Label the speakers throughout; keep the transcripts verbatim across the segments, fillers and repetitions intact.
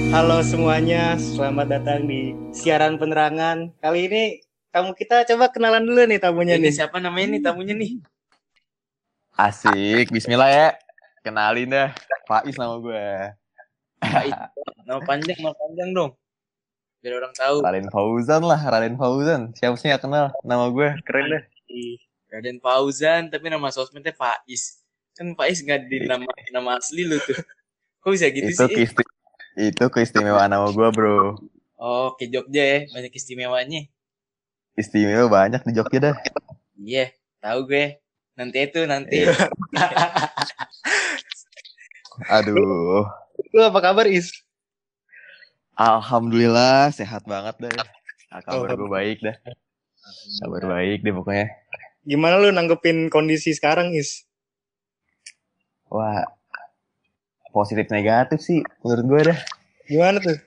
Speaker 1: Halo semuanya, selamat datang di siaran penerangan. Kali ini tamu kita coba kenalan dulu nih tamunya
Speaker 2: Ini
Speaker 1: nih.
Speaker 2: siapa namanya nih tamunya nih?
Speaker 3: Asik, bismillah ya. Kenalin dah, Faiz nama gue.
Speaker 2: Faiz. Nama panjang, nama panjang dong. Biar orang tahu.
Speaker 3: Raden Fauzan lah, Raden Fauzan. Siapa sih gak kenal nama gue? Keren deh.
Speaker 2: Raden Fauzan, tapi nama sosmednya Faiz. Kan Faiz nggak di nama nama asli lu tuh. Kok bisa gitu
Speaker 3: Itu
Speaker 2: sih?
Speaker 3: keisti itu keistimewaan nama gue, bro.
Speaker 2: Oh, ke Jogja ya, banyak istimewanya.
Speaker 3: Istimewa banyak di Jogja dah.
Speaker 2: Iya, tahu gue. Nanti itu nanti.
Speaker 3: Aduh.
Speaker 1: Lu apa kabar Is?
Speaker 3: Alhamdulillah sehat banget dah. Kabar gue baik dah. Kabar baik deh pokoknya.
Speaker 1: Gimana lu nanggepin kondisi sekarang Is?
Speaker 3: Wah, positif negatif sih menurut gue dah.
Speaker 1: Gimana tuh?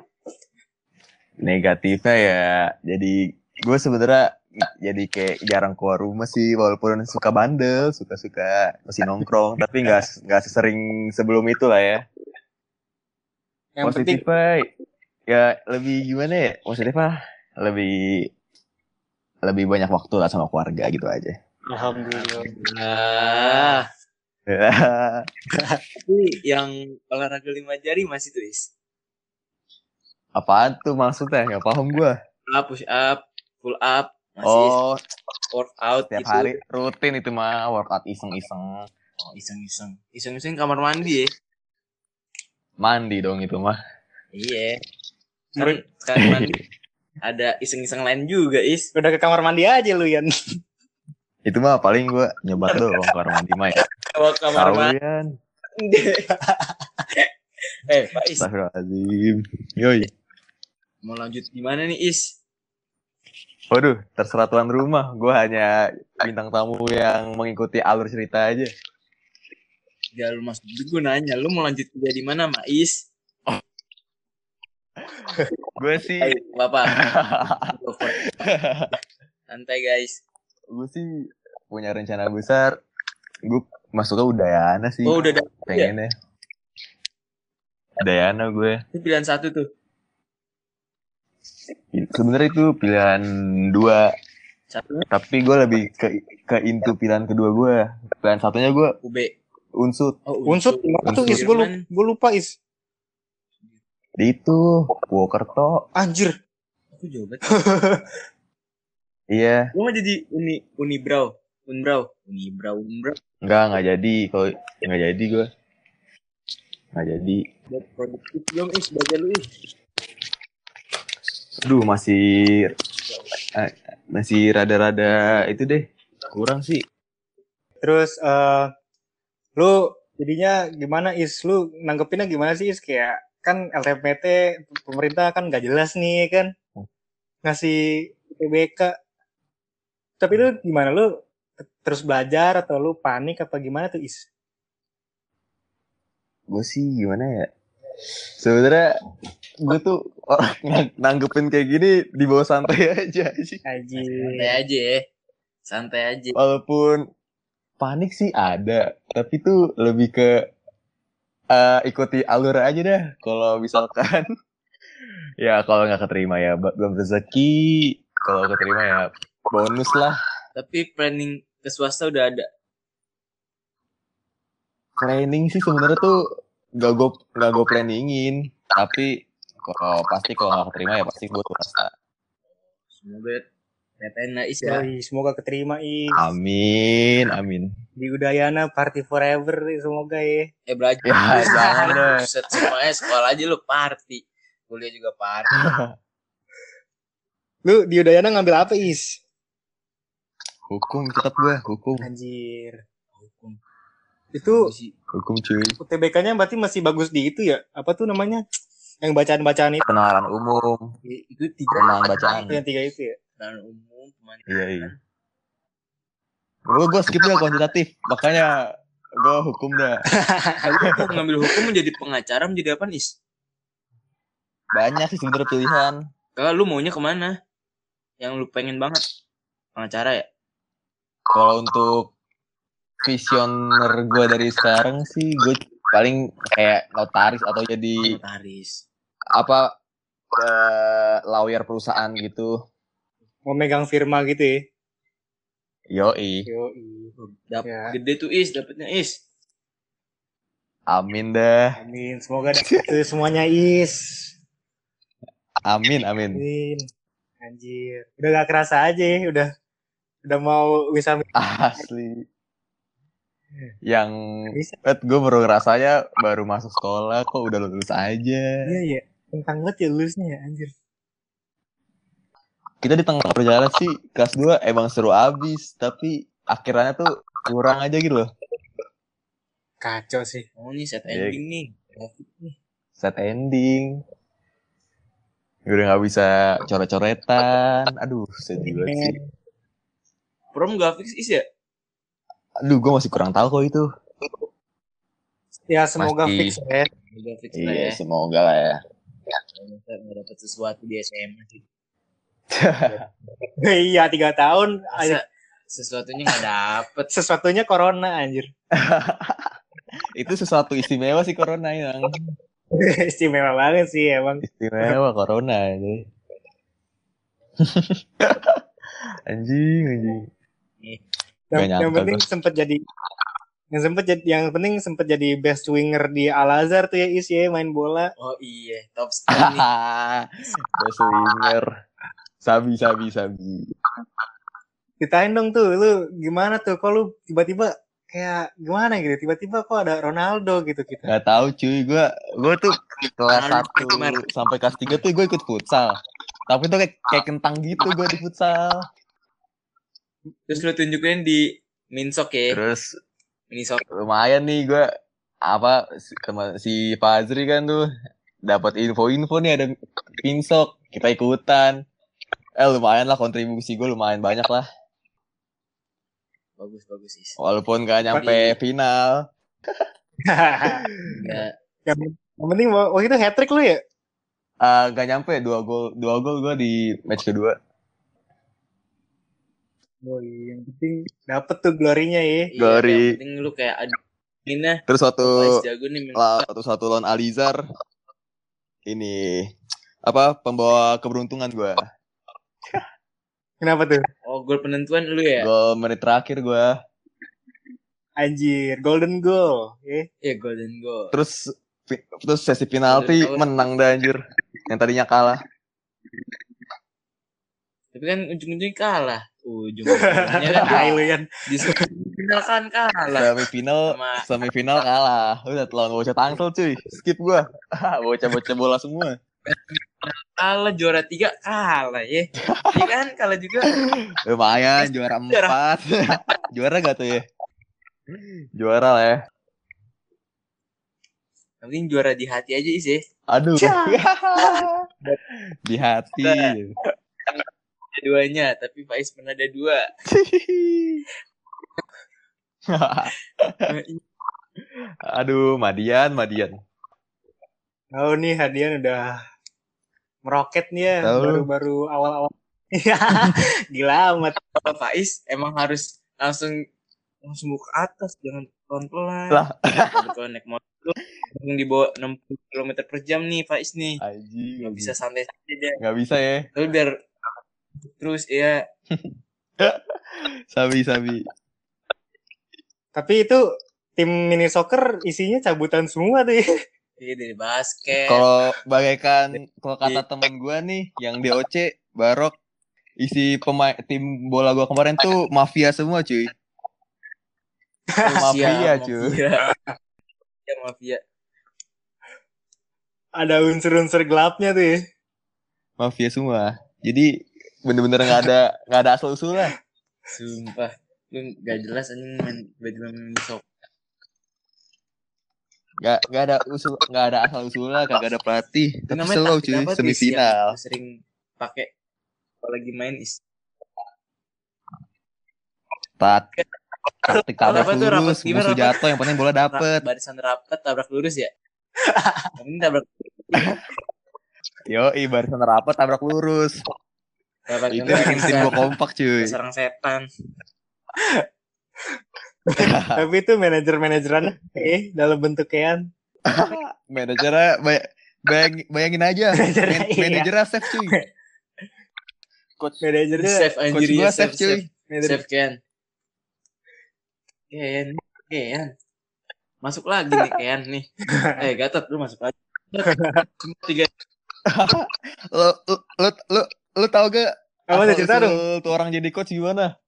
Speaker 3: Negatifnya ya, jadi gue sebenarnya jadi kayak jarang keluar rumah sih, walaupun suka bandel, suka-suka masih nongkrong, tapi nggak nggak sesering sebelum itu lah ya.
Speaker 1: Yang
Speaker 3: Positifnya ya lebih gimana ya? Positifnya lebih lebih banyak waktu lah sama keluarga gitu aja.
Speaker 2: Alhamdulillah. Tapi yang olahraga lima jari masih tuh Is.
Speaker 3: Apaan tuh maksudnya? Nggak paham gue.
Speaker 2: Pull up, push up, pull up, masih
Speaker 3: Oh,
Speaker 2: workout
Speaker 3: setiap
Speaker 2: gitu.
Speaker 3: hari rutin itu mah workout iseng-iseng.
Speaker 2: Oh, iseng-iseng. Iseng-iseng kamar mandi ya.
Speaker 3: Mandi dong itu mah.
Speaker 2: Iya. Kan sekarang mandi ada iseng-iseng lain juga, Is.
Speaker 1: Udah ke kamar mandi aja lu Yan.
Speaker 3: Itu mah paling gue nyoba doang kamar mandi mah ya.
Speaker 2: Kalau kamar
Speaker 3: Tahu
Speaker 2: mandi.
Speaker 3: Yan.
Speaker 2: Eh, Pak Is.
Speaker 3: Astagfirullahaladzim. Yoi.
Speaker 2: Mau lanjut gimana nih, Is?
Speaker 3: Waduh, terserah tuan rumah. Gue hanya bintang tamu yang mengikuti alur cerita aja.
Speaker 2: Ya lu masuk gue nanya, lu mau lanjut kuliah di mana, Mak Is?
Speaker 3: Gue sih
Speaker 2: Ayo, Bapak. Santai, guys.
Speaker 3: gue sih punya rencana besar. Gue masuknya Udayana sih.
Speaker 2: Oh, udah ada.
Speaker 3: Pengennya. Udayana gue.
Speaker 2: Itu pilihan satu tuh.
Speaker 3: Sebenarnya itu pilihan dua.
Speaker 2: Satu
Speaker 3: Tapi gue lebih ke ke into pilihan kedua gue. Pilihan satunya gue
Speaker 2: U B.
Speaker 3: Unsut.
Speaker 2: Oh,
Speaker 1: Unsut, gimana tuh Is? Gue lupa, gue lupa Is.
Speaker 3: Di itu Purwokerto.
Speaker 1: Anjir.
Speaker 2: Aku jawab.
Speaker 3: Iya.
Speaker 2: Lu mau jadi uni Unibrau, Unbrau, Unibrau, Unbrau.
Speaker 3: Enggak, enggak jadi. Kalau enggak jadi gue. Enggak jadi.
Speaker 2: Buat produktif belum, Is, belajar lu, Is.
Speaker 3: Aduh, masih eh, masih rada-rada itu deh. Kurang sih.
Speaker 1: Terus uh, lu jadinya gimana Is? Lu nanggepinnya gimana sih Is? Kayak kan L T M P T pemerintah kan gak jelas nih kan ngasih U T B K. Tapi lu gimana? Lu terus belajar atau lu panik apa gimana tuh Is?
Speaker 3: Gue sih gimana ya? Sebenarnya gue tuh orang nanggepin kayak gini di bawah santai aja sih.
Speaker 2: Santai aja ya. Santai aja.
Speaker 3: Walaupun panik sih ada, tapi tuh lebih ke uh, ikuti alur aja dah. Kalau misalkan ya kalau nggak keterima ya belum rezeki, kalau keterima ya bonus lah.
Speaker 2: Tapi planning ke swasta udah ada.
Speaker 3: Planning sih sebenarnya tuh gak gue gak gue planningin, tapi kalau pasti kalau nggak keterima ya pasti gue swasta.
Speaker 2: Semoga P T N lah Is ya.
Speaker 1: Yoi, semoga keterima Is.
Speaker 3: Amin, amin.
Speaker 1: Di Udayana party forever semoga ya.
Speaker 2: Eh belajar.
Speaker 3: Ya jangan deh.
Speaker 2: Set semuanya sekolah aja lu party. Kuliah juga party.
Speaker 1: Lu di Udayana ngambil apa Is?
Speaker 3: Hukum tetap gue, hukum.
Speaker 1: Anjir.
Speaker 2: Hukum.
Speaker 1: Itu
Speaker 3: Hukum cuy.
Speaker 1: U T B K-nya berarti masih bagus di itu ya? Apa tuh namanya? Yang bacaan-bacaan itu.
Speaker 3: Penalaran umum.
Speaker 2: Itu tiga.
Speaker 3: Penalaran bacaan.
Speaker 1: Itu yang tiga itu ya?
Speaker 2: Penalaran umum. Pemanikan.
Speaker 3: Iya iya. Gue gue skip dia kuantitatif, makanya gue hukum dah.
Speaker 2: Aku ngambil hukum menjadi pengacara menjadi apa Is?
Speaker 3: Banyak sih sebenarnya pilihan.
Speaker 2: Kalau lu maunya kemana? Yang lu pengen banget? Pengacara ya?
Speaker 3: Kalau untuk visioner gue dari sekarang sih gue paling kayak notaris atau jadi
Speaker 2: Notaris.
Speaker 3: apa eh, lawyer perusahaan gitu.
Speaker 1: Mau megang firma gitu ya.
Speaker 3: Yoi.
Speaker 1: Yoi.
Speaker 2: Dap-
Speaker 1: Ya.
Speaker 2: Gede tuh Is, dapetnya Is.
Speaker 3: Amin dah.
Speaker 1: Amin. Semoga itu semuanya is.
Speaker 3: Amin, amin.
Speaker 1: Amin. Anjir. Udah gak kerasa aja ya. Udah udah mau bisa
Speaker 3: Asli. Yang
Speaker 1: bisa.
Speaker 3: eh, gue baru ngerasanya baru masuk sekolah kok udah lulus aja.
Speaker 1: Iya ya. Tentang banget ya lulusnya ya anjir.
Speaker 3: Kita di tengah perjalanan sih kelas dua emang seru abis, tapi akhirnya tuh kurang aja gitu loh.
Speaker 1: Kacau sih.
Speaker 2: Oh nih set
Speaker 3: Iya.
Speaker 2: ending nih. Grafik nih.
Speaker 3: Set ending. Udah gak bisa coret-coretan. Aduh, sedih banget sih.
Speaker 2: Prom grafik Is ya?
Speaker 3: Aduh, gue masih kurang tahu kok itu.
Speaker 1: Ya semoga
Speaker 3: Pasti.
Speaker 1: fix ya.
Speaker 2: Grafik lah
Speaker 3: Iya,
Speaker 2: ya.
Speaker 3: semoga lah ya.
Speaker 2: Kita nggak dapat sesuatu di S M A sih.
Speaker 1: Iya tiga tahun.
Speaker 2: Masa sesuatunya nggak dapet.
Speaker 1: Sesuatunya corona anjir.
Speaker 3: Itu sesuatu istimewa sih corona yang.
Speaker 1: Istimewa banget sih emang.
Speaker 3: Istimewa corona aja. Anjing, anjing.
Speaker 1: Yang,
Speaker 3: Gak
Speaker 1: yang
Speaker 3: nyangka
Speaker 1: penting
Speaker 3: gue.
Speaker 1: sempet jadi yang sempet jadi yang penting sempet jadi best winger di Al Azhar tuh ya Is ya main bola.
Speaker 2: Oh iya, top score nih.
Speaker 3: Best winger. Sabi, sabi, sabi.
Speaker 1: Ditain dong tuh lu gimana tuh kok lu tiba-tiba kayak gimana gitu tiba-tiba kok ada Ronaldo gitu kita.
Speaker 3: Gak tahu cuy, gue gue tuh kelas
Speaker 2: Ronaldo
Speaker 3: satu
Speaker 2: Neymar.
Speaker 3: sampai kelas tiga tuh gue ikut futsal. Tapi tuh kayak, kayak kentang gitu gue di futsal.
Speaker 2: Terus lu tunjukin di Minsok ya.
Speaker 3: Terus
Speaker 2: Minsok.
Speaker 3: lumayan nih gue apa si, sama si Fazri kan tuh dapat info-info nih ada pinsok, kita ikutan. Eh lumayan lah kontribusi gue lumayan banyak lah.
Speaker 2: Bagus bagus Is.
Speaker 3: Walaupun gak nyampe
Speaker 2: Di-
Speaker 3: final.
Speaker 2: Nggak.
Speaker 1: yang, yang penting waktu itu hat trick lu ya.
Speaker 3: Uh, gak nyampe dua gol dua gol gue di match kedua.
Speaker 1: Oh iya, yang penting dapet tuh glorinya ya.
Speaker 2: Iya,
Speaker 3: Glory.
Speaker 2: yang penting lu kayak ada ini
Speaker 3: Terus waktu
Speaker 2: Faiz jago nih main
Speaker 3: la,
Speaker 2: bola.
Speaker 3: waktu satu lawan Alizar ini apa pembawa keberuntungan gue.
Speaker 1: Kenapa tuh?
Speaker 2: Oh gol penentuan lu ya?
Speaker 3: Gol menit terakhir gue.
Speaker 1: Anjir, golden goal. Ya.
Speaker 2: Iya golden goal.
Speaker 3: Terus fi- terus sesi penalti
Speaker 2: Golden goal.
Speaker 3: menang dah anjir. Yang tadinya kalah.
Speaker 2: Tapi kan ujung-ujungnya kalah. Ujung-ujungnya kan
Speaker 1: Hai lu Yan.
Speaker 2: di semifinal kan kalah.
Speaker 3: Semifinal
Speaker 2: Sama-
Speaker 3: semifinal kalah. Udah lawan bocah Tangsel cuy. Skip gua. Bocah-bocah bola semua.
Speaker 2: Kalah juara tiga kalah ya. Iya kan kalah juga.
Speaker 3: Lumayan juara empat. Juara gak tuh ya? Juara lah ya.
Speaker 2: Yang penting juara di hati aja Is ya.
Speaker 3: Aduh. Di hati.
Speaker 2: Keduanya, tapi Faiz pernah ada dua.
Speaker 3: Aduh, Madian, Madian.
Speaker 1: Oh nih Hadian udah meroket nih ya.
Speaker 3: Tahu.
Speaker 1: Baru-baru awal-awal. Gila amat.
Speaker 2: Kalau Faiz emang harus langsung langsung ke atas, jangan pelan-pelan.
Speaker 3: Lah.
Speaker 2: Kalau naik motor langsung di bawah enam puluh kilometer per jam nih Faiz nih.
Speaker 3: Anjing.
Speaker 2: Nggak bisa santai-santai dia.
Speaker 3: Nggak bisa ya.
Speaker 2: Tapi biar terus ya.
Speaker 3: Sabi, sabi.
Speaker 1: Tapi itu tim mini soccer isinya cabutan semua tuh ya.
Speaker 2: Iya dari basket.
Speaker 3: Kalau bagaikan kalau kata teman gua nih yang di O C Barok isi pemain tim bola gua kemarin tuh mafia semua cuy. Mafia cuy.
Speaker 2: Mafia. Ya mafia.
Speaker 1: Ada unsur-unsur gelapnya tuh ya.
Speaker 3: Mafia semua. Jadi bener-bener nggak ada nggak ada asal usul lah.
Speaker 2: Sumpah. Lu gak jelas anjing main tiba-tiba main sok.
Speaker 3: Nggak nggak ada usul nggak ada asal usul lah. Kagak ada pelatih. Tapi
Speaker 2: Namanya
Speaker 3: slow
Speaker 2: taktik
Speaker 3: cuy
Speaker 2: apa, Tis,
Speaker 3: semifinal.
Speaker 2: yang lu sering pakai kalau lagi main is.
Speaker 3: Tat. Taktik tabrak
Speaker 2: Apa tuh, rapat
Speaker 3: lurus,
Speaker 2: gimana,
Speaker 3: musuh
Speaker 2: rapat?
Speaker 3: jatuh, yang penting bola dapet.
Speaker 2: Barisan rapat tabrak lurus ya. Yang penting tabrak
Speaker 3: Yo, barisan rapat tabrak lurus.
Speaker 2: tabrak
Speaker 3: Itu
Speaker 2: lurus.
Speaker 3: bikin tim gua kompak cuy.
Speaker 2: Sarang setan.
Speaker 1: Tapi itu manajer-manajeran eh dalam bentuk kean.
Speaker 3: Manajernya banyak, Bayang, bayangin aja,
Speaker 1: Manajer,
Speaker 3: man,
Speaker 1: iya.
Speaker 3: manajernya Chef cuy. Coach,
Speaker 1: Manajernya
Speaker 2: Chef
Speaker 3: coach
Speaker 2: anjir
Speaker 3: gua
Speaker 2: ya,
Speaker 3: Chef
Speaker 2: chef,
Speaker 3: cuy.
Speaker 2: chef, chef Ken. Ken, Ken. Masuk lagi nih Ken nih. Eh Gatot lu masuk lagi. Tiga.
Speaker 3: Lu, lu, lu, lu, lu tau gak
Speaker 1: Apa tuh, cerita dong?
Speaker 3: asal-usul tuh orang jadi coach gimana?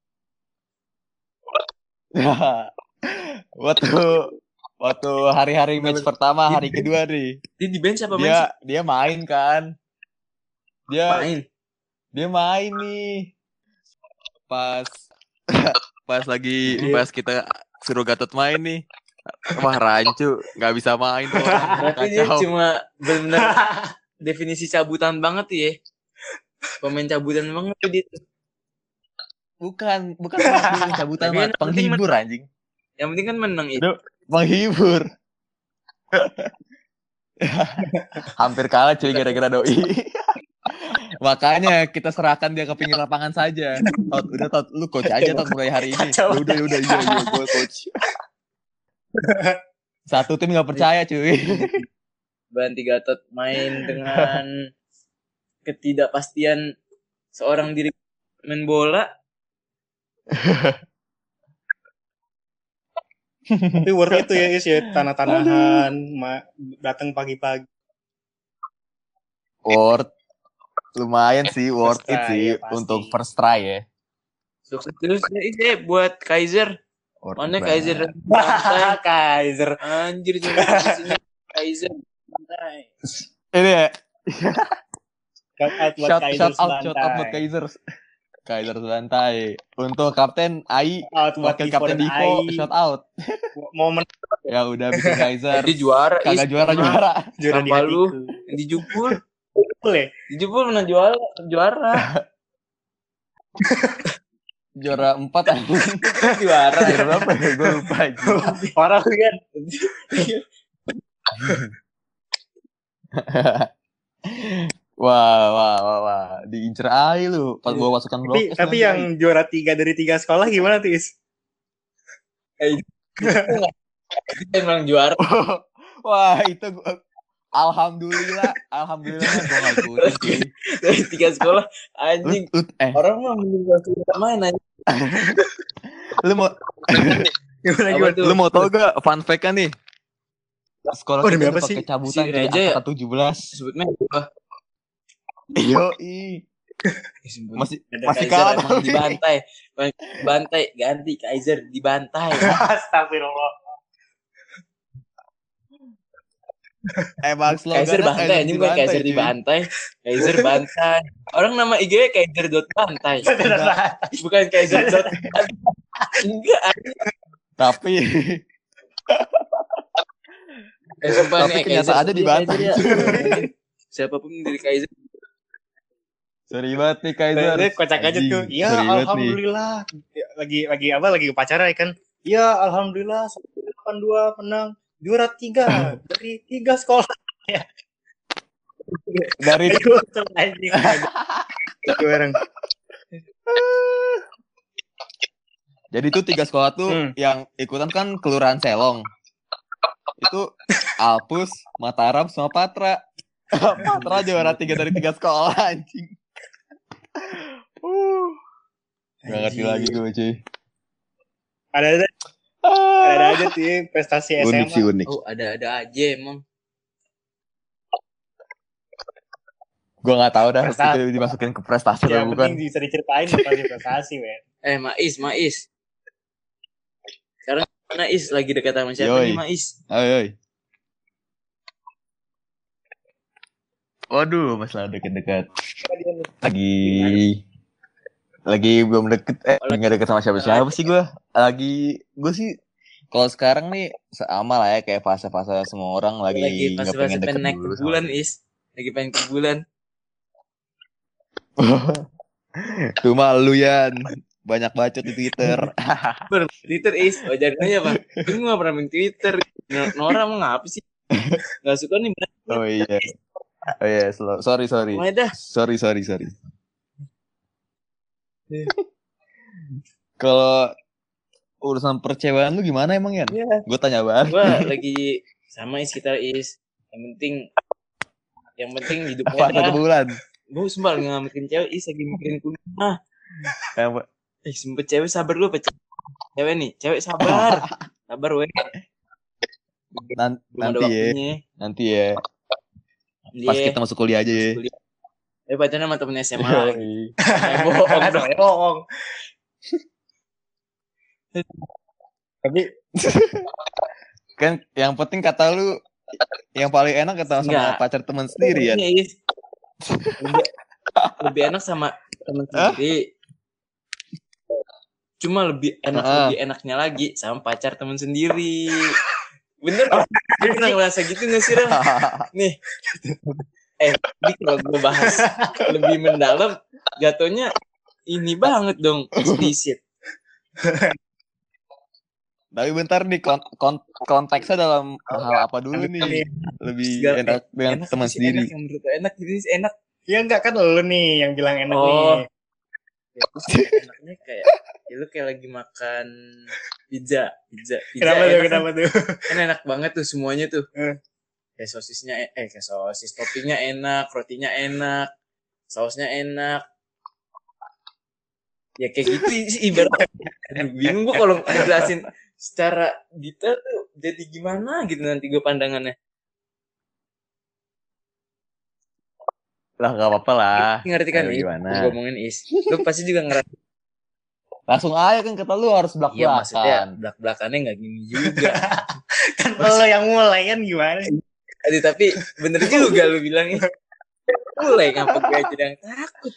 Speaker 3: waktu waktu hari-hari match pertama, hari kedua nih.
Speaker 2: Dia di bench apa
Speaker 3: Dia
Speaker 2: main sih?
Speaker 3: dia main kan. Dia
Speaker 2: Main.
Speaker 3: dia main nih. Pas pas lagi
Speaker 1: Iya.
Speaker 3: pas kita suruh Gatot main nih. Wah, rancu, nggak bisa main tuh orang.
Speaker 2: Berarti dia
Speaker 3: Kacau.
Speaker 2: cuma benar-benar definisi cabutan banget tuh ya. Pemain cabutan banget tuh dia.
Speaker 3: Bukan, bukan pemain cabutan,
Speaker 2: Tapi
Speaker 3: mah
Speaker 2: yang penting
Speaker 3: penghibur anjing.
Speaker 2: Yang penting kan menang itu.
Speaker 3: Aduh, menghibur. Hampir kalah cuy gara-gara doi. Makanya kita serahkan dia ke pinggir lapangan saja. Tot, udah Tot, lu coach aja Tot mulai hari ini. Ya udah, ya udah, iya, iya, gue coach. Satu tim nggak percaya cuy.
Speaker 2: Banti Gatot main dengan ketidakpastian seorang diri main bola.
Speaker 1: Tapi worth itu ya Is ya, tanah-tanahan, ma- datang pagi-pagi.
Speaker 3: Worth, lumayan sih, worth
Speaker 1: First
Speaker 3: it
Speaker 1: try,
Speaker 3: sih
Speaker 1: ya, pasti.
Speaker 3: untuk first try ya.
Speaker 2: Sukses terus ya buat Kaiser.
Speaker 3: Worth
Speaker 2: Mana
Speaker 3: it
Speaker 2: Kaiser
Speaker 3: banget.
Speaker 2: santai.
Speaker 1: Kaiser.
Speaker 2: Anjir cuma di sini Kaiser santai.
Speaker 3: Ini ya,
Speaker 1: Shout out buat
Speaker 3: shout,
Speaker 1: Kaiser
Speaker 3: shout out, shout out buat
Speaker 1: Sebantai.
Speaker 3: Kaiser. Kaiser Sebantai. Untuk Kapten Ai,
Speaker 1: Out buat
Speaker 3: wakil
Speaker 1: Divo
Speaker 3: Kapten
Speaker 1: dan
Speaker 3: Divo,
Speaker 1: Ai.
Speaker 3: shout out.
Speaker 1: Momen
Speaker 3: Ya udah bikin Kaiser.
Speaker 2: Jadi juara
Speaker 3: Kagak
Speaker 2: Is,
Speaker 3: juara-juara.
Speaker 1: juara di
Speaker 2: Tanpa lu.
Speaker 1: hatiku.
Speaker 2: yang dijubur.
Speaker 1: Boleh.
Speaker 2: Dijubur pernah juara, juara.
Speaker 3: Juara empat anjing.
Speaker 2: juara.
Speaker 3: Juara berapa ya? Gue lupa aja.
Speaker 1: Orang kan.
Speaker 3: Wah, wah, wah, wah. Diincer Ai lu. Pas gua masukkan blok.
Speaker 1: Tapi tapi yang juara tiga dari tiga sekolah gimana tuh Is?
Speaker 2: Kita emang juara.
Speaker 3: Wah, itu gua... Alhamdulillah, alhamdulillah gue gak ikutin cuy.
Speaker 2: Dari tiga sekolah anjing.
Speaker 3: Ut, ut, eh,
Speaker 2: Orang mah mending gak main anjing.
Speaker 3: lu mau
Speaker 1: Gimana
Speaker 2: Apa
Speaker 1: gimana?
Speaker 2: tuh?
Speaker 3: lu mau tau gak fun fact kan nih? Sekolah
Speaker 1: Oh, demi
Speaker 3: kita
Speaker 1: apa
Speaker 3: udah
Speaker 1: sih?
Speaker 3: pakai cabutan
Speaker 2: Si
Speaker 3: dari
Speaker 2: Reja ya?
Speaker 3: angkatan tujuh belas.
Speaker 2: Sebutnya apa?
Speaker 3: Yoi. Masih
Speaker 2: Ada
Speaker 3: masih
Speaker 2: Kaiser
Speaker 3: kalah
Speaker 2: emang
Speaker 3: tapi.
Speaker 2: dibantai. Bantai ganti Kaiser dibantai.
Speaker 1: Astagfirullah.
Speaker 3: Emang slogannya
Speaker 2: Kaiser bantai anjing bukan Kaiser
Speaker 3: cuy.
Speaker 2: dibantai. Kaiser bantai. Orang nama I G Kaiser dot bantai. Bukan Kaiser dot enggak.
Speaker 3: Tapi
Speaker 2: Eh, sumpah
Speaker 3: Tapi
Speaker 2: nih,
Speaker 3: kenyataannya
Speaker 2: Kaiser
Speaker 3: dibantai.
Speaker 2: Kaiser ya. Siapapun dari Kaiser.
Speaker 3: sorry banget nih Kaiser.
Speaker 1: Kaiser kocak aja
Speaker 3: Anjing,
Speaker 1: tuh. Iya,
Speaker 3: sorry banget nih.
Speaker 1: alhamdulillah. Lagi lagi apa? Lagi upacara ya kan? Iya, alhamdulillah satu delapan dua menang juara tiga dari tiga sekolah.
Speaker 3: Dari
Speaker 1: Ayo, anjing. Itu orang.
Speaker 3: Jadi tuh tiga sekolah tuh
Speaker 1: Hmm.
Speaker 3: yang ikutan kan Kelurahan Selong. Itu Alpus, Mataram, sama Patra. Patra juara tiga dari tiga sekolah anjing. Uh. Gak ngerti lagi gue cuy.
Speaker 1: Ada ada
Speaker 3: Ah.
Speaker 1: ada aja sih prestasi S M A.
Speaker 3: Unik sih unik.
Speaker 2: Oh, ada-ada aja emang.
Speaker 3: Gue gak tahu dah
Speaker 1: Prestasi.
Speaker 3: itu dimasukin ke prestasi
Speaker 1: Ya,
Speaker 3: atau
Speaker 1: penting
Speaker 3: bukan.
Speaker 1: bisa diceritain prestasi prestasi, men.
Speaker 2: Eh, Mais, Mais. Sekarang mana Is lagi dekat sama siapa
Speaker 3: Yoi.
Speaker 2: nih, Mais?
Speaker 3: Oi, oi. Waduh, masalah deket-deket. Lagi lagi belum deket, eh nggak deket sama siapa-siapa sih gue. Lagi gue sih kalau sekarang nih sama lah ya kayak fase-fase semua orang lagi
Speaker 2: Lagi
Speaker 3: nggak
Speaker 2: pas-pas
Speaker 3: pengen deket
Speaker 2: pengen naik
Speaker 3: dulu
Speaker 2: ke
Speaker 3: sama
Speaker 2: bulan, Is. Lagi pengen ke bulan.
Speaker 3: Cuma lu Yan banyak bacot di Twitter.
Speaker 2: Ber Twitter Is, wajar aja Bang. Gue gak pernah main Twitter. N- Nora emang ngapa sih? Gak suka nih bener.
Speaker 3: Oh iya. Oh iya, slow. sorry sorry.
Speaker 2: Mulai dah.
Speaker 3: Sorry sorry sorry. Kalau urusan percewaan lu gimana emang Yan?
Speaker 2: Iya.
Speaker 3: Gue tanya banget.
Speaker 2: Gue lagi sama Is kita Is. Yang penting Yang penting hidupnya
Speaker 3: Apa satu
Speaker 2: dah.
Speaker 3: bulan?
Speaker 2: Gue sumpah nggak mikirin cewek, is lagi mikirin kuliah.
Speaker 3: Apa?
Speaker 2: Eh sempet cewek sabar lu apa cewek nih? Cewek sabar. Sabar weh.
Speaker 3: Nan-
Speaker 2: Belum ada
Speaker 3: nanti ya,
Speaker 2: waktunya.
Speaker 3: nanti ya. Pas
Speaker 2: Dia
Speaker 3: kita masuk kuliah aja ya.
Speaker 2: kuliah. Eh pacaran sama temen S M A lagi.
Speaker 3: Yoi.
Speaker 2: Eh bohong dong.
Speaker 1: Soalnya bohong. Tapi
Speaker 3: Kan yang penting kata lu yang paling enak kata sama
Speaker 2: Enggak.
Speaker 3: pacar teman sendiri ya.
Speaker 2: Iya, Is. Lebih, lebih enak sama temen
Speaker 3: Hah?
Speaker 2: sendiri. Cuma lebih enak
Speaker 3: Heeh.
Speaker 2: lebih enaknya lagi sama pacar temen sendiri. Bener gak? Lu pernah ngerasa gitu gak sih, Ram? Nih. Eh, jadi kalau gue bahas lebih mendalam, jatuhnya ini banget dong, eksplisit.
Speaker 3: Tapi bentar nih kon- kon- konteksnya dalam hal apa dulu nih? Lebih
Speaker 2: Segala-
Speaker 3: enak dengan
Speaker 2: Enak
Speaker 3: teman
Speaker 2: sih,
Speaker 3: sendiri.
Speaker 2: Enak yang menurut gue enak, jadi enak.
Speaker 1: ya enggak kan lu nih yang bilang enak
Speaker 2: Oh.
Speaker 1: nih.
Speaker 2: Ya, terus enaknya kayak, ya lu kayak lagi makan pizza, pizza, pizza
Speaker 1: Kenapa tuh?
Speaker 2: enak kan?
Speaker 1: Kenapa tuh?
Speaker 2: Kan enak banget tuh semuanya tuh.
Speaker 1: Eh.
Speaker 2: Kayak sosisnya, eh kayak sosis, toppingnya enak, rotinya enak, sausnya enak. Ya kayak gitu sih ibarat. Aduh, bingung gua kalau ngejelasin secara detail tuh jadi gimana gitu nanti gue pandangannya.
Speaker 3: Lah gak apa-apa lah.
Speaker 2: Ngerti kan
Speaker 3: Ayo,
Speaker 2: Is?
Speaker 3: gimana?
Speaker 2: Gua ngomongin Is. Lu pasti juga ngerasa.
Speaker 3: Langsung aja kan kata lu harus
Speaker 2: Iya maksudnya
Speaker 3: belak-belakan.
Speaker 2: belak-belakannya nggak gini juga.
Speaker 1: Kan lo yang mulai kan gimana?
Speaker 2: Aduh, tapi bener juga lu bilangnya. Mulai ngapa gue aja yang takut.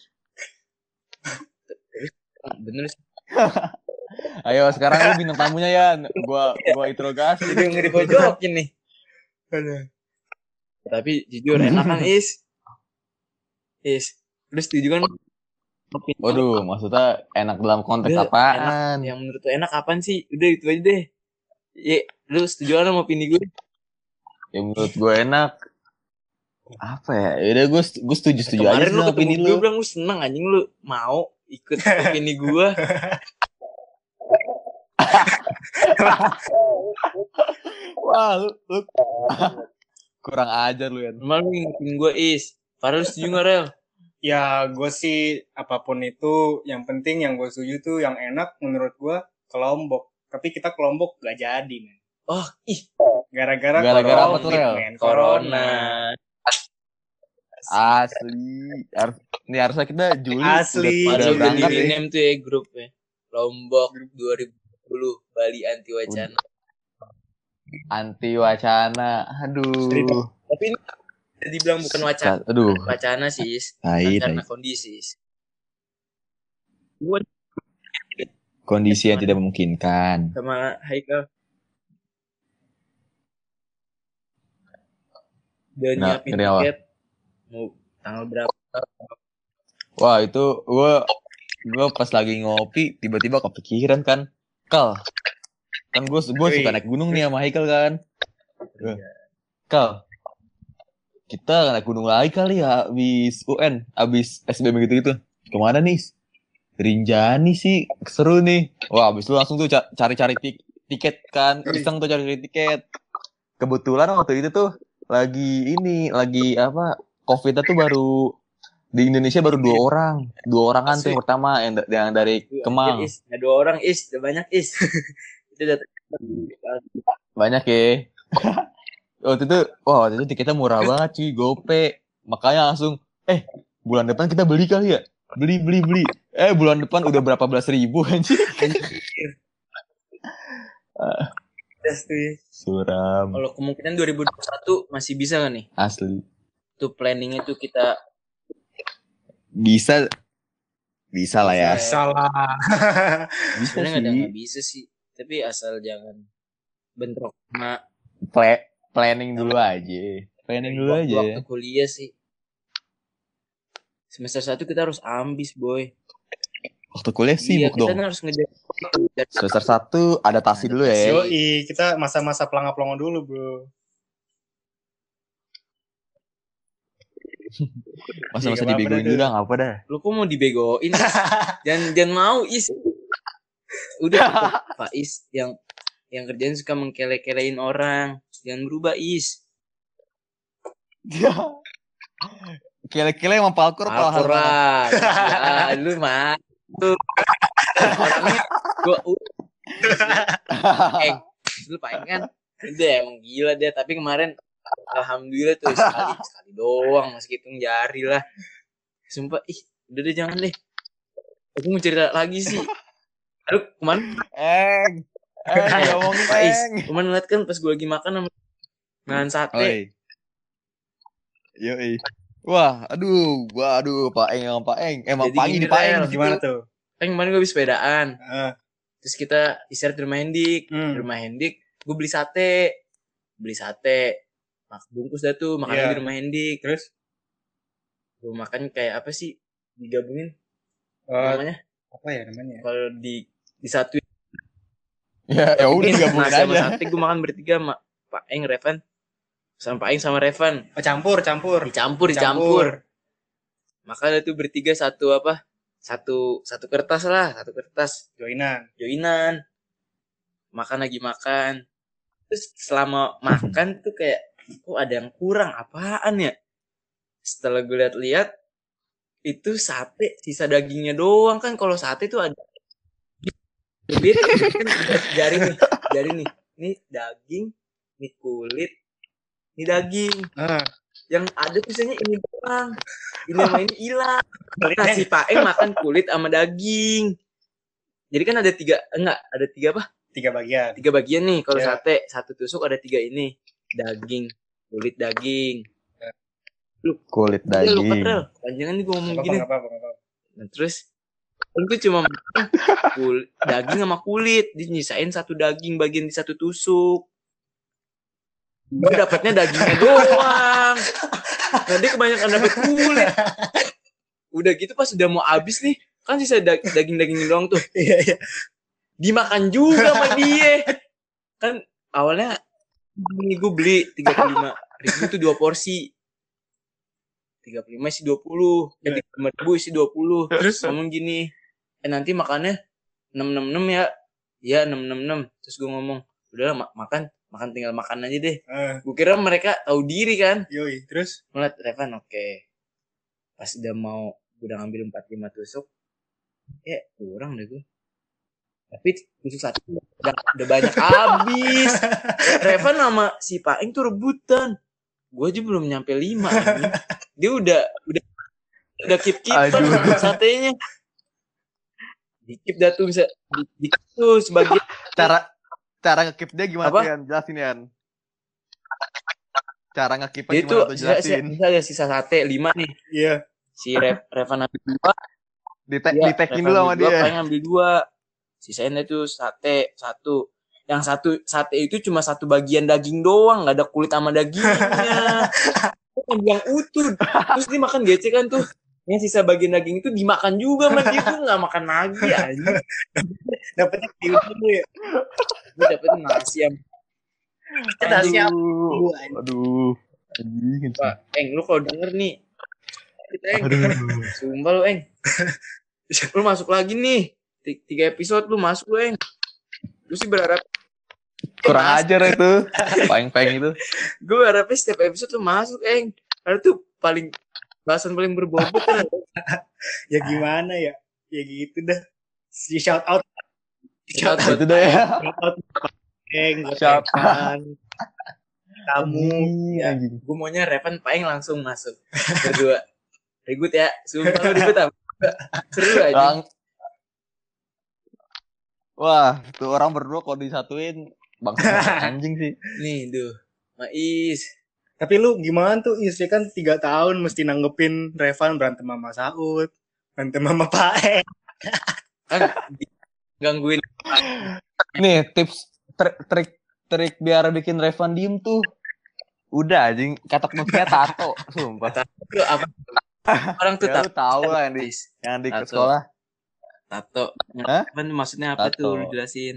Speaker 2: Bener sih.
Speaker 3: Ayo sekarang lu bintang tamunya ya. Gua gua interogasi.
Speaker 2: Jadi nggak dipojokin nih.
Speaker 1: Aduh.
Speaker 2: Tapi jujur enak kan Is. Is. Lu setuju kan?
Speaker 3: Waduh, maksudnya enak dalam konteks
Speaker 2: Udah,
Speaker 3: apaan?
Speaker 2: Yang menurut lu enak apaan sih? Udah itu aja deh. Ya, lu setuju kan sama opini gue?
Speaker 3: Ya menurut gue enak. Apa ya? Yaudah gue gue setuju setuju aja
Speaker 2: Kemarin
Speaker 3: sih
Speaker 2: lu
Speaker 3: sama
Speaker 2: ketemu
Speaker 3: opini
Speaker 2: gue
Speaker 3: lu.
Speaker 2: bilang lu seneng anjing lu mau ikut opini gue.
Speaker 3: Wah, lu, lu kurang ajar lu ya.
Speaker 2: Normal lu ngingetin gue Is. Farel lu setuju gak Rel?
Speaker 1: Ya gue sih apapun itu yang penting yang gue setuju tuh yang enak menurut gue ke Lombok. Tapi kita ke Lombok gak jadi men.
Speaker 2: Oh ih.
Speaker 1: Gara-gara
Speaker 3: Gara-gara
Speaker 1: corona,
Speaker 3: apa tuh, Rel?
Speaker 1: men.
Speaker 2: Corona.
Speaker 3: Asli. Harus, nih harusnya kita Juli
Speaker 1: Asli.
Speaker 3: udah, udah
Speaker 2: Padahal udah
Speaker 3: berangkat
Speaker 2: di
Speaker 3: ya.
Speaker 2: rename tuh ya grupnya. Lombok dua ribu dua puluh Bali Anti Wacana.
Speaker 3: Anti wacana. Aduh.
Speaker 2: Tapi ini bisa dibilang bukan wacana.
Speaker 3: Aduh.
Speaker 2: Wacana sih Is.
Speaker 3: Tai,
Speaker 2: Karena
Speaker 3: tai.
Speaker 2: kondisi Is. Gue
Speaker 3: Kondisi yang tidak memungkinkan.
Speaker 2: sama Haikal udah
Speaker 3: Nah,
Speaker 2: nyiapin
Speaker 3: dari awal.
Speaker 2: tiket mau tanggal berapa.
Speaker 3: Wah, itu gue gue pas lagi ngopi tiba-tiba kepikiran kan. Kal. Kan gue gue suka naik gunung nih sama Haikal kan. Kal. Kita naik gunung lagi kali ya habis U N, habis S B M gitu-gitu. Kemana nih? Rinjani sih, seru nih. Wah, habis itu langsung tuh ca- cari-cari tik- tiket kan. Iseng tuh cari tiket. Kebetulan waktu itu tuh lagi ini, lagi apa? Covid tuh baru di Indonesia baru dua orang. Dua orangan tuh yang pertama yang, da- yang dari Kemang.
Speaker 2: Is, ada dua orang Is, udah banyak Is. Itu udah
Speaker 3: Banyak ya. Waktu itu, wah waktu itu tiketnya murah banget cuy, gope. Makanya langsung, eh bulan depan kita beli kali ya? Beli, beli, beli. Eh bulan depan udah berapa belas ribu anjir.
Speaker 2: tes tuh ya.
Speaker 3: Suram.
Speaker 2: Kalau kemungkinan dua ribu dua puluh satu masih bisa gak nih?
Speaker 3: Asli.
Speaker 2: Tuh planningnya tuh kita
Speaker 3: Bisa, bisa lah ya.
Speaker 1: Salah.
Speaker 3: Bisa
Speaker 2: sebenarnya nggak ada
Speaker 3: sih.
Speaker 2: nggak bisa sih. Tapi asal jangan bentrok sama
Speaker 3: Pla- planning dulu aja. Planning dulu
Speaker 2: waktu,
Speaker 3: aja.
Speaker 2: waktu kuliah sih. Semester satu kita harus ambis boy.
Speaker 3: Waktu kuliah
Speaker 2: Iya,
Speaker 3: sibuk
Speaker 2: kita
Speaker 3: dong.
Speaker 2: kan harus ngejar.
Speaker 3: Semester satu adaptasi dulu ya.
Speaker 1: Yoi, kita masa-masa pelangga-pelongo dulu bro.
Speaker 3: Masa-masa
Speaker 1: Iya, nggak
Speaker 3: dibegoin
Speaker 1: apa-apa
Speaker 3: dulu
Speaker 1: dah.
Speaker 3: dah, nggak apa dah.
Speaker 2: Lu kok mau dibegoin? jangan jangan mau Is. Udah cukup, Pak Is yang yang kerjaan suka mengkele-kelein orang. Jangan berubah Is.
Speaker 3: Kile-kile emang palkur apa
Speaker 2: Alpur lah. Ya, lu mah. Tuh. Orangnya gua Eng, lu Pak Eng kan udah emang gila dia, tapi kemarin alhamdulillah tuh sekali sekali doang, masih hitung jari lah. Sumpah, ih, udah deh jangan deh. Aku mau cerita lagi sih. Aduh, kemarin
Speaker 3: Eng. Eng, ngomongin
Speaker 2: Pak Is,
Speaker 3: Eng.
Speaker 2: kemarin ngeliat kan pas gue lagi makan sama makan sate.
Speaker 3: Oi. Yoi. Wah, aduh, gua aduh, Pak Eng sama Pak Eng. Emang
Speaker 2: Jadi
Speaker 3: Pak Eng
Speaker 2: gini,
Speaker 3: di Pak Eng
Speaker 2: Rel.
Speaker 3: di situ.
Speaker 1: Gimana tuh?
Speaker 2: Kan kemarin gue habis sepedaan.
Speaker 1: Uh,
Speaker 2: Terus kita istirahat di rumah Hendik.
Speaker 1: Hmm.
Speaker 2: Di rumah Hendik, gue beli sate. Beli sate. Mak bungkus dah tuh, makannya
Speaker 1: Iya.
Speaker 2: di rumah Hendik.
Speaker 1: terus
Speaker 2: Gue makan kayak apa sih? Digabungin
Speaker 1: uh,
Speaker 2: namanya?
Speaker 1: apa ya namanya?
Speaker 2: Kalau di disatuin
Speaker 3: Ya, ya udah gabungin
Speaker 2: nasi sama
Speaker 3: aja.
Speaker 2: sate, gue makan bertiga sama Pak Eng, Revan. Sama Pak Eng sama Revan.
Speaker 1: Oh, campur, campur.
Speaker 2: Dicampur, dicampur. Makanya tuh bertiga satu apa? Satu satu kertas lah, satu kertas.
Speaker 1: Joinan.
Speaker 2: Joinan. Makan lagi makan. Terus selama makan tuh kayak, kok ada yang kurang, apaan ya? Setelah gue lihat-lihat, itu sate, sisa dagingnya doang kan. Kalau sate tuh ada kulit, kan jari nih, jari nih. Ini daging, ini kulit, ini daging.
Speaker 1: Uh,
Speaker 2: Yang ada tulisannya ini doang. Ini sama ini hilang. Nah, si Pak Eng makan kulit sama daging. Jadi kan ada tiga, enggak, ada tiga apa?
Speaker 1: tiga bagian.
Speaker 2: Tiga bagian nih. Kalau
Speaker 1: Ya.
Speaker 2: sate, satu tusuk ada tiga ini. Daging, kulit daging.
Speaker 3: Kulit
Speaker 2: Dia lupa,
Speaker 3: daging.
Speaker 2: Rel. Panjangan nih gue ngomong
Speaker 1: Apa
Speaker 2: gini.
Speaker 1: apa apa apa.
Speaker 2: Nah, terus itu cuma makan kul- daging sama kulit. Dia nyisain satu daging bagian di satu tusuk. Gue dapatnya dagingnya doang. Nah, dia kebanyakan dapet kulit. Udah gitu pas udah mau habis nih, kan sisa da- daging-dagingnya doang tuh.
Speaker 1: Iya iya.
Speaker 2: Dimakan juga sama dia. Kan awalnya ini gue beli tiga puluh lima ribu itu dua porsi. tiga puluh lima isi dua puluh. Eh, tiga puluh lima ribu isi dua puluh.
Speaker 1: Terus
Speaker 2: Ngomong gini, eh nanti makannya enam enam enam ya. Iya enam enam enam. Terus gue ngomong, udah ma- makan, makan tinggal makan aja deh.
Speaker 1: uh,
Speaker 2: Gue kira mereka tahu diri kan.
Speaker 1: yoi, terus
Speaker 2: Ngeliat Revan, oke. Pas udah mau, udah ngambil empat puluh lima tusuk, ya kurang deh gue. Tapi tusuk satu udah, udah banyak habis. Revan sama si Pak Eng tuh rebutan. Gue aja belum nyampe lima. Ini. Dia udah udah udah keep-keepan
Speaker 3: Aduh.
Speaker 2: satenya. Dikip dah tuh bisa di, di tuh sebagian.
Speaker 3: Cara cara ngekip dia gimana
Speaker 2: Apa?
Speaker 3: tuh Yan? Jelasin Yan. Cara ngekipnya
Speaker 2: Dia tuh
Speaker 3: gimana tuh
Speaker 2: sisa,
Speaker 3: jelasin.
Speaker 2: sisa ada sisa sate lima nih.
Speaker 1: iya.
Speaker 2: Si Rev, Revan ambil dua.
Speaker 3: Di te-
Speaker 2: Iya,
Speaker 3: di tagin
Speaker 2: Revan
Speaker 3: dulu sama
Speaker 2: ambil dua,
Speaker 3: dia.
Speaker 2: Pak Eng ambil dua. Sisain tuh sate satu. Yang satu sate itu cuma satu bagian daging doang, nggak ada kulit sama dagingnya. Yang utuh. Terus dia makan gecekan tuh. Yang sisa bagian daging itu dimakan juga sama dia tuh nggak makan lagi aja.
Speaker 1: Dapatnya kiu dulu ya.
Speaker 2: Dia dapet nasi yang
Speaker 1: Nasi apa?
Speaker 3: Aduh. Aduh. Anjing.
Speaker 2: Pak Eng, lu kalau denger nih, kita Eng,
Speaker 3: Aduh.
Speaker 2: sumpah lu Eng, lu masuk lagi nih, tiga episode lu masuk lu Eng. Lu sih berharap
Speaker 3: Kurang
Speaker 2: Mas.
Speaker 3: ajar itu. Paeng-paeng itu.
Speaker 2: gue berharapnya setiap episode lu masuk Eng, karena tuh paling bahasan paling berbobot kan.
Speaker 1: Ya gimana ya? Ya gitu dah. Si shout out.
Speaker 2: Shout out.
Speaker 3: Itu dah ya.
Speaker 1: Shout out. Eng, buat
Speaker 3: Shout
Speaker 1: Revan. Kamu
Speaker 3: Anjing,
Speaker 2: ya.
Speaker 3: anjing.
Speaker 2: Gue maunya Revan Paeng langsung masuk berdua. Ribut ya, sumpah lu ribut apa? Seru aja.
Speaker 3: Lang. Wah, tuh orang berdua kalau disatuin bangsa anjing sih.
Speaker 2: Nih, duh, Mais.
Speaker 1: Tapi lu gimana tuh? Istri kan tiga tahun mesti nanggepin Revan berantem sama Saud, berantem sama Pak Eng.
Speaker 2: Kan gangguin.
Speaker 3: Nih, tips trik trik trik biar bikin Revan diem tuh. Udah anjing, kata musiknya tato, sumpah.
Speaker 2: Lu apa? Orang tuh
Speaker 3: Ya, lu
Speaker 2: tato.
Speaker 3: tahu lah yang di yang di
Speaker 2: Tato.
Speaker 3: sekolah.
Speaker 2: Tato.
Speaker 3: Hah?
Speaker 2: Apa tuh maksudnya apa
Speaker 3: Tato.
Speaker 2: tuh? Lu jelasin.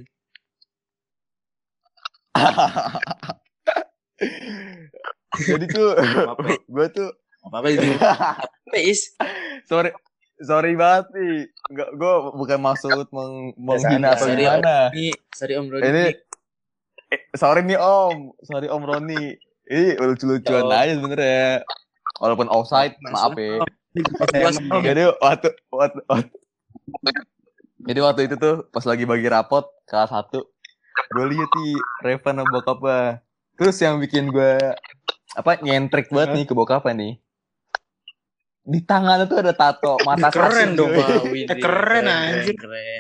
Speaker 3: Jadi tuh
Speaker 2: Apa?
Speaker 3: gue tuh
Speaker 2: Apa itu? Apa is?
Speaker 3: sorry sorry banget nih. Enggak, gue bukan maksud meng, menghina atau
Speaker 2: Sorry,
Speaker 3: gimana.
Speaker 2: Ini, sorry Om Rodi.
Speaker 3: Ini eh, sorry nih Om, sorry Om Roni. Ini lucu-lucuan
Speaker 2: Ya, Om.
Speaker 3: aja sebenarnya. Walaupun offside, maaf ya.
Speaker 1: Emang ya.
Speaker 3: Jadi waktu, waktu, waktu jadi waktu itu tuh pas lagi bagi rapot kelas satu, gue liat nih Revan sama bokapnya. Terus yang bikin gue apa nyentrik banget nih ke bokapnya nih. Di tangannya tuh ada tato mata
Speaker 1: Keren
Speaker 3: satu,
Speaker 1: dong,
Speaker 3: coy.
Speaker 2: Wah, widih,
Speaker 1: Eh, keren,
Speaker 2: keren,
Speaker 1: anjir.
Speaker 2: keren.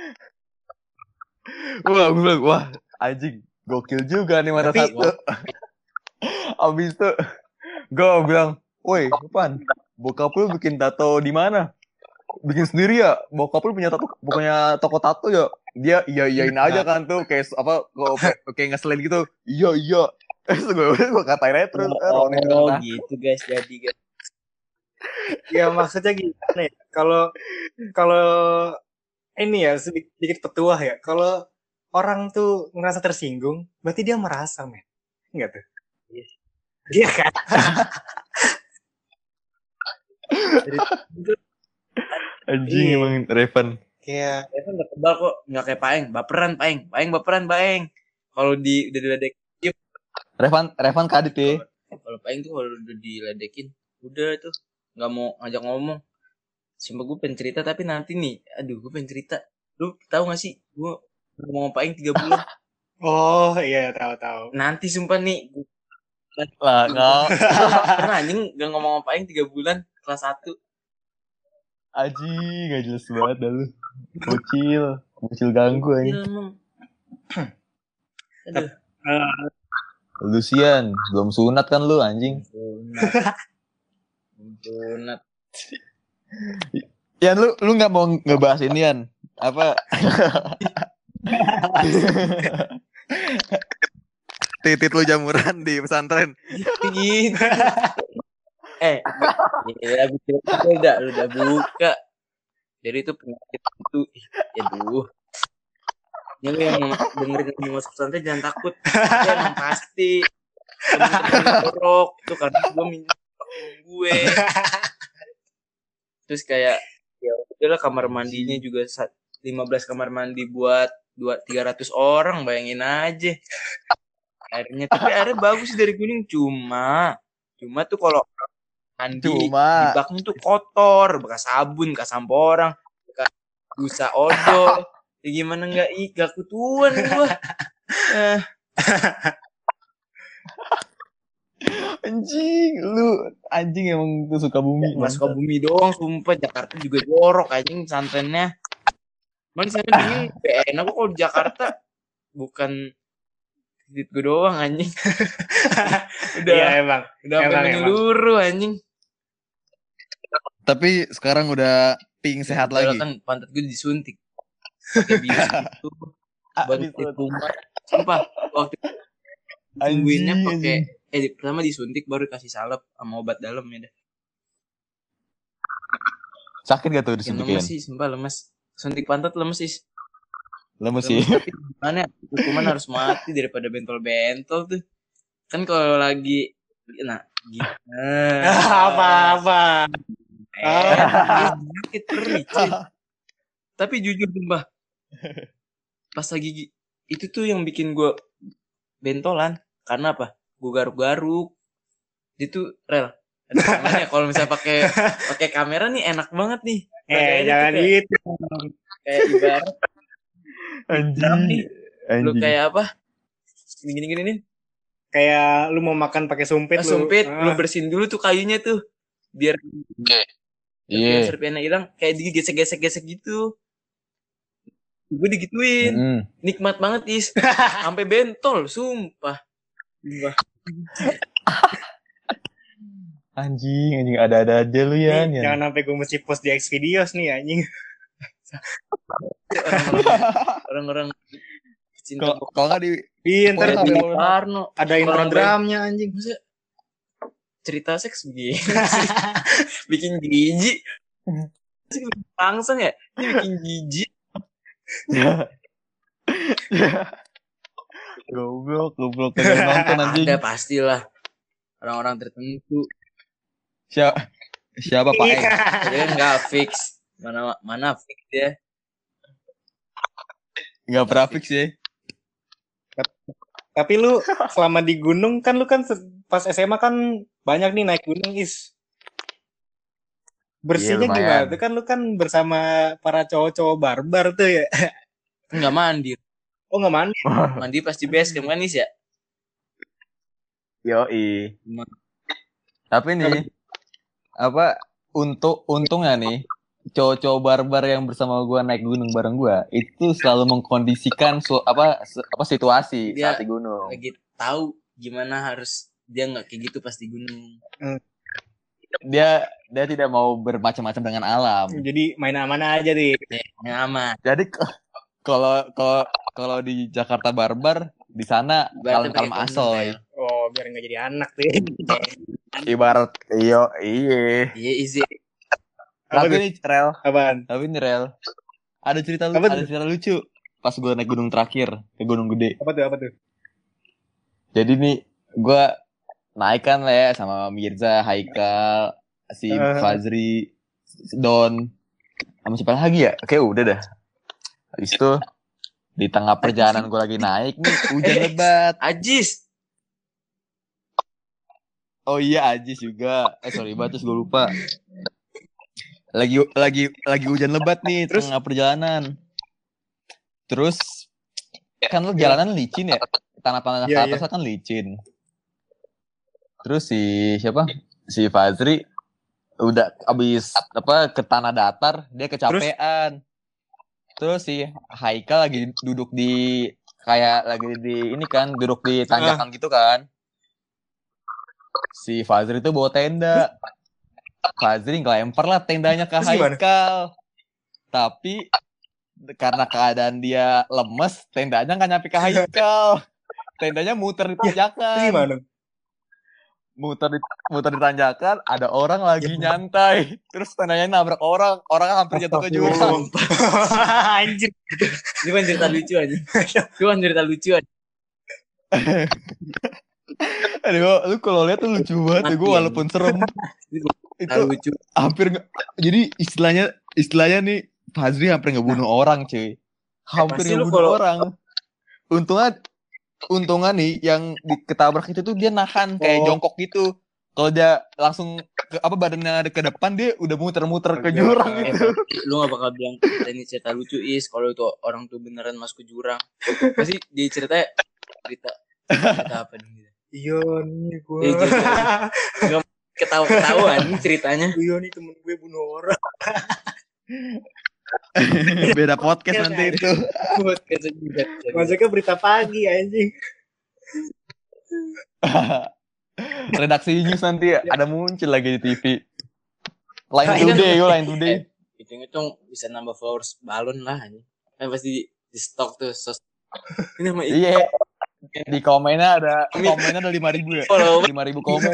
Speaker 3: Wah, gue bilang, wah anjing, gokil juga nih mata
Speaker 1: Tapi-
Speaker 3: satu. Abis itu gue bilang, woi, Pan, bokap lu bikin tato di mana? Bikin sendiri ya? Bokap lu punya tato, bukannya toko tato ya? Dia iya iyain aja kan tuh, kayak apa, kayak, kayak ngeselin gitu. Iya iya. Terus gue gue katain aja terus, eh, Roni
Speaker 2: Oh,
Speaker 3: bilang, nah.
Speaker 2: gitu guys, jadi guys.
Speaker 1: Ya maksudnya gimana ya? Kalau kalau ini ya sedikit, sedikit petuah ya. Kalau orang tuh ngerasa tersinggung, berarti dia merasa, men. Enggak tuh? Iya kan? Jadi itu
Speaker 3: Anjing
Speaker 1: Iya.
Speaker 3: emang Revan.
Speaker 1: kayak
Speaker 2: Evan gak kebal kok, gak kayak Paeng, baperan Paeng, Paeng baperan Paeng. Kalau di udah diledek,
Speaker 3: Revan, Revan kadit ya.
Speaker 2: kalau Paeng tuh kalau udah diledekin, udah tuh nggak mau ngajak ngomong. Sumpah gue pengen cerita tapi nanti nih, aduh gue pengen cerita. Lu tahu gak sih, gue ngomong sama Paeng tiga bulan.
Speaker 1: oh iya tahu-tahu.
Speaker 2: Nanti sumpah nih, gue
Speaker 3: Lah kau,
Speaker 2: pernah anjing gak ngomong sama Paeng tiga bulan kelas satu.
Speaker 3: anjing gak jelas banget dah lu. Bocil, bocil ganggu
Speaker 2: Iya,
Speaker 3: anjing.
Speaker 2: emang. Aduh.
Speaker 3: Lucian, belum sunat kan lu anjing.
Speaker 2: Sunat. Sunat.
Speaker 3: Yan, lu lu nggak mau ngebahas ini Yan? Apa? Titit lu jamuran di pesantren.
Speaker 2: Gitu. eh, ya udah udah udah buka. Jadi itu penyakit itu, ya duh. Yang yang dengerin mau masuk pesantren jangan takut. Itu emang pasti. Temen-temen jorok itu karena gue minta gue. Terus kayak ya udahlah kamar mandinya juga lima belas kamar mandi buat dua tiga ratus orang, bayangin aja. Airnya tapi airnya bagus dari Kuning, cuma cuma tuh kalau mandi
Speaker 3: Cuma.
Speaker 2: di baknya tuh kotor, bekas sabun, bekas sampo orang, bekas busa odol. Ya gimana nggak ih gak kutuan gua. Eh.
Speaker 3: Anjing, lu anjing emang tuh suka bumi.
Speaker 2: Mas suka bumi doang, sumpah Jakarta juga jorok anjing pesantrennya. Cuman di sana dingin, enak kok kalau di Jakarta bukan duit gue doang anjing. udah
Speaker 1: Iya emang.
Speaker 2: udah sampai
Speaker 1: Emang,
Speaker 2: menyeluruh anjing.
Speaker 3: Tapi sekarang udah ping sehat
Speaker 2: Padahal
Speaker 3: lagi.
Speaker 2: kan pantat gue disuntik. Pakai bius gitu. Baru di rumah. Sumpah waktu tungguinnya pakai eh pertama disuntik baru kasih salep sama obat dalam ya dah.
Speaker 3: Sakit gak tuh
Speaker 2: Yang
Speaker 3: disuntikin?
Speaker 2: lemes sih, sumpah lemes. Suntik pantat lemes sih.
Speaker 3: Lemes sih.
Speaker 2: Tapi gimana hukuman harus mati daripada bentol-bentol tuh. Kan kalau lagi nah gitu.
Speaker 1: Apa-apa.
Speaker 2: Eh, sakit perih, cuy. Tapi jujur sumpah. Pas lagi itu tuh yang bikin gue bentolan karena apa? Gue garuk-garuk. Itu rel. Ada tangannya kalau misalnya pakai pakai kamera nih enak banget nih.
Speaker 1: Eh jangan
Speaker 2: kayak,
Speaker 1: gitu.
Speaker 2: Kayak ibarat
Speaker 3: Anjing.
Speaker 2: nih. Lu
Speaker 3: Anjing.
Speaker 2: kayak apa? Gini-gini nih.
Speaker 1: Kayak lu mau makan pakai sumpit
Speaker 2: Nah,
Speaker 1: lu.
Speaker 2: sumpit,
Speaker 1: Ah.
Speaker 2: lu bersihin dulu tuh kayunya tuh. Biar
Speaker 3: Iya.
Speaker 2: serpihannya hilang, kayak digesek-gesek-gesek gitu. Gue digituin.
Speaker 3: Mm.
Speaker 2: Nikmat banget, Is. Sampai bentol, sumpah. Sumpah.
Speaker 3: Anjing, anjing ada-ada aja lu ya.
Speaker 1: Nih, jangan sampai gue mesti post di Xvideos nih anjing.
Speaker 2: Orang-orang cinta
Speaker 3: Kalau kalau nggak di
Speaker 1: Iya ntar
Speaker 3: Pokoknya
Speaker 2: Di
Speaker 3: sampai-
Speaker 2: Parno.
Speaker 1: ada intro
Speaker 2: Orang
Speaker 1: dramanya anjing.
Speaker 2: Maksudnya cerita seks begini sih. Bikin jijik. Langsung ya, ini bikin jijik.
Speaker 3: Goblok, goblok kagak nonton anjing.
Speaker 2: Ada pastilah orang-orang tertentu.
Speaker 3: Siapa siapa Pak Eng?
Speaker 2: Jadi kan nggak fix. Mana mana fix ya.
Speaker 3: Enggak pernah fix ya.
Speaker 1: Tapi lu selama di gunung kan lu kan se- pas S M A kan banyak nih naik gunung is. Bersihnya
Speaker 3: Iya,
Speaker 1: gimana?
Speaker 3: lumayan.
Speaker 1: Tuh kan lu kan bersama para cowok-cowok barbar tuh ya.
Speaker 2: Enggak mandi.
Speaker 1: Oh nggak mandi?
Speaker 2: Mandi pasti base camp kan Is ya?
Speaker 3: Yoi. Tapi nih, apa untuk untungnya nih, cowok-cowok barbar yang bersama gua naik gunung bareng gua itu selalu mengkondisikan su- apa se- apa situasi
Speaker 2: Dia
Speaker 3: saat di gunung.
Speaker 2: lagi tahu gimana harus dia nggak kayak gitu pas di gunung.
Speaker 3: Dia dia tidak mau bermacam-macam dengan alam.
Speaker 1: Jadi main aman aja deh.
Speaker 2: Ya, aman.
Speaker 3: Jadi k- kalau kalau kalau di Jakarta barbar, di sana
Speaker 2: Ibaratnya
Speaker 3: kalem-kalem
Speaker 2: pakai kondom,
Speaker 3: asoy.
Speaker 2: Pel.
Speaker 1: Oh biar nggak jadi anak deh.
Speaker 3: Ibarat iyo iye.
Speaker 2: Iya izin.
Speaker 1: Apa
Speaker 3: Tapi
Speaker 1: tuh?
Speaker 3: nih rel,
Speaker 1: Apaan?
Speaker 3: tapi nih rel. Ada cerita lu,
Speaker 1: Apa tuh?
Speaker 3: ada cerita lucu pas gue naik gunung terakhir ke Gunung Gede.
Speaker 1: Apa tuh? Apa tuh?
Speaker 3: Jadi nih gue naik kan lah ya sama Mirza, Haikal, si
Speaker 1: Uh.
Speaker 3: Fazri, Don, sama siapa lagi ya? Oke udah dah. Habis itu di tengah perjalanan gue lagi naik nih hujan lebat.
Speaker 2: Ajis.
Speaker 3: Oh iya Ajis juga. Eh sorry banget terus gue lupa. Lagi lagi lagi hujan lebat nih
Speaker 1: Terus?
Speaker 3: tengah perjalanan. Terus kan lu jalanan licin ya. Tanah-tanah ke
Speaker 1: Iya,
Speaker 3: atas kan licin. Terus si siapa? Si Fazri udah abis apa ke tanah datar dia kecapean. Terus, si Haikal lagi duduk di kayak lagi di ini kan duduk di tanjakan gitu kan. Si Fazri itu bawa tenda. Fazri ngelempar lah tendanya ke
Speaker 1: Terus gimana?
Speaker 3: Haikal. Tapi karena keadaan dia lemes, tendanya nggak nyampe ke Haikal. Tendanya muter di
Speaker 1: Terus
Speaker 3: tanjakan.
Speaker 1: gimana?
Speaker 3: Muter di muter di tanjakan, ada orang lagi nyantai. Terus tendanya nabrak orang, orang hampir jatuh ke jurang.
Speaker 1: Anjir.
Speaker 2: Ini kan cerita lucu aja. Itu kan cerita lucu aja.
Speaker 3: Aduh, lu kalau lihat tuh lucu banget ya, gue walaupun serem.
Speaker 2: Cerita
Speaker 3: Itu
Speaker 2: lucu.
Speaker 3: hampir nge- jadi istilahnya istilahnya nih Fazri hampir ngebunuh orang cuy, hampir
Speaker 2: pasti lu
Speaker 3: ngebunuh
Speaker 2: kalau-
Speaker 3: orang. Untungnya untungnya nih yang diketabrak itu tuh dia nahan kayak
Speaker 1: Oh.
Speaker 3: jongkok gitu. Kalau dia langsung ke apa badannya ada ke depan dia udah muter-muter ke
Speaker 1: Iya.
Speaker 3: jurang
Speaker 2: Eh,
Speaker 3: gitu.
Speaker 2: lu gak bakal bilang cerita ini cerita lucu Is kalau itu orang tuh beneran masuk ke jurang. Pasti dia ceritanya cerita cerita apa nih?
Speaker 1: Iya nih gue.
Speaker 2: Iya, jadi- Ketawa-ketahuan ceritanya.
Speaker 1: Iya nih temen gue bunuh orang.
Speaker 3: Beda podcast nanti itu.
Speaker 2: Buat kesejukan.
Speaker 1: Masuknya berita pagi anjing.
Speaker 3: Redaksi news nanti ada muncul lagi di T V. Line
Speaker 2: Nah, ini
Speaker 3: Today,
Speaker 2: kan-
Speaker 3: yo Line Today.
Speaker 2: Hitung-hitung bisa nambah followers balon lah ini. Kan pasti di stok tuh sos. Ini sama
Speaker 3: Iya. Di komennya ada komennya ada lima ribu ya.
Speaker 2: follow.
Speaker 3: lima ribu komen.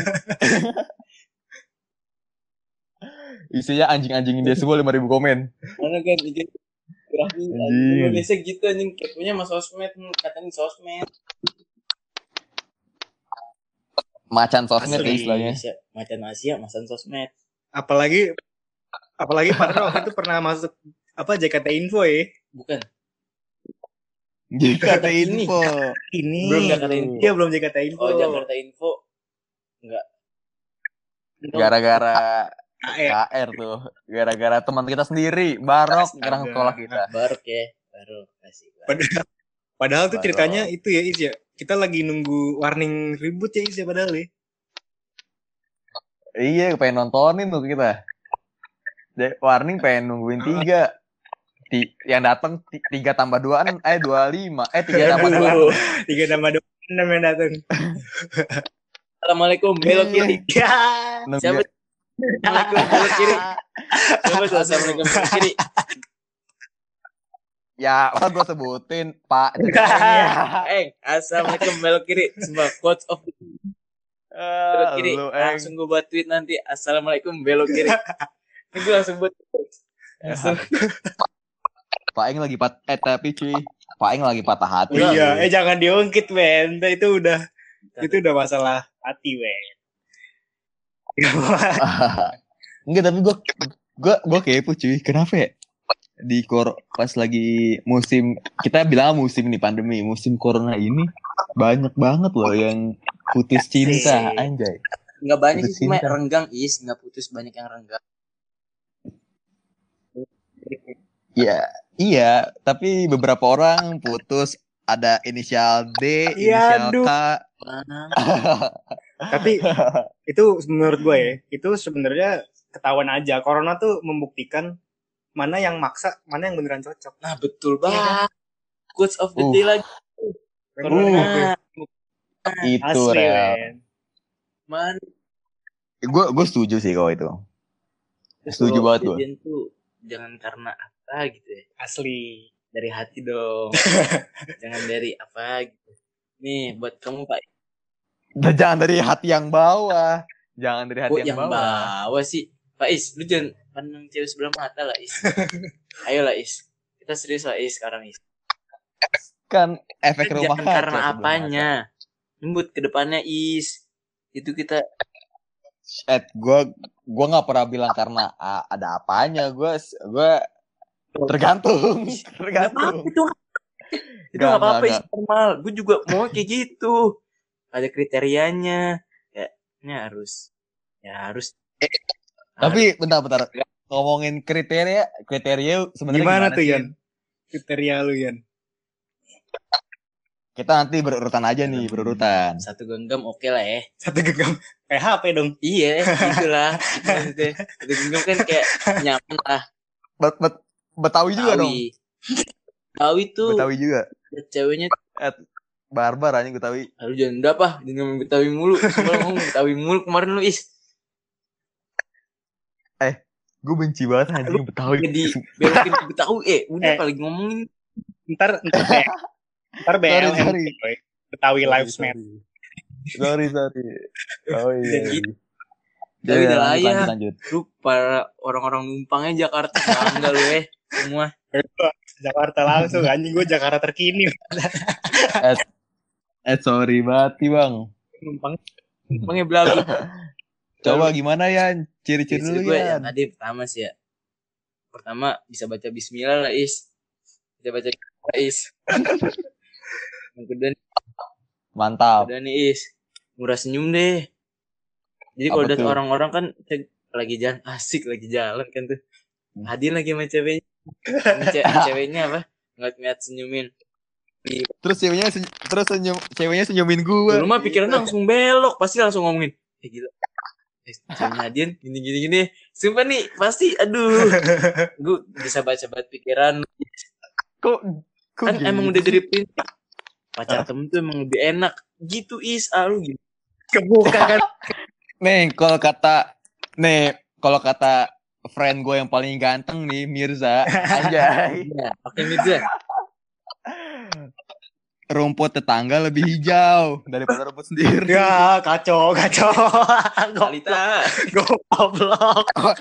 Speaker 3: Isinya anjing-anjingin dia semua lima ribu komen.
Speaker 2: Mana kan bikin grafis
Speaker 3: Anjing.
Speaker 2: Indonesia gitu anjing kepunya mas sosmed katanya sosmed.
Speaker 3: Macan sosmed
Speaker 1: Asli.
Speaker 3: ya istilahnya.
Speaker 2: Indonesia macan Asia masan sosmed.
Speaker 1: Apalagi apalagi Padahal waktu itu pernah masuk apa J K T Info ya.
Speaker 2: Bukan.
Speaker 3: J K T
Speaker 2: Ini.
Speaker 3: Info.
Speaker 1: Ini.
Speaker 2: Belum Jakarta Info.
Speaker 1: Iya belum J K T Info.
Speaker 2: Oh Jakarta Info enggak.
Speaker 3: Gara-gara
Speaker 1: A R.
Speaker 3: K R tuh. Gara-gara teman kita sendiri, Barok
Speaker 1: Astaga.
Speaker 3: sekarang sekolah kita.
Speaker 2: Baru ya baru kasih.
Speaker 1: Padahal, padahal tuh
Speaker 3: Baru.
Speaker 1: ceritanya itu ya Is ya. Kita lagi nunggu warning ribut ya Is ya padahal ya.
Speaker 3: Iya, pengen nontonin tuh kita. De- Warning pengen nungguin tiga. Ti- yang datang ti- tiga tambah dua eh dua lima eh tiga tambah dua.
Speaker 2: Aduh.
Speaker 1: Tiga tambah dua enam yang datang.
Speaker 2: Assalamualaikum belok kiri.
Speaker 1: Ya.
Speaker 2: Siapa? Assalamualaikum belok kiri. Siapa tuh assalamualaikum belok kiri?
Speaker 3: Ya, kan gue sebutin Pak.
Speaker 2: Eh, assalamualaikum belok kiri. Semua quotes of belok kiri.
Speaker 3: Lu, Eng.
Speaker 2: Langsung gue buat tweet nanti. Assalamualaikum belok kiri. Ini gue langsung buat. Langsung.
Speaker 3: Pak Eng lagi pat eh tapi cuy, Pak Eng lagi patah hati.
Speaker 1: Iya, eh jangan diungkit, men. Itu udah itu udah masalah hati, men.
Speaker 3: Enggak, tapi gue gue gue kepo cuy. Kenapa ya? di kor pas lagi musim, kita bilang musim nih pandemi, musim corona ini banyak banget loh yang putus cinta,
Speaker 1: Asik.
Speaker 3: anjay.
Speaker 2: Nggak banyak
Speaker 3: Putus
Speaker 2: sih, cuma
Speaker 3: cinta.
Speaker 2: renggang is, nggak putus, banyak yang renggang.
Speaker 3: Iya, iya, tapi beberapa orang putus ada inisial D,
Speaker 1: Iya,
Speaker 3: inisial
Speaker 1: aduh.
Speaker 3: K.
Speaker 2: Nah,
Speaker 1: Tapi itu menurut gue ya, itu sebenarnya ketahuan aja. Corona tuh membuktikan mana yang maksa, mana yang beneran cocok.
Speaker 2: nah betul
Speaker 1: Iya kan?
Speaker 2: banget. Quotes of the
Speaker 3: Uh.
Speaker 2: day lagi.
Speaker 1: Bener
Speaker 2: Corona.
Speaker 1: nggak gue?
Speaker 3: Itu
Speaker 1: Asli,
Speaker 3: real.
Speaker 1: men.
Speaker 2: Man,
Speaker 3: Gue gue setuju sih kalau itu. Setuju
Speaker 2: kalau
Speaker 3: banget gue.
Speaker 2: kejadian tuh jangan karena apa gitu ya.
Speaker 1: Asli.
Speaker 2: Dari hati dong. Jangan dari apa gitu. Nih buat kamu Pak.
Speaker 3: Jangan dari hati yang bawah. Jangan dari hati
Speaker 2: Kok
Speaker 3: yang,
Speaker 2: yang
Speaker 3: bawah.
Speaker 2: bawah sih? Pak Is, lu jangan pandang cewek sebelah mata lah Is. Ayo lah Is. Kita serius lah Is sekarang Is.
Speaker 3: Kan efek
Speaker 2: Kita
Speaker 3: rumah
Speaker 2: jangan
Speaker 3: kaca
Speaker 2: karena
Speaker 3: sebelum
Speaker 2: apanya. Nyebut ke depannya Is. Itu kita
Speaker 3: masa. Eh, gue gue nggak pernah bilang karena ah, ada apanya. Gue gue tergantung,
Speaker 2: Nggak
Speaker 3: tergantung.
Speaker 2: apa-apa itu. Itu
Speaker 3: Nggak,
Speaker 2: nggak apa-apa
Speaker 3: nggak,
Speaker 2: Is, normal. Gue juga mau kayak gitu. Ada kriterianya. Kayaknya harus. Ya harus.
Speaker 3: Tapi bentar-bentar ngomongin kriteria, kriteria sebenarnya
Speaker 1: Gimana
Speaker 3: gimana
Speaker 1: tuh,
Speaker 3: sih?
Speaker 1: Yan? Kriteria lu, Yan.
Speaker 3: Kita nanti berurutan aja nih, berurutan.
Speaker 2: Satu genggam oke lah ya.
Speaker 1: Satu genggam. Kayak H P dong.
Speaker 2: Iya, gitulah. Itu maksudnya. Satu genggam kan kayak nyaman lah.
Speaker 3: Bet, bet, Betawi juga dong.
Speaker 2: Betawi tuh.
Speaker 3: Betawi juga.
Speaker 2: Ceweknya
Speaker 3: barbar anjing Betawi.
Speaker 2: lu jangan apa, jangan ngomong Betawi mulu. Semalam ngomong Betawi mulu kemarin lu Is.
Speaker 3: Eh, gue benci banget anjing Betawi.
Speaker 2: Jadi belokin ke Betawi eh udah
Speaker 1: Eh.
Speaker 2: kali ngomongin.
Speaker 1: Ntar, ntar, B- ntar B L M.
Speaker 3: Sorry,
Speaker 1: Boy. Betawi
Speaker 3: Sorry,
Speaker 1: Lives Matter.
Speaker 3: Sorry, sorry. Oh iya.
Speaker 2: Dan
Speaker 3: iya.
Speaker 2: gitu.
Speaker 3: Ya,
Speaker 2: Tapi udah
Speaker 3: lanjut,
Speaker 2: layak.
Speaker 3: lanjut, lanjut.
Speaker 2: Lu para orang-orang numpangnya Jakarta bangga lu eh semua.
Speaker 1: Jakarta langsung, anjing gue Jakarta terkini.
Speaker 3: Eh, eh sorry banget nih bang.
Speaker 1: Numpang.
Speaker 2: Numpangnya belagu.
Speaker 3: Coba gimana ya? Ciri-ciri
Speaker 2: Ciri
Speaker 3: dulu
Speaker 2: gue
Speaker 3: ya.
Speaker 2: yang tadi pertama sih ya. Pertama bisa baca bismillah lah Is. Bisa baca bismillah Is. Yang kedua,
Speaker 3: Mantap.
Speaker 2: kedua nih Is. Murah senyum deh. Jadi kalau
Speaker 3: Apa
Speaker 2: lihat
Speaker 3: tuh?
Speaker 2: orang-orang kan cek, lagi jalan asik lagi jalan kan tuh. Hadir lagi sama ceweknya. Sama ce- ceweknya apa? Ngeliat-ngeliat senyumin.
Speaker 3: Terus ceweknya senyum, terus senyum, ceweknya senyumin gue.
Speaker 2: Lu mah pikirannya langsung belok, pasti langsung ngomongin. Eh gila. Eh, ceweknya Hadian gini-gini gini. Sumpah nih, pasti aduh. Gue bisa baca-baca pikiran.
Speaker 3: Kok, kok
Speaker 2: Kan
Speaker 3: gitu
Speaker 2: emang udah
Speaker 3: sih?
Speaker 2: dari prinsip pacar temen tuh emang lebih enak. Gitu Is, ah lu gitu.
Speaker 1: Kebuka kan.
Speaker 3: Nih, kalau kata, nih, kalau kata friend gue yang paling ganteng nih, Mirza, anjay.
Speaker 2: Iya, pakai Mirza.
Speaker 3: Rumput tetangga lebih hijau daripada rumput sendiri.
Speaker 1: Ya, kacau, kacau.
Speaker 2: Talita.
Speaker 1: Goblok.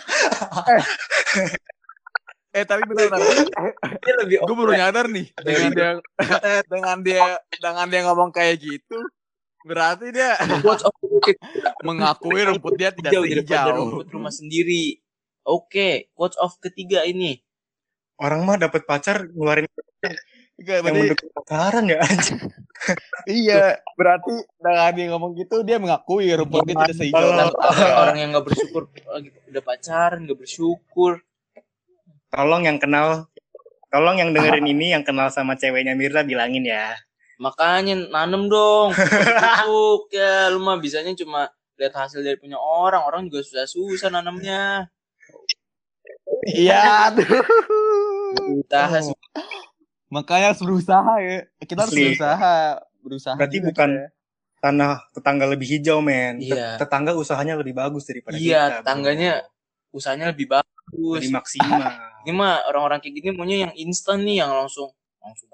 Speaker 3: Eh tapi benar-benar,
Speaker 2: Dia lebih
Speaker 3: gue baru nyadar nih dengan dia, dengan dia, dengan dia ngomong kayak gitu, berarti dia
Speaker 2: quotes of the
Speaker 3: mengakui rumput dia tidak
Speaker 2: hijau daripada
Speaker 3: sehijau.
Speaker 2: rumput rumah sendiri. Oke, quotes of ketiga ini.
Speaker 1: Orang mah dapat pacar ngeluarin
Speaker 3: Enggak,
Speaker 1: yang
Speaker 3: berarti,
Speaker 1: mendukung pacaran ya anjing.
Speaker 3: iya, berarti dengan dia ngomong gitu dia mengakui rumput dia tidak sehijau.
Speaker 1: Kalau-
Speaker 3: rumput.
Speaker 2: Orang yang nggak bersyukur lagi udah pacaran nggak bersyukur.
Speaker 1: Tolong yang kenal, tolong yang dengerin ini yang kenal sama ceweknya Mirza bilangin ya.
Speaker 2: Makanya nanem dong. Busuk ya, lu mah bisanya cuma lihat hasil dari punya orang. Orang juga susah-susah nanemnya.
Speaker 3: Iya, tuh.
Speaker 2: Usaha
Speaker 3: Makanya harus berusaha ya. Kita harus
Speaker 1: Asli.
Speaker 3: berusaha, berusaha.
Speaker 1: Berarti
Speaker 3: juga
Speaker 1: bukan
Speaker 3: kita.
Speaker 1: tanah tetangga lebih hijau, men. Tet-
Speaker 2: Iya.
Speaker 1: Tetangga usahanya lebih bagus daripada kita.
Speaker 2: Iya,
Speaker 1: bro.
Speaker 2: tetangganya usahanya lebih bagus.
Speaker 1: lebih maksimal.
Speaker 2: Ini mah orang-orang kayak gini maunya yang instan nih, yang langsung langsung.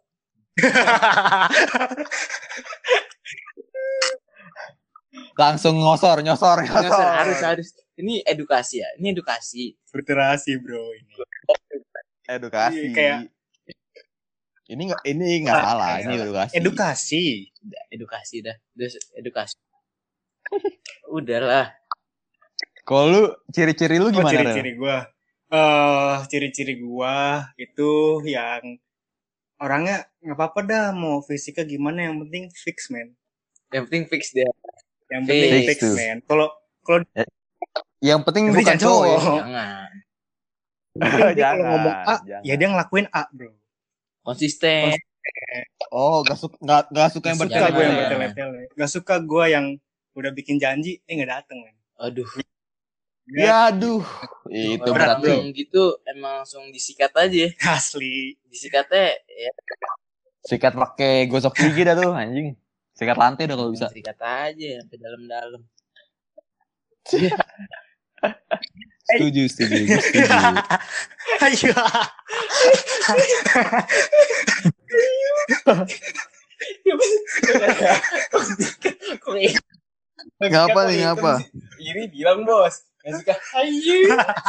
Speaker 3: Langsung ngosor, nyosor,
Speaker 2: Nggak,
Speaker 3: nyosor.
Speaker 2: Sir, harus harus. Ini edukasi ya. Ini edukasi.
Speaker 1: Literasi, bro, ini.
Speaker 3: Edukasi.
Speaker 1: Iya, kayak-
Speaker 3: ini nggak ini nggak
Speaker 1: Ah,
Speaker 3: salah,
Speaker 1: nggak
Speaker 3: ini
Speaker 1: salah.
Speaker 3: edukasi.
Speaker 1: Edukasi.
Speaker 2: Udah, edukasi dah. Udah edukasi. Udahlah.
Speaker 3: Kalau lu ciri-ciri lu
Speaker 1: Oh,
Speaker 3: gimana? Rel?
Speaker 1: ciri-ciri gue. eh ciri-ciri gua itu yang orangnya nggak apa-apa dah mau fisiknya gimana, yang penting fix man.
Speaker 2: Yang penting fix dia.
Speaker 1: Yang penting
Speaker 2: Fix
Speaker 1: fix
Speaker 3: tuh.
Speaker 1: man. Kalau kalau
Speaker 3: Yang penting
Speaker 1: yang penting
Speaker 3: bukan
Speaker 1: jangan cowok.
Speaker 3: cowok. Ya.
Speaker 2: Jangan.
Speaker 1: Yang penting dia kalau
Speaker 3: Jangan,
Speaker 1: ngomong A,
Speaker 3: jangan.
Speaker 1: ya dia ngelakuin A, bro.
Speaker 2: Konsisten.
Speaker 3: Oh, gak suka nggak nggak suka yang
Speaker 1: Gak suka
Speaker 2: bertele-tele
Speaker 1: gue yang
Speaker 2: ya.
Speaker 1: bertele-tele. Gak suka gue yang udah bikin janji, eh nggak dateng man.
Speaker 2: Aduh.
Speaker 3: Ya aduh, itu
Speaker 2: Orang
Speaker 3: berat tuh.
Speaker 2: yang gitu emang langsung disikat aja.
Speaker 1: Asli.
Speaker 2: Disikatnya ya
Speaker 3: Sikat pakai gosok gigi dah tuh anjing. Sikat lantai dah kalau bisa.
Speaker 2: sikat aja sampai dalam-dalam.
Speaker 3: Setuju, setuju, gue setuju.
Speaker 1: Ayo.
Speaker 2: Kok ini?
Speaker 3: Ngapa nih, ngapa?
Speaker 2: Ini bilang bos. Yang suka ayu.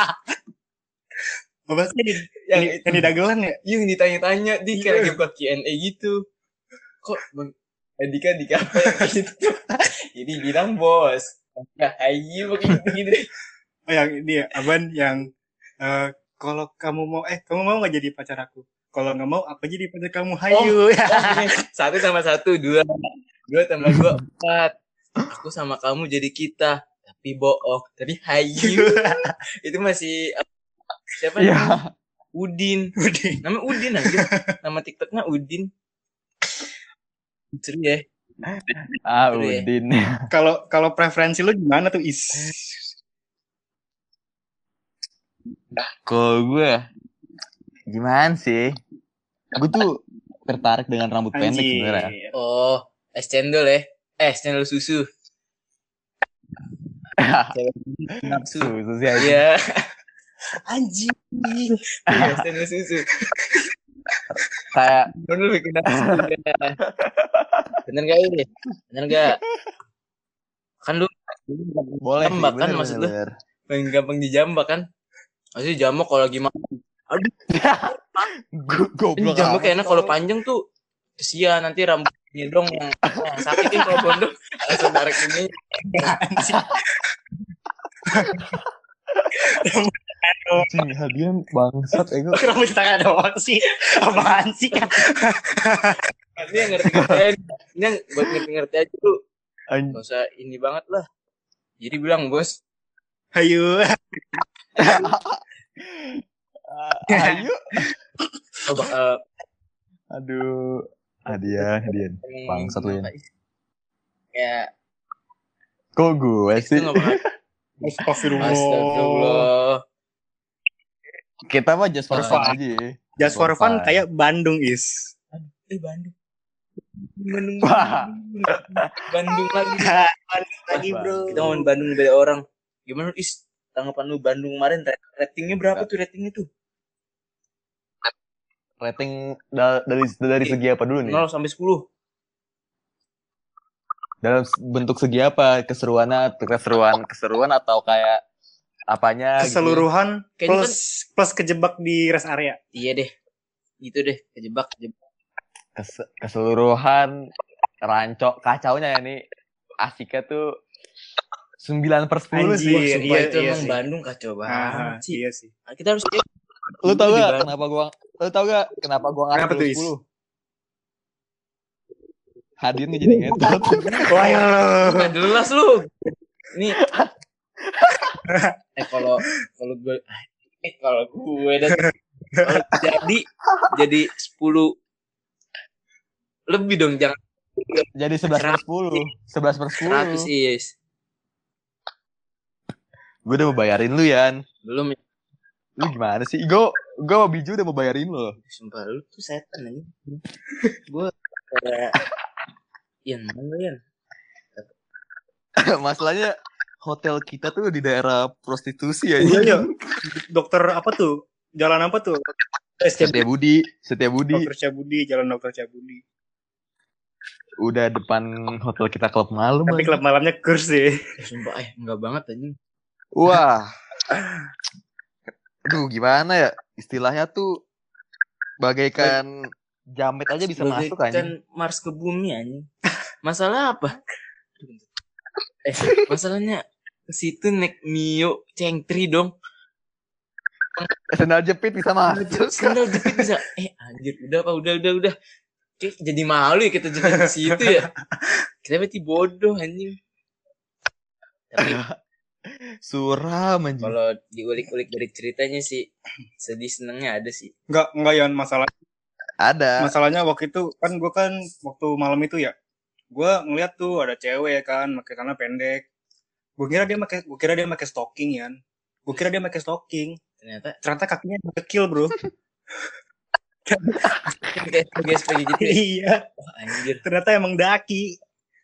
Speaker 1: Apa sih yang,
Speaker 2: Yang
Speaker 1: yang, yang di dagelan ya?
Speaker 2: Yang ditanya-tanya di kayak lagi buka Q and A gitu. Kok Bang Andika dikata gitu. Jadi bilang bos. Ya ayu begitu gitu.
Speaker 1: Oh, yang ini ya, Aban yang eh, kalau kamu mau eh kamu mau nggak jadi pacar aku? Kalau nggak mau apa jadi pacar kamu? Hayu.
Speaker 2: Satu tambah satu dua. Dua tambah dua empat. Aku sama kamu jadi kita. Tapi bohong. Tapi hayu. Itu masih siapa
Speaker 3: Iya.
Speaker 2: namanya? Udin.
Speaker 1: Udin.
Speaker 2: Nama Udin aja. Nama TikToknya Udin. Seru ya.
Speaker 3: Ah,
Speaker 2: Seru ya.
Speaker 3: Udin.
Speaker 1: Kalau kalau preferensi lu gimana tuh, Is?
Speaker 3: Kalau gue gimana sih? Gue tuh tertarik dengan rambut pendek
Speaker 1: Anjir.
Speaker 3: sebenarnya.
Speaker 2: Oh, es cendol ya. Eh, es cendol susu. Cewek nafsu.
Speaker 3: Susu sih aja.
Speaker 2: Iya.
Speaker 1: Anjir.
Speaker 2: Iya, es cendol susu.
Speaker 3: Kayak
Speaker 2: Bener bikin nafsu. Bener gak ini? Bener gak? Kan lu
Speaker 3: boleh sih,
Speaker 2: jambak kan
Speaker 3: bener,
Speaker 2: maksud lu?
Speaker 3: bener.
Speaker 2: Paling gampang dijambak kan? Maksudnya jambak kalau lagi makan. Aduh,
Speaker 3: Gu-
Speaker 2: ini
Speaker 3: Goblok
Speaker 2: jambak
Speaker 3: amat.
Speaker 2: enak kalau panjang tuh. Kesian nanti rambutnya dong yang, yang sakitin kalau gondok. Langsung tarik ini.
Speaker 3: Anjing, hadian bangsat ego.
Speaker 1: Rambut tangan doang sih. Apaan sih?
Speaker 2: Nanti yang ngerti-ngerti aja. Ini yang buat ngerti-ngerti aja tuh.
Speaker 3: Anjing.
Speaker 2: Gak usah ini banget lah. Jadi bilang bos.
Speaker 1: Hayu.
Speaker 3: Ayo.
Speaker 2: Oh, bakal
Speaker 3: Aduh. Hadian, hadian. Bangsat lu ya.
Speaker 2: Ya,
Speaker 3: Kok gue
Speaker 2: itu
Speaker 3: sih?
Speaker 2: gak bakal.
Speaker 1: Astagfirullah.
Speaker 2: Astagfirullah.
Speaker 3: Kita mah just for fun
Speaker 2: Ah.
Speaker 3: aja ya.
Speaker 1: Just for fun kayak Bandung, Is.
Speaker 2: Eh, Bandung. Bandung.
Speaker 3: Wah.
Speaker 2: Bandung lagi.
Speaker 1: Bandung lagi, bro.
Speaker 2: Kita ngomongin Bandung beda orang. Gimana Is? Tanggapan lu Bandung kemarin ratingnya berapa tuh ratingnya tuh?
Speaker 3: Rating da- dari dari segi apa dulu nih?
Speaker 2: nol sampai sepuluh.
Speaker 3: Dalam bentuk segi apa? Keseruannya, keseruan, keseruan atau kayak apanya? gitu?
Speaker 1: Keseluruhan
Speaker 2: Kayaknya
Speaker 1: plus plus kejebak di rest area.
Speaker 2: Iya deh. Gitu deh, kejebak, kejebak.
Speaker 3: Kes- keseluruhan rancok kacaunya ya nih. Asiknya tuh sembilan per sepuluh
Speaker 1: Anjir.
Speaker 3: sih.
Speaker 2: Sumpah
Speaker 1: iya,
Speaker 2: itu
Speaker 1: iya
Speaker 2: emang
Speaker 1: sih.
Speaker 2: Bandung kacau
Speaker 1: Ah,
Speaker 2: banget sih.
Speaker 1: iya sih.
Speaker 2: Kita harus
Speaker 3: Lu tau
Speaker 2: Di
Speaker 3: gak
Speaker 2: Bandung.
Speaker 3: kenapa gua lu tau gak kenapa gua ngasih
Speaker 1: Kenapa tuh, Is?
Speaker 3: sepuluh? Hadir nih jadi ngetot.
Speaker 1: Wah, ya lo.
Speaker 2: Nggak jelas lu. Nih. eh kalau kalau gue eh kalau gue dan kalau jadi jadi sepuluh lebih dong, jangan
Speaker 3: Jadi sebelas per sepuluh. sebelas per sepuluh.
Speaker 2: seratus is.
Speaker 3: Gue udah mau bayarin lu, Yan.
Speaker 2: Belum ya.
Speaker 3: Lu gimana sih? Gue gue sama Biju udah mau bayarin lo.
Speaker 2: Sumpah lu tuh setan aja. Gue kayak Yan mana lu, Yan?
Speaker 3: Masalahnya hotel kita tuh di daerah prostitusi ya.
Speaker 1: Iya, iya. Dokter apa tuh? Jalan apa tuh?
Speaker 3: Setia Budi, Setia Budi.
Speaker 1: Dokter Cabudi, Jalan Dokter Cabudi.
Speaker 3: Udah depan hotel kita klub malam.
Speaker 1: Tapi
Speaker 3: aja.
Speaker 1: klub malamnya kurs sih.
Speaker 2: Eh, sumpah eh enggak banget anjing.
Speaker 3: Wah. Aduh, gimana ya? Istilahnya tuh bagaikan jamet aja bisa masuk
Speaker 2: Bagaikan
Speaker 3: anjing.
Speaker 2: Mars ke bumi anjing. Masalah apa? Eh, masalahnya ke situ naik Mio Cengtri dong.
Speaker 3: Sendal jepit bisa masuk.
Speaker 2: Sendal jepit bisa. Eh anjir, udah apa udah udah udah. Kayak jadi malu ya kita jadi di situ ya. Kita berarti bodoh anjing. Tapi
Speaker 3: Suram anjing.
Speaker 2: kalau diulik-ulik dari ceritanya sih sedih senengnya ada sih.
Speaker 1: Enggak, enggak Yon, masalah
Speaker 3: Ada.
Speaker 1: masalahnya waktu itu kan gue kan waktu malam itu ya, gue ngeliat tuh ada cewek kan pakai celana pendek. Gue kira dia pakai gue kira dia pakai stocking ya. Gue kira dia pakai stocking.
Speaker 2: Ternyata
Speaker 1: Ternyata kakinya kecil, Bro.
Speaker 2: kayak kayak seperti gitu. Ya?
Speaker 1: Iya.
Speaker 2: Wah, anjir.
Speaker 1: Ternyata emang daki.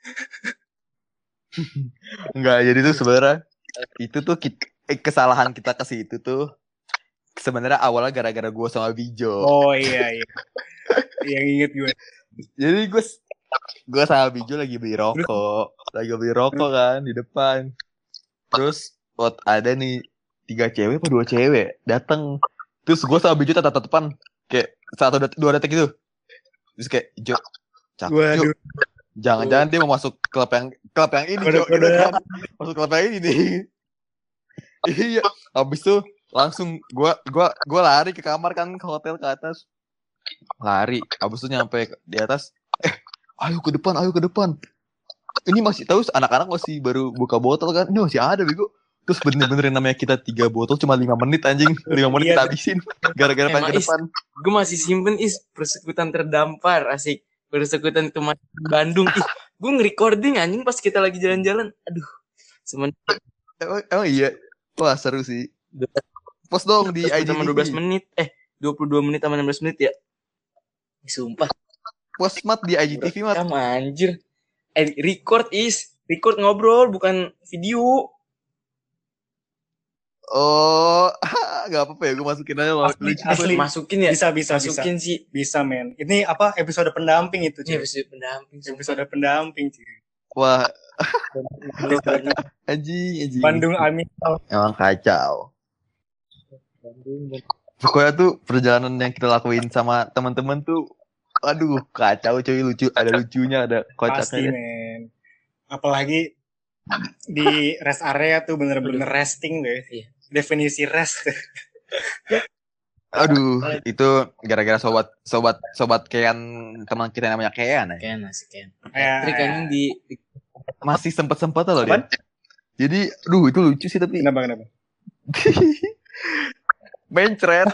Speaker 3: Enggak, jadi tuh sebenarnya itu tuh kita, eh, kesalahan kita ke situ tuh sebenarnya awalnya gara-gara gue sama Bijo.
Speaker 1: Oh iya iya. Yang inget gue.
Speaker 3: Jadi gue gue sama Bijo lagi beli rokok, lagi beli rokok kan di depan. Terus waktu ada nih tiga cewek apa dua cewek datang. Terus gue sama Bijo tatap-tatapan kayak satu det- dua detik gitu. Terus kayak Jo, cakep Jo.
Speaker 1: Waduh.
Speaker 3: Jangan-jangan dia mau masuk klub yang klub yang ini Jo,
Speaker 1: Kode-kode.
Speaker 3: gitu kan. Masuk klub yang ini nih. Iya, habis itu langsung gua gua gua lari ke kamar kan, ke hotel ke atas. Lari, habis itu nyampe di atas. Eh, ayo ke depan, ayo ke depan. Ini masih tahu anak-anak masih baru buka botol kan. Ini masih ada bego. Terus bener-bener namanya kita tiga botol cuma lima menit anjing. lima menit
Speaker 1: Iya.
Speaker 3: kita habisin gara-gara pengen
Speaker 2: Emang
Speaker 3: ke
Speaker 2: is-
Speaker 3: depan.
Speaker 2: Gue masih simpen is persekutuan terdampar asik. Persekutuan teman Bandung. Ih, gue nge-recording anjing pas kita lagi jalan-jalan. Aduh. Sementara
Speaker 3: Emang, emang iya. Wah, seru sih. Post dong di I G
Speaker 2: sama dua belas menit. Eh, dua puluh dua menit sama enam belas menit ya. Ih, sumpah.
Speaker 3: Post mat di I G T V mat.
Speaker 2: Kamu anjir. Eh, record is. Record ngobrol bukan video.
Speaker 3: Oh, nggak apa-apa ya, gue masukin aja.
Speaker 1: Asli,
Speaker 3: Lucu.
Speaker 1: asli.
Speaker 2: Masukin ya.
Speaker 1: Bisa bisa bisa.
Speaker 2: Masukin sih.
Speaker 1: Bisa, men. Ini apa episode pendamping itu,
Speaker 2: Ini
Speaker 1: cuy.
Speaker 2: episode pendamping. sumpah.
Speaker 1: Episode pendamping, cuy.
Speaker 3: Wah,
Speaker 2: Bandung,
Speaker 3: anjing, anjing.
Speaker 1: Bandung Amin.
Speaker 3: Emang kacau.
Speaker 2: Bandung.
Speaker 3: Pokoknya tuh perjalanan yang kita lakuin sama teman-teman tuh, aduh kacau cuy, lucu, ada lucunya, ada
Speaker 1: Pasti,
Speaker 3: kocaknya.
Speaker 1: men. Apalagi di rest area tuh bener-bener resting deh.
Speaker 2: Iya.
Speaker 1: Definisi rest.
Speaker 3: Aduh, itu gara-gara sobat sobat sobat Kean, teman kita yang namanya Kean ya.
Speaker 2: Ken masih Ken.
Speaker 1: Ya,
Speaker 2: Trik anjing di di-
Speaker 3: Masih sempet-sempet loh
Speaker 1: Apaan?
Speaker 3: dia. Jadi, aduh itu lucu sih tapi
Speaker 1: Kenapa kenapa?
Speaker 3: mencret.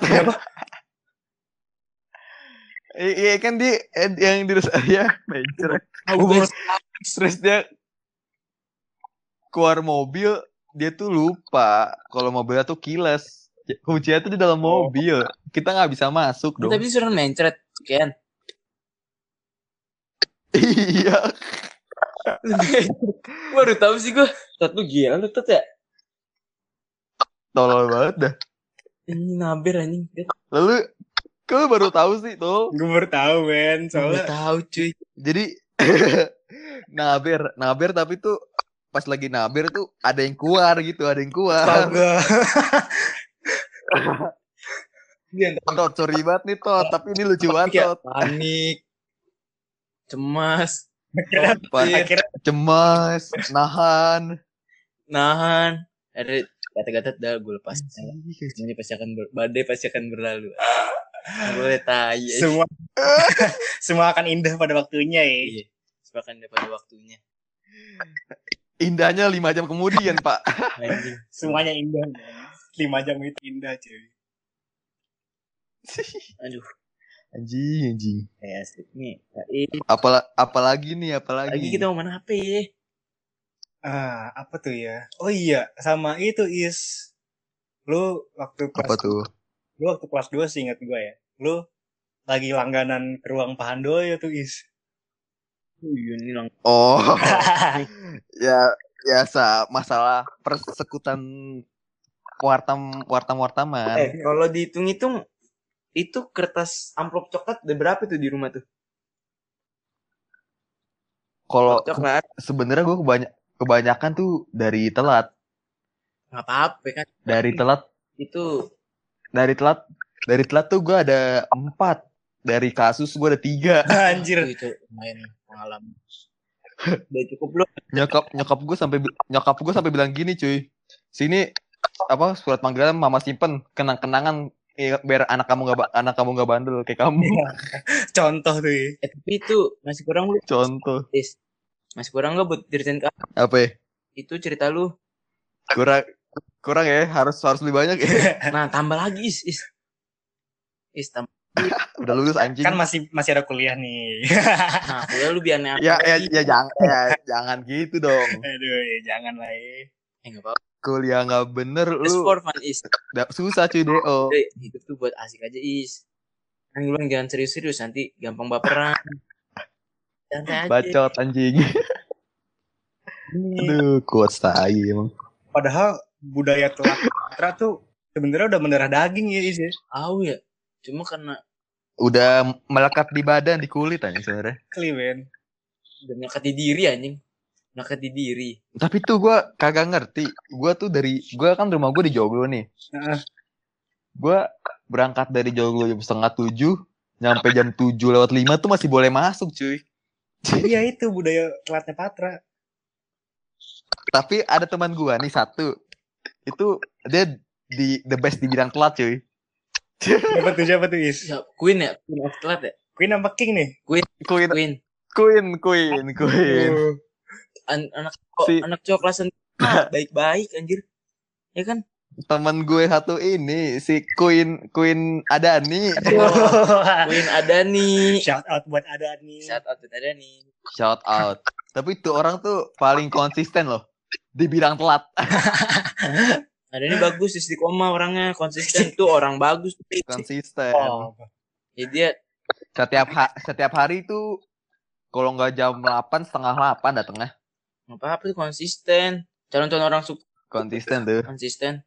Speaker 3: Iya kan dia yang di ya mencret.
Speaker 2: tahu guys.
Speaker 3: Terus dia keluar mobil, dia tuh lupa kalau mobilnya tuh kiles. Kuncinya tuh di dalam
Speaker 1: Oh.
Speaker 3: mobil. Kita nggak bisa masuk dong.
Speaker 2: Tapi disuruh mencret Ken.
Speaker 3: Iya.
Speaker 2: Baru tahu sih gue. Tat lu gila lu Tat ya.
Speaker 3: Tolol banget dah.
Speaker 2: Ini naber anjing.
Speaker 3: Lalu kau baru tahu sih tuh.
Speaker 1: Gue baru tahu, men.
Speaker 2: Gue
Speaker 1: Soalnya
Speaker 2: tahu cuy.
Speaker 3: Jadi naber, naber tapi tuh pas lagi naber tuh ada yang keluar gitu, ada yang keluar.
Speaker 1: astaga.
Speaker 3: Tot, sorry banget nih Tot, tapi ini lucu banget
Speaker 2: Kayak
Speaker 3: Tot.
Speaker 2: panik. Cemas.
Speaker 1: Akhirnya,
Speaker 3: Pan-
Speaker 1: akhirnya
Speaker 3: Cemas, nahan.
Speaker 2: Nahan. Ada kata-kata dah gue lepas. Semuanya pasti akan ber- badai pasti akan berlalu. Nggak boleh tai. ya.
Speaker 1: semua semua akan indah pada waktunya ya.
Speaker 2: Iya. Sepakan pada waktunya.
Speaker 3: Indahnya lima jam kemudian Pak.
Speaker 2: Anjing.
Speaker 1: Semuanya indah. men. Lima jam itu indah, cuy.
Speaker 2: Aduh.
Speaker 3: Anjing, anjing.
Speaker 2: Kayak asik nih. Eh,
Speaker 3: Apala, apalagi nih, apalagi.
Speaker 2: lagi kita mau main H P ya.
Speaker 1: Ah, apa tuh ya? Oh iya, sama itu Is. Lu waktu kelas
Speaker 3: Apa tuh?
Speaker 1: Lu waktu kelas dua sih ingat gue ya. Lu lagi langganan ke ruang Pahandoyo tuh Is.
Speaker 2: Iya nih lang.
Speaker 3: Oh, ya biasa masalah persekutan wartam wartam wartaman.
Speaker 2: Eh, kalau dihitung-hitung itu kertas amplop coklat ada berapa tuh di rumah tuh?
Speaker 3: Kalau
Speaker 2: Coklat.
Speaker 3: sebenarnya gue kebanyak kebanyakan tuh dari telat,
Speaker 2: Nggak apa-apa kan.
Speaker 3: dari telat,
Speaker 2: Itu
Speaker 3: dari telat, dari telat tuh gue ada empat, dari kasus gue ada tiga.
Speaker 1: Anjir.
Speaker 2: itu lumayan pengalaman. Udah cukup belum?
Speaker 3: Nyokap nyokap gue sampai bi- nyokap gue sampai bilang gini cuy, sini apa surat panggilan mama simpen kenang-kenangan eh, biar anak kamu nggak ba- anak kamu nggak bandel kayak kamu.
Speaker 1: Contoh tuh ya.
Speaker 2: Eh, tapi itu masih kurang lu.
Speaker 3: Contoh.
Speaker 2: Is. Masih kurang nggak buat ceritain ke aku?
Speaker 3: Apa ya?
Speaker 2: Itu cerita lu.
Speaker 3: Kurang kurang ya, harus harus lebih banyak ya.
Speaker 2: Nah, tambah lagi is. Is, is tambah.
Speaker 3: Udah lulus anjing.
Speaker 1: Kan masih masih ada kuliah nih.
Speaker 2: Nah, kuliah lu biar aneh
Speaker 3: ya ya ya jangan ya, jangan gitu dong.
Speaker 1: Aduh, ya jangan lah ya.
Speaker 2: Eh, nggak apa-apa.
Speaker 3: Kuliah nggak bener
Speaker 2: Just
Speaker 3: lu.
Speaker 2: for fun is.
Speaker 3: Da- susah cuy deo.
Speaker 2: Eh, hidup tuh buat asik aja is. Kan lu jangan serius-serius nanti gampang baperan. Santai aja.
Speaker 3: Bacot anjing. Aduh, kuat tai emang.
Speaker 1: Padahal budaya telat patra tuh sebenarnya udah mendarah daging ya Is ya.
Speaker 2: Tahu ya. Cuma karena
Speaker 3: Udah melekat di badan, di kulit anjing sebenarnya.
Speaker 1: Kliwen.
Speaker 2: udah melekat di diri anjing. Melekat di diri.
Speaker 3: Tapi tuh gue kagak ngerti. Gue tuh dari gue kan rumah gue di Joglo nih.
Speaker 1: Heeh.
Speaker 3: Gue berangkat dari Joglo jam setengah tujuh, nyampe jam tujuh lewat lima tuh masih boleh masuk cuy.
Speaker 1: Iya itu budaya telatnya Patra.
Speaker 3: Tapi ada teman gue nih satu, itu dia di the best di bidang telat cuy.
Speaker 1: Siapa tuh siapa tuh Is?
Speaker 2: Ya, Queen ya, Queen of Telat ya.
Speaker 1: Queen apa King nih?
Speaker 3: Queen,
Speaker 2: Queen.
Speaker 3: Queen, Queen, Queen.
Speaker 1: Oh.
Speaker 2: An- anak cowok,
Speaker 3: Si-
Speaker 2: anak cowok kelas enam baik-baik anjir. Ya kan?
Speaker 3: Teman gue satu ini si Queen, Queen Adani.
Speaker 2: Queen ada nih.
Speaker 1: Shout out buat ada nih.
Speaker 2: Shout out ada nih.
Speaker 3: Shout out. Tapi itu orang tuh paling konsisten loh di bidang telat.
Speaker 2: Ada nih bagus istiqomah orangnya, konsisten tuh orang bagus.
Speaker 3: Konsisten.
Speaker 1: Oh.
Speaker 2: Ya dia
Speaker 3: Setiap ha- setiap hari tuh kalau nggak jam delapan setengah delapan datangnya.
Speaker 2: apa apa tuh konsisten. Calon-calon orang suka
Speaker 3: Konsisten tuh.
Speaker 2: konsisten.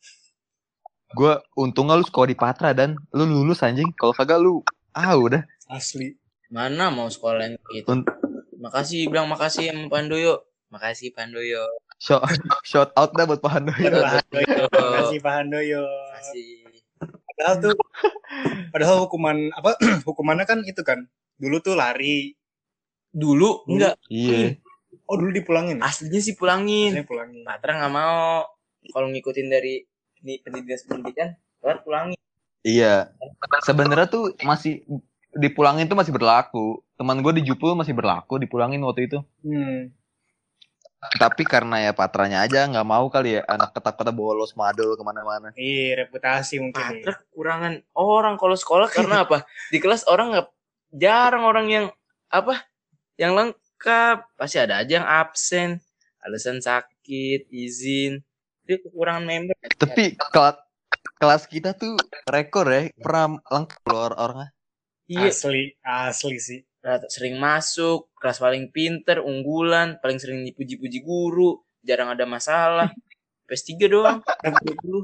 Speaker 3: Gue untungnya lu sekolah di Patra dan lu lulus anjing. Kalau kagak lu ah udah.
Speaker 1: Asli.
Speaker 2: Mana mau sekolah yang gitu.
Speaker 3: Un-
Speaker 2: Makasih bilang makasih sama Pandoyo. Makasih Pandoyo.
Speaker 3: shout, shout out dah buat Pak Handoyo.
Speaker 1: Pak Handoyo.
Speaker 2: Makasih.
Speaker 1: Makasih Pak Handoyo.
Speaker 2: Makasih.
Speaker 1: Padahal tuh padahal hukuman apa hukumannya kan itu kan. Dulu tuh lari.
Speaker 2: Dulu enggak.
Speaker 3: Iya.
Speaker 1: Oh dulu dipulangin.
Speaker 2: Aslinya sih pulangin.
Speaker 1: Saya pulangin.
Speaker 2: Patra nggak mau. Kalau ngikutin dari ini pendidikan pendidikan, baru pulangin.
Speaker 3: Iya. Sebenarnya tuh masih dipulangin tuh masih berlaku. Teman gue di Jupul masih berlaku dipulangin waktu itu.
Speaker 1: Hmm.
Speaker 3: Tapi karena ya Patranya aja nggak mau kali ya anak ketak-ketak bolos madol kemana-mana.
Speaker 1: Iya reputasi mungkin.
Speaker 2: Patra kekurangan orang kalau sekolah karena apa? Di kelas orang nggak jarang orang yang apa? Yang lengkap. Pasti ada aja yang absen, alasan sakit, izin. Itu kekurangan member.
Speaker 3: Tapi kelas kelas kita tuh rekor ya pernah lengkap loh orang-orangnya.
Speaker 2: Iya,
Speaker 1: Asli, asli sih.
Speaker 2: sering masuk, kelas paling pinter, unggulan, paling sering dipuji-puji guru, jarang ada masalah. P S tiga doang. dua puluh.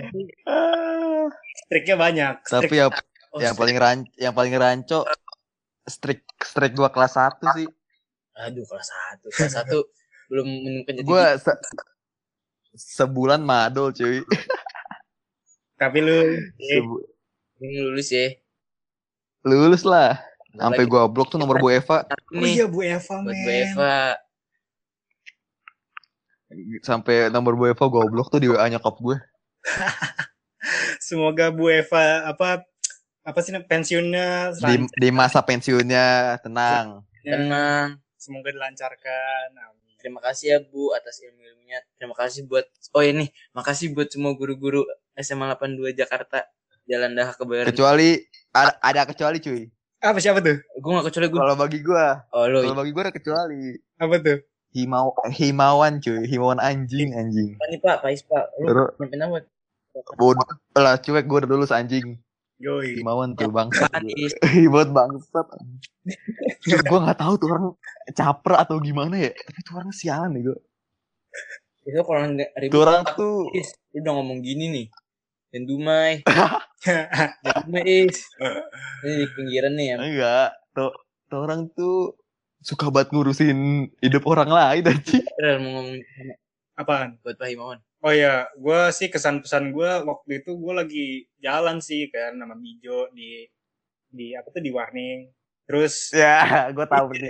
Speaker 1: Striknya banyak.
Speaker 3: Tapi ya
Speaker 2: Oh,
Speaker 3: yang paling ran yang paling ranco strik strik gua kelas satu sih.
Speaker 2: aduh kelas satu. Kelas satu belum menemukan jadi.
Speaker 3: Gua se- sebulan madol cuy.
Speaker 1: Tapi lu eh,
Speaker 3: Sebu-
Speaker 2: Ini lulus ya.
Speaker 3: lulus lah.
Speaker 2: Bentar
Speaker 3: Sampai
Speaker 2: lagi.
Speaker 3: gua blok tuh nomor Bu Eva.
Speaker 1: oh
Speaker 2: Nih,
Speaker 1: iya Bu Eva
Speaker 2: buat
Speaker 1: men.
Speaker 2: Bu Eva.
Speaker 3: Sampai nomor Bu Eva gua blok tuh di W A nyokap gue.
Speaker 1: Semoga Bu Eva apa apa sih pensiunnya
Speaker 3: Di di masa pensiunnya tenang.
Speaker 2: Tenang.
Speaker 1: Semoga dilancarkan. Amin.
Speaker 2: Terima kasih ya Bu atas ilmu-ilmunya. Terima kasih buat oh ini, makasih buat semua guru-guru S M A delapan puluh dua Jakarta. Jalan Daha Kebayoran.
Speaker 3: Kecuali ada, ada kecuali cuy.
Speaker 1: Apa siapa tuh?
Speaker 2: Gue gak kecuali gue.
Speaker 3: Kalau bagi gua,
Speaker 2: Oh lo
Speaker 3: kalau bagi gua ada kecuali.
Speaker 1: Apa tuh?
Speaker 3: Himau himawan cuy, himawan anjing anjing.
Speaker 2: apa nih Pak? Pais Pak. Lu
Speaker 3: Terus
Speaker 2: nyampein apa?
Speaker 3: bodoh lah cuek gua udah lulus anjing.
Speaker 1: Yoi.
Speaker 3: Himawan tuh bangsat.
Speaker 2: Panis.
Speaker 3: Buat bangsat. Cuy, gua nggak tahu tuh orang caper atau gimana ya. Tapi tuh orang sialan nih gua.
Speaker 2: Itu kalau ribut.
Speaker 3: Tuh orang tuh
Speaker 2: Is, lu udah ngomong gini nih. Dan Dumai. Dan Dumai Is. Ini di pinggiran nih ya.
Speaker 3: enggak. Tuh, tuh orang tuh suka banget ngurusin hidup orang lain anjing.
Speaker 2: Bener mau ngomong sama-
Speaker 1: Apaan?
Speaker 2: buat Pak Himawan.
Speaker 1: Oh ya, gue sih kesan pesan gue waktu itu gue lagi jalan sih kan nama Bijo di di apa tuh di Warning. Terus
Speaker 3: Ya, gua tahu nih.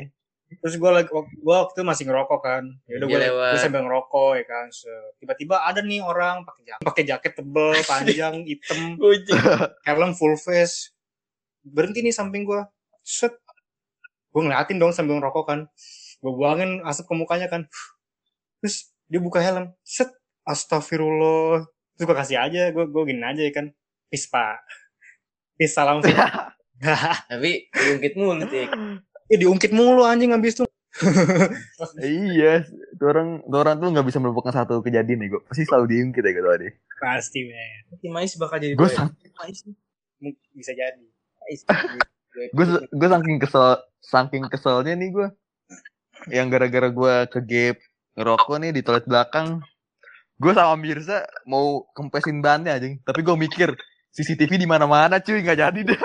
Speaker 1: Terus gue lagi gue waktu itu masih ngerokok kan. Ya udah
Speaker 2: Dia
Speaker 1: gue
Speaker 2: lewat.
Speaker 1: gue sambil ngerokok ya kan. Se- Tiba-tiba ada nih orang pakai jaket, pakai jaket tebel, panjang, hitam,
Speaker 2: Kucing.
Speaker 1: helm full face. Berhenti nih samping gue. Set. Gue ngeliatin dong sambil ngerokok kan. Gue buangin asap ke mukanya kan. Terus dia buka helm. Set. Astagfirullah. Terus gue kasih aja. Gue gue gini aja ya kan. Peace pak. Peace salam sih.
Speaker 2: Tapi diungkit mulu tuh.
Speaker 1: Ya diungkit mulu anjing abis itu.
Speaker 3: Iya, tuh orang, tuh orang tuh nggak bisa melupakan satu kejadian nih, gue pasti selalu diungkit ya gitu tadi.
Speaker 1: Pasti men.
Speaker 2: Tim Mais bakal jadi
Speaker 3: Gue
Speaker 2: boy.
Speaker 3: sang,
Speaker 2: Mais nih.
Speaker 1: Bisa jadi.
Speaker 2: Mais.
Speaker 3: gue gue saking kesel, saking keselnya nih gue, yang gara-gara gue ke gap ngerokok nih di toilet belakang, gue sama Mirza mau kempesin bannya anjing, tapi gue mikir C C T V di mana-mana cuy, nggak jadi deh.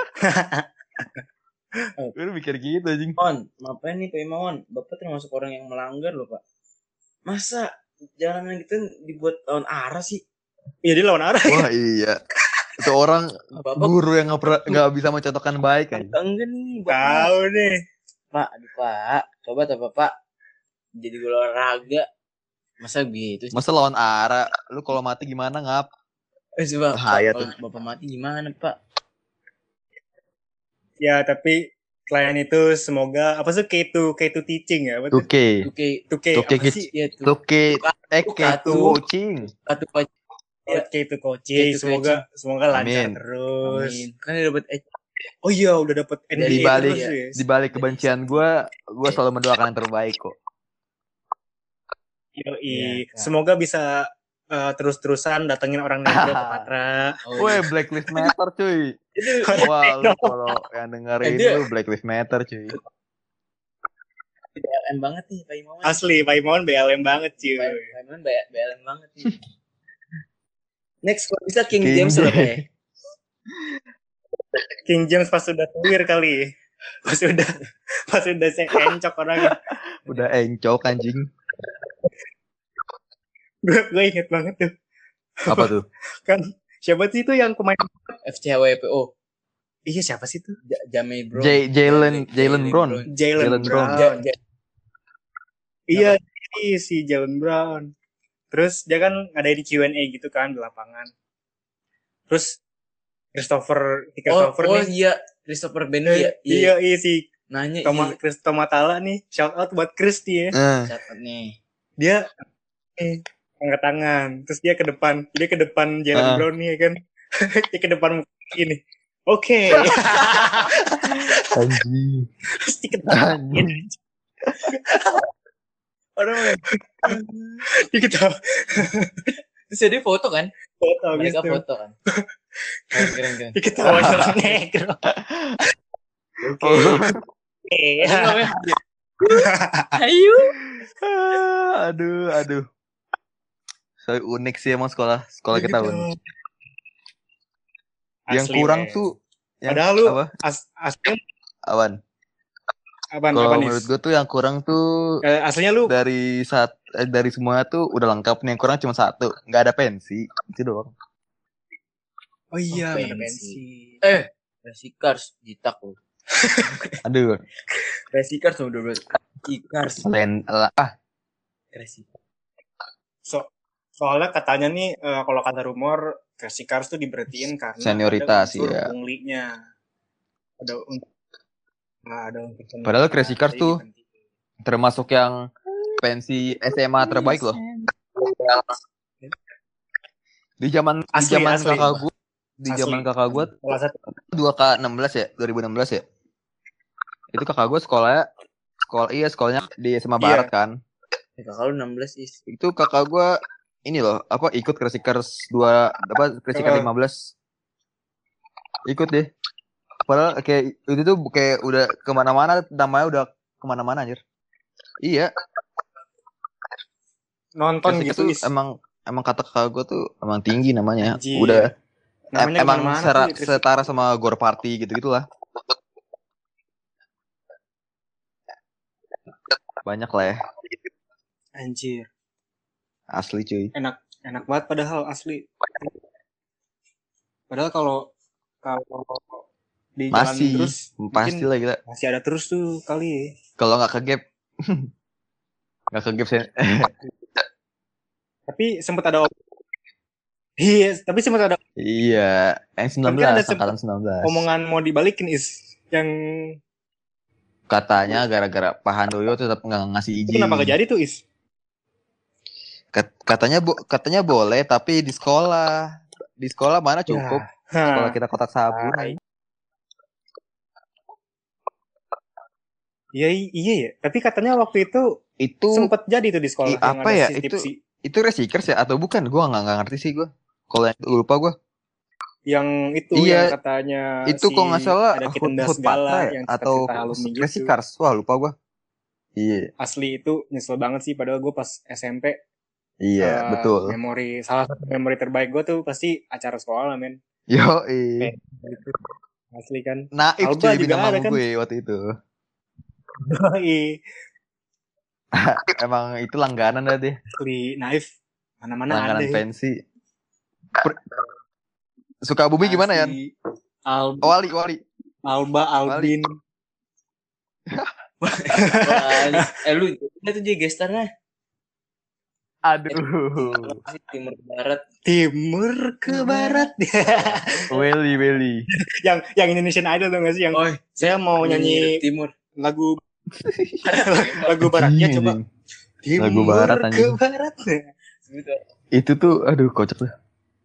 Speaker 3: Gue mikir gitu anjing.
Speaker 2: Mon, ngapain nih Pak Imawan? Bapak termasuk orang yang melanggar loh Pak. Masa jalanan gitu dibuat lawan arah sih?
Speaker 1: Iya dia lawan arah.
Speaker 3: Wah iya, itu orang
Speaker 2: Bapak
Speaker 3: guru yang nggak pernah nggak bisa mencontohkan baik kan.
Speaker 2: enggak nih Bapak.
Speaker 1: Tahu nih.
Speaker 2: Pak, aduh Pak. Coba tuh Bapak jadi guru olahraga. Masa gitu sih?
Speaker 3: Masa lawan arah, lu kalau mati gimana ngap?
Speaker 2: Eh, coba
Speaker 3: Bahaya
Speaker 2: Pak,
Speaker 3: tuh.
Speaker 2: kalau Bapak mati gimana Pak?
Speaker 1: Ya tapi selain itu semoga apa sih K two K two teaching ya? Apa tuh?
Speaker 3: Oke,
Speaker 2: Oke,
Speaker 1: two K
Speaker 3: Oke,
Speaker 1: apa
Speaker 3: kids.
Speaker 1: sih?
Speaker 2: ya tuh.
Speaker 3: oke, eh
Speaker 2: Tuka
Speaker 3: K two
Speaker 2: tuh.
Speaker 3: coaching.
Speaker 2: Satu Pak.
Speaker 1: Oh, K two coaching.
Speaker 2: K two
Speaker 1: Semoga semoga lancar
Speaker 3: Amin.
Speaker 1: terus.
Speaker 2: Amin. Kan dia dapat eh,
Speaker 1: Oh iya udah dapet N B A
Speaker 3: Di balik
Speaker 1: terus ya.
Speaker 3: di balik kebencian gue, gue selalu mendoakan yang terbaik kok.
Speaker 1: Yoi.
Speaker 2: Iya, Kak.
Speaker 1: Semoga bisa eh, terus-terusan datengin orang negro ke Patra.
Speaker 2: oh,
Speaker 3: Woi,
Speaker 2: iya.
Speaker 3: Black Lives Matter cuy.
Speaker 2: Itu
Speaker 3: Wah, lu kalau yang dengerin
Speaker 2: Eh, dia-
Speaker 3: lu Black Lives Matter cuy.
Speaker 2: B L M banget nih Pak Imawan.
Speaker 1: Asli Pak Imawan B L M banget cuy.
Speaker 2: Pak Pak Imawan B L M banget nih. Next kalau bisa King,
Speaker 3: King
Speaker 2: James lah Pak ya.
Speaker 1: King James pas udah tuir kali. Pas udah pas udah saya encok orangnya.
Speaker 3: Udah encok anjing.
Speaker 1: Gue gue inget banget tuh.
Speaker 3: Apa tuh?
Speaker 1: Kan siapa sih itu yang pemain?
Speaker 2: F C H W P O.
Speaker 1: Iya siapa sih itu?
Speaker 2: J- Jamie Brown.
Speaker 3: J- Jalen Jalen Brown.
Speaker 1: Jalen
Speaker 3: Jalen
Speaker 1: Brown.
Speaker 3: Brown.
Speaker 2: Ja- ja-
Speaker 1: Iya, ini si Jalen Brown. Terus dia kan ngadain Q and A gitu kan di lapangan. Terus Christopher, si
Speaker 2: Oh,
Speaker 1: Christopher
Speaker 2: oh
Speaker 1: nih.
Speaker 2: iya, Christopher Bendy ya.
Speaker 1: Iya, iya si
Speaker 2: Nanya
Speaker 1: Toma,
Speaker 2: iya.
Speaker 1: Chris Tomatala nih. Shout out buat Chris dia.
Speaker 3: Eh,
Speaker 2: Catat nih.
Speaker 1: Dia eh, angkat tangan. Terus dia ke depan. Dia ke depan Jalen
Speaker 3: Ah.
Speaker 1: Brown nih ya kan. Dia ke depan ini. Oke.
Speaker 3: anjing.
Speaker 1: Terus diketawain.
Speaker 3: Anjing.
Speaker 2: Orang
Speaker 1: Diketawain.
Speaker 2: terus jadi foto kan?
Speaker 1: Foto
Speaker 2: Mereka
Speaker 1: gitu.
Speaker 2: foto kan. Keren keren keren.
Speaker 1: Diketawain orang negro. Oke.
Speaker 3: Oh.
Speaker 1: Oke.
Speaker 2: Itu namanya Ayo.
Speaker 3: Ah, aduh, aduh. So unik sih emang sekolah sekolah kita
Speaker 1: Gitu.
Speaker 3: Un. Yang
Speaker 1: Asli,
Speaker 3: kurang
Speaker 1: men.
Speaker 3: tuh yang
Speaker 1: Padahal lu
Speaker 3: apa?
Speaker 1: as, aslinya
Speaker 3: Awan.
Speaker 1: apaan,
Speaker 3: Kalau
Speaker 1: apaan,
Speaker 3: menurut
Speaker 1: Is?
Speaker 3: gue tuh yang kurang tuh
Speaker 1: Eh, aslinya lu
Speaker 3: dari saat eh, dari semua tuh udah lengkap nih, yang kurang cuma satu, nggak ada pensi itu doang.
Speaker 1: oh iya
Speaker 2: Oh,
Speaker 1: nggak ada
Speaker 2: pensi.
Speaker 1: pensi.
Speaker 2: Eh, Resikars jitak lu.
Speaker 3: Aduh,
Speaker 2: Resikars udah bener. Ikars.
Speaker 3: lain lah ah
Speaker 2: Resikars.
Speaker 1: So, soalnya katanya nih eh, kalau kata rumor Crazy Cars tuh diberhentiin karena
Speaker 3: Senioritas,
Speaker 1: ada unsur
Speaker 3: iya.
Speaker 1: punglinya. Ada unsur nah, ada unsur punglinya.
Speaker 3: Padahal Crazy Cars
Speaker 1: Jadi
Speaker 3: tuh
Speaker 1: diberhentiin.
Speaker 3: termasuk yang pensi S M A terbaik loh. Di zaman di
Speaker 1: Asli,
Speaker 3: zaman
Speaker 1: asli.
Speaker 3: kakak gue, di
Speaker 1: Asli.
Speaker 3: zaman kakak gue
Speaker 1: Salah satu
Speaker 3: dua K enam belas ya, dua ribu enam belas ya. Itu kakak gue sekolahnya sekolah iya sekolahnya di S M A
Speaker 1: Iya.
Speaker 3: Barat kan.
Speaker 2: Ya, kakak lu enam belas is.
Speaker 3: Itu kakak gue ini loh, apa ikut Crazy Cars dua apa Crazy Cars
Speaker 1: Heeh.
Speaker 3: lima belas. Ikut deh. Padahal kayak itu tuh kayak udah kemana-mana, namanya udah kemana-mana anjir. Iya,
Speaker 1: nonton
Speaker 3: Crazy Cars
Speaker 1: gitu
Speaker 3: tuh
Speaker 1: Is.
Speaker 3: emang emang kata kakak gue tuh emang tinggi namanya.
Speaker 1: Anjir.
Speaker 3: Udah
Speaker 1: Namanya
Speaker 3: em- emang
Speaker 1: kemana-mana
Speaker 3: sera-
Speaker 1: tuh di Crazy
Speaker 3: setara
Speaker 1: Cars.
Speaker 3: sama Gore Party gitu-gitulah. Banyak lah ya,
Speaker 1: Anjir.
Speaker 3: asli cuy.
Speaker 1: Enak enak banget padahal asli. Padahal kalau kalau di jalan
Speaker 3: Masih,
Speaker 1: terus
Speaker 3: pasti
Speaker 1: mungkin
Speaker 3: lah kita.
Speaker 1: masih ada terus tuh kali.
Speaker 3: Kalau nggak ke gap, Nggak ke gaps ya.
Speaker 1: Tapi sempat ada Iya, tapi sempat ada
Speaker 3: Iya, yang sembilan
Speaker 1: Kan ada
Speaker 3: belas,
Speaker 1: sempet
Speaker 3: angkatan sembilan belas.
Speaker 1: omongan mau dibalikin is yang
Speaker 3: Katanya gara-gara Pak Handoyo tetap nggak ngasih
Speaker 1: itu
Speaker 3: izin.
Speaker 1: kenapa gak jadi tuh is?
Speaker 3: Kat- Katanya bo- katanya boleh, tapi di sekolah. Di sekolah mana cukup?
Speaker 1: Ya.
Speaker 3: Sekolah
Speaker 1: Hah.
Speaker 3: kita kotak sabun.
Speaker 1: Hai. Iya iya ya. Tapi katanya waktu itu
Speaker 3: Itu
Speaker 1: sempat jadi tuh di sekolah
Speaker 3: i-
Speaker 1: yang
Speaker 3: apa
Speaker 1: ada
Speaker 3: ya?
Speaker 1: si
Speaker 3: Itu
Speaker 1: tipsi.
Speaker 3: itu resikers ya atau bukan? Gua nggak nggak ngerti sih gua. Kalau yang lupa gua.
Speaker 1: Yang itu
Speaker 3: Iya,
Speaker 1: yang katanya
Speaker 3: Itu
Speaker 1: si
Speaker 3: kok nggak salah
Speaker 1: ada
Speaker 3: Hood,
Speaker 1: kitenda
Speaker 3: Hood
Speaker 1: segala
Speaker 3: Patra ya?
Speaker 1: yang
Speaker 3: Atau
Speaker 1: cerita alumni gitu.
Speaker 3: resikers. Wah lupa gua. Iya,
Speaker 1: Asli itu nyesel banget sih padahal gue pas S M P
Speaker 3: iya
Speaker 1: eh,
Speaker 3: betul.
Speaker 1: memori salah satu memori terbaik gue tuh pasti acara sekolah men.
Speaker 3: Yo,
Speaker 1: Kayak gitu. Asli kan.
Speaker 3: naif
Speaker 1: Alba
Speaker 3: cuy
Speaker 1: juga
Speaker 3: bintang
Speaker 1: ada
Speaker 3: tamu
Speaker 1: kan.
Speaker 3: gue waktu itu.
Speaker 1: Iya.
Speaker 3: Emang itu langganan dah deh.
Speaker 1: Asli naif. Mana-mana ada.
Speaker 3: Langganan pensi. Per- Sukabumi gimana ya?
Speaker 1: Asli. Al-
Speaker 3: Oh, Wali, Wali.
Speaker 1: Alba, Albin.
Speaker 2: Wah, eh lu itu tuh jadi gestarnya
Speaker 3: Aduh.
Speaker 2: sih timur ke barat.
Speaker 1: Timur ke barat.
Speaker 3: Welly, Welly.
Speaker 1: yang yang Indonesian Idol tuh gak sih? Yang
Speaker 2: Oh,
Speaker 1: saya mau nyanyi
Speaker 2: timur.
Speaker 1: lagu lagu baratnya
Speaker 3: Anjing,
Speaker 1: coba.
Speaker 3: anjing.
Speaker 1: Timur
Speaker 3: Lagu barat,
Speaker 1: ke
Speaker 3: anjing.
Speaker 1: barat.
Speaker 3: Itu tuh, aduh kocak tuh.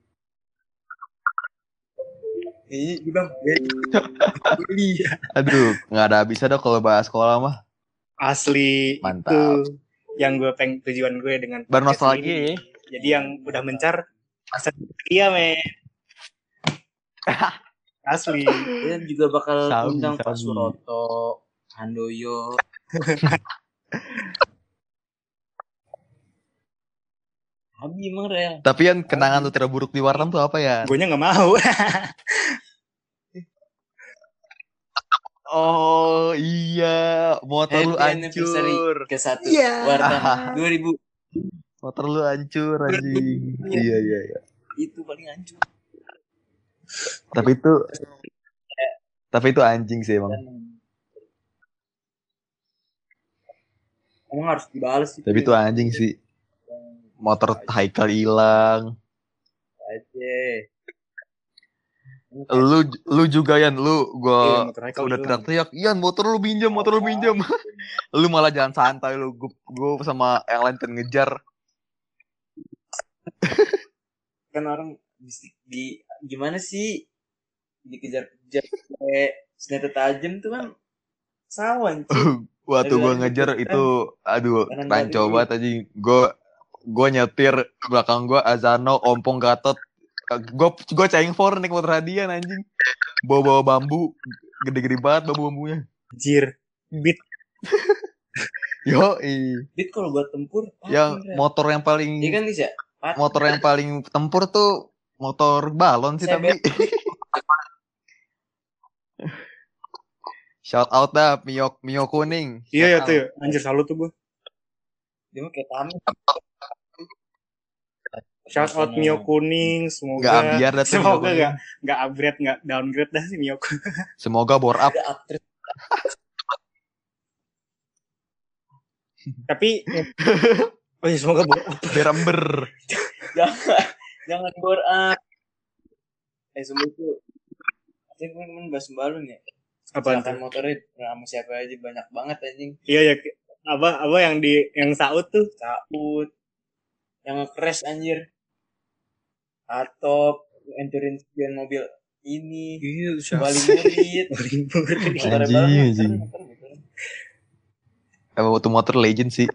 Speaker 2: Iya, bang.
Speaker 1: Iya.
Speaker 3: Aduh, nggak ada habisnya dah kalau bahas sekolah mah.
Speaker 1: Asli
Speaker 3: Mantap.
Speaker 1: itu yang gue pengen tujuan gue dengan
Speaker 3: Bernostalgia
Speaker 1: podcast ini.
Speaker 3: ya.
Speaker 1: Jadi yang udah mencar masa iya men. Asli.
Speaker 2: Dia juga bakal
Speaker 3: Sabi,
Speaker 2: undang Pak
Speaker 3: sabi.
Speaker 2: Suroto, Handoyo. Abi emang real.
Speaker 3: Tapi yang kenangan tuh terburuk di Wartam tuh apa ya?
Speaker 1: Gue nya nggak mau.
Speaker 3: Oh iya, motor lu
Speaker 2: Happy anniversary
Speaker 3: hancur.
Speaker 2: ke satu
Speaker 1: Iya.
Speaker 2: Wartam dua ribu.
Speaker 3: Motor lu hancur anjing. Iya iya iya.
Speaker 2: Itu paling hancur.
Speaker 3: Tapi itu tapi itu anjing sih emang.
Speaker 2: Emang harus dibalas sih.
Speaker 3: Tapi itu anjing sih. Motor Haikal hilang.
Speaker 2: Aja.
Speaker 3: Lu lu juga Yan, lu
Speaker 1: Iya,
Speaker 3: gua
Speaker 1: motor Haikal
Speaker 3: udah
Speaker 1: hilang.
Speaker 3: teriak-teriak, "Yan, motor lu pinjam, motor lu pinjam." Lu malah jalan santai lu. Gua, gua sama yang lain pengen ngejar.
Speaker 2: Kan orang di, di gimana sih dikejar-kejar kayak senjata tajam tuh kan sawan cuy.
Speaker 3: Waktu
Speaker 2: Aduh,
Speaker 3: gua
Speaker 2: aduh,
Speaker 3: ngejar
Speaker 2: kan.
Speaker 3: itu aduh,
Speaker 2: Kanan
Speaker 3: rancu
Speaker 2: kiri.
Speaker 3: banget anjing. Gua gua nyetir belakang gua Azano, Ompong Gatot. Gua gua ceng for naik motor hadiah anjing. Bawa-bawa bambu, gede-gede banget bambu-bambunya.
Speaker 1: Anjir. Beat.
Speaker 3: Yo,
Speaker 2: Dit kalau buat tempur
Speaker 3: yang
Speaker 2: pakai, Ren.
Speaker 3: motor yang paling
Speaker 2: Iya kan bisa.
Speaker 3: motor yang paling tempur tuh motor balon sih tapi. Shout out dah Mio Mio kuning.
Speaker 1: Iya ya
Speaker 3: Shout
Speaker 1: tuh
Speaker 3: out.
Speaker 1: ya. Anjir salut tuh gue.
Speaker 2: Dia mah kayak tamu.
Speaker 1: Shout out Mio kuning, semoga
Speaker 3: Nggak ambiar dah tuh Mio
Speaker 1: semoga
Speaker 3: kuning.
Speaker 1: nggak nggak upgrade nggak downgrade dah si Mio kuning.
Speaker 3: Semoga bore up.
Speaker 2: Ada upgrade.
Speaker 1: Tapi oh ya semoga bor
Speaker 3: Berember.
Speaker 2: jangan jangan bore up. Eh semua itu saya kemarin bahas balon ya.
Speaker 1: apa
Speaker 2: Kecelakaan motornya sama siapa aja banyak banget anjing.
Speaker 1: Iya ya apa apa yang di yang saut tuh
Speaker 2: Saut yang nge-crash anjir. Atau hancurin spion mobil ini.
Speaker 1: iya
Speaker 2: Bali murid.
Speaker 1: libur
Speaker 2: Motornya
Speaker 3: Anjing,
Speaker 2: balon,
Speaker 3: anjing.
Speaker 2: motor, motor, motor.
Speaker 3: Emang waktu motor legend sih.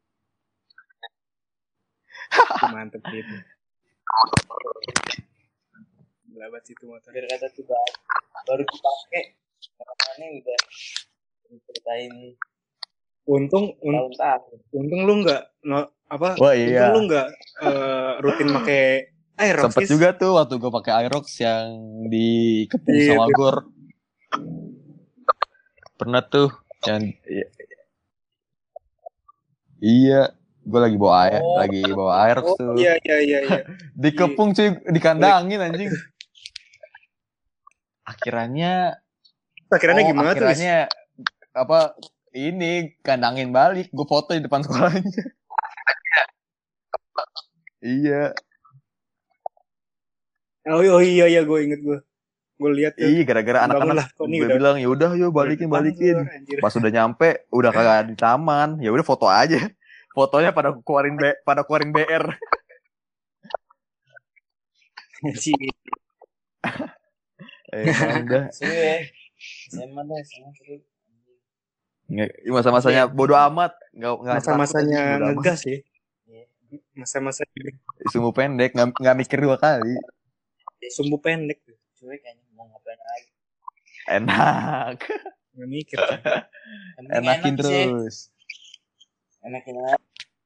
Speaker 1: mantep gitu Gelabat situ motor
Speaker 2: Biar kata tuh baru, baru dipakai. Karena udah ceritain
Speaker 1: untung un,
Speaker 2: tahun-tahun.
Speaker 1: untung lu nggak no, apa
Speaker 3: Wah
Speaker 1: untung
Speaker 3: iya.
Speaker 1: lu nggak eh, rutin pakai Aerox
Speaker 3: Sempet
Speaker 1: Is.
Speaker 3: juga tuh waktu gue pakai Aerox yang dikepung
Speaker 1: Iya,
Speaker 3: sama
Speaker 1: tuh.
Speaker 3: Gor. Pernah tuh yang iya, iya gue lagi bawa air,
Speaker 2: Oh.
Speaker 3: lagi bawa Aerox
Speaker 1: Oh
Speaker 3: tuh.
Speaker 1: iya iya iya iya.
Speaker 3: Dikepung cuy, dikandangin anjing. Akhirannya
Speaker 1: Akhirnya
Speaker 3: oh,
Speaker 1: gimana tuh? Is?
Speaker 3: akhirannya apa ini kandangin balik, gue foto di depan sekolahnya. Iya.
Speaker 1: Oh, oh iya iya gue inget gue. Gue lihat tuh.
Speaker 3: Iya, gara-gara anak-anak gue bilang ya udah yuk balikin balikin. Pas udah nyampe udah kagak di taman. Ya udah foto aja. Fotonya pada keluarin B, pada keluarin B R. Eh, udah.
Speaker 2: Seru ya. S M A dah, S M A seru.
Speaker 3: Nggak, masa-masanya bodo amat. Nggak, nggak
Speaker 1: Masa-masanya
Speaker 3: takut aja, bodo amat.
Speaker 1: ngegas sih. Masa-masa
Speaker 3: Sumbu pendek, nggak, nggak mikir dua kali.
Speaker 1: sumbu pendek tuh.
Speaker 2: Cuek kayaknya mau ngapain lagi.
Speaker 3: Enak.
Speaker 1: Nggak mikir.
Speaker 2: Yang penting
Speaker 3: Enakin
Speaker 2: enak sih.
Speaker 3: terus.
Speaker 2: Enakin aja.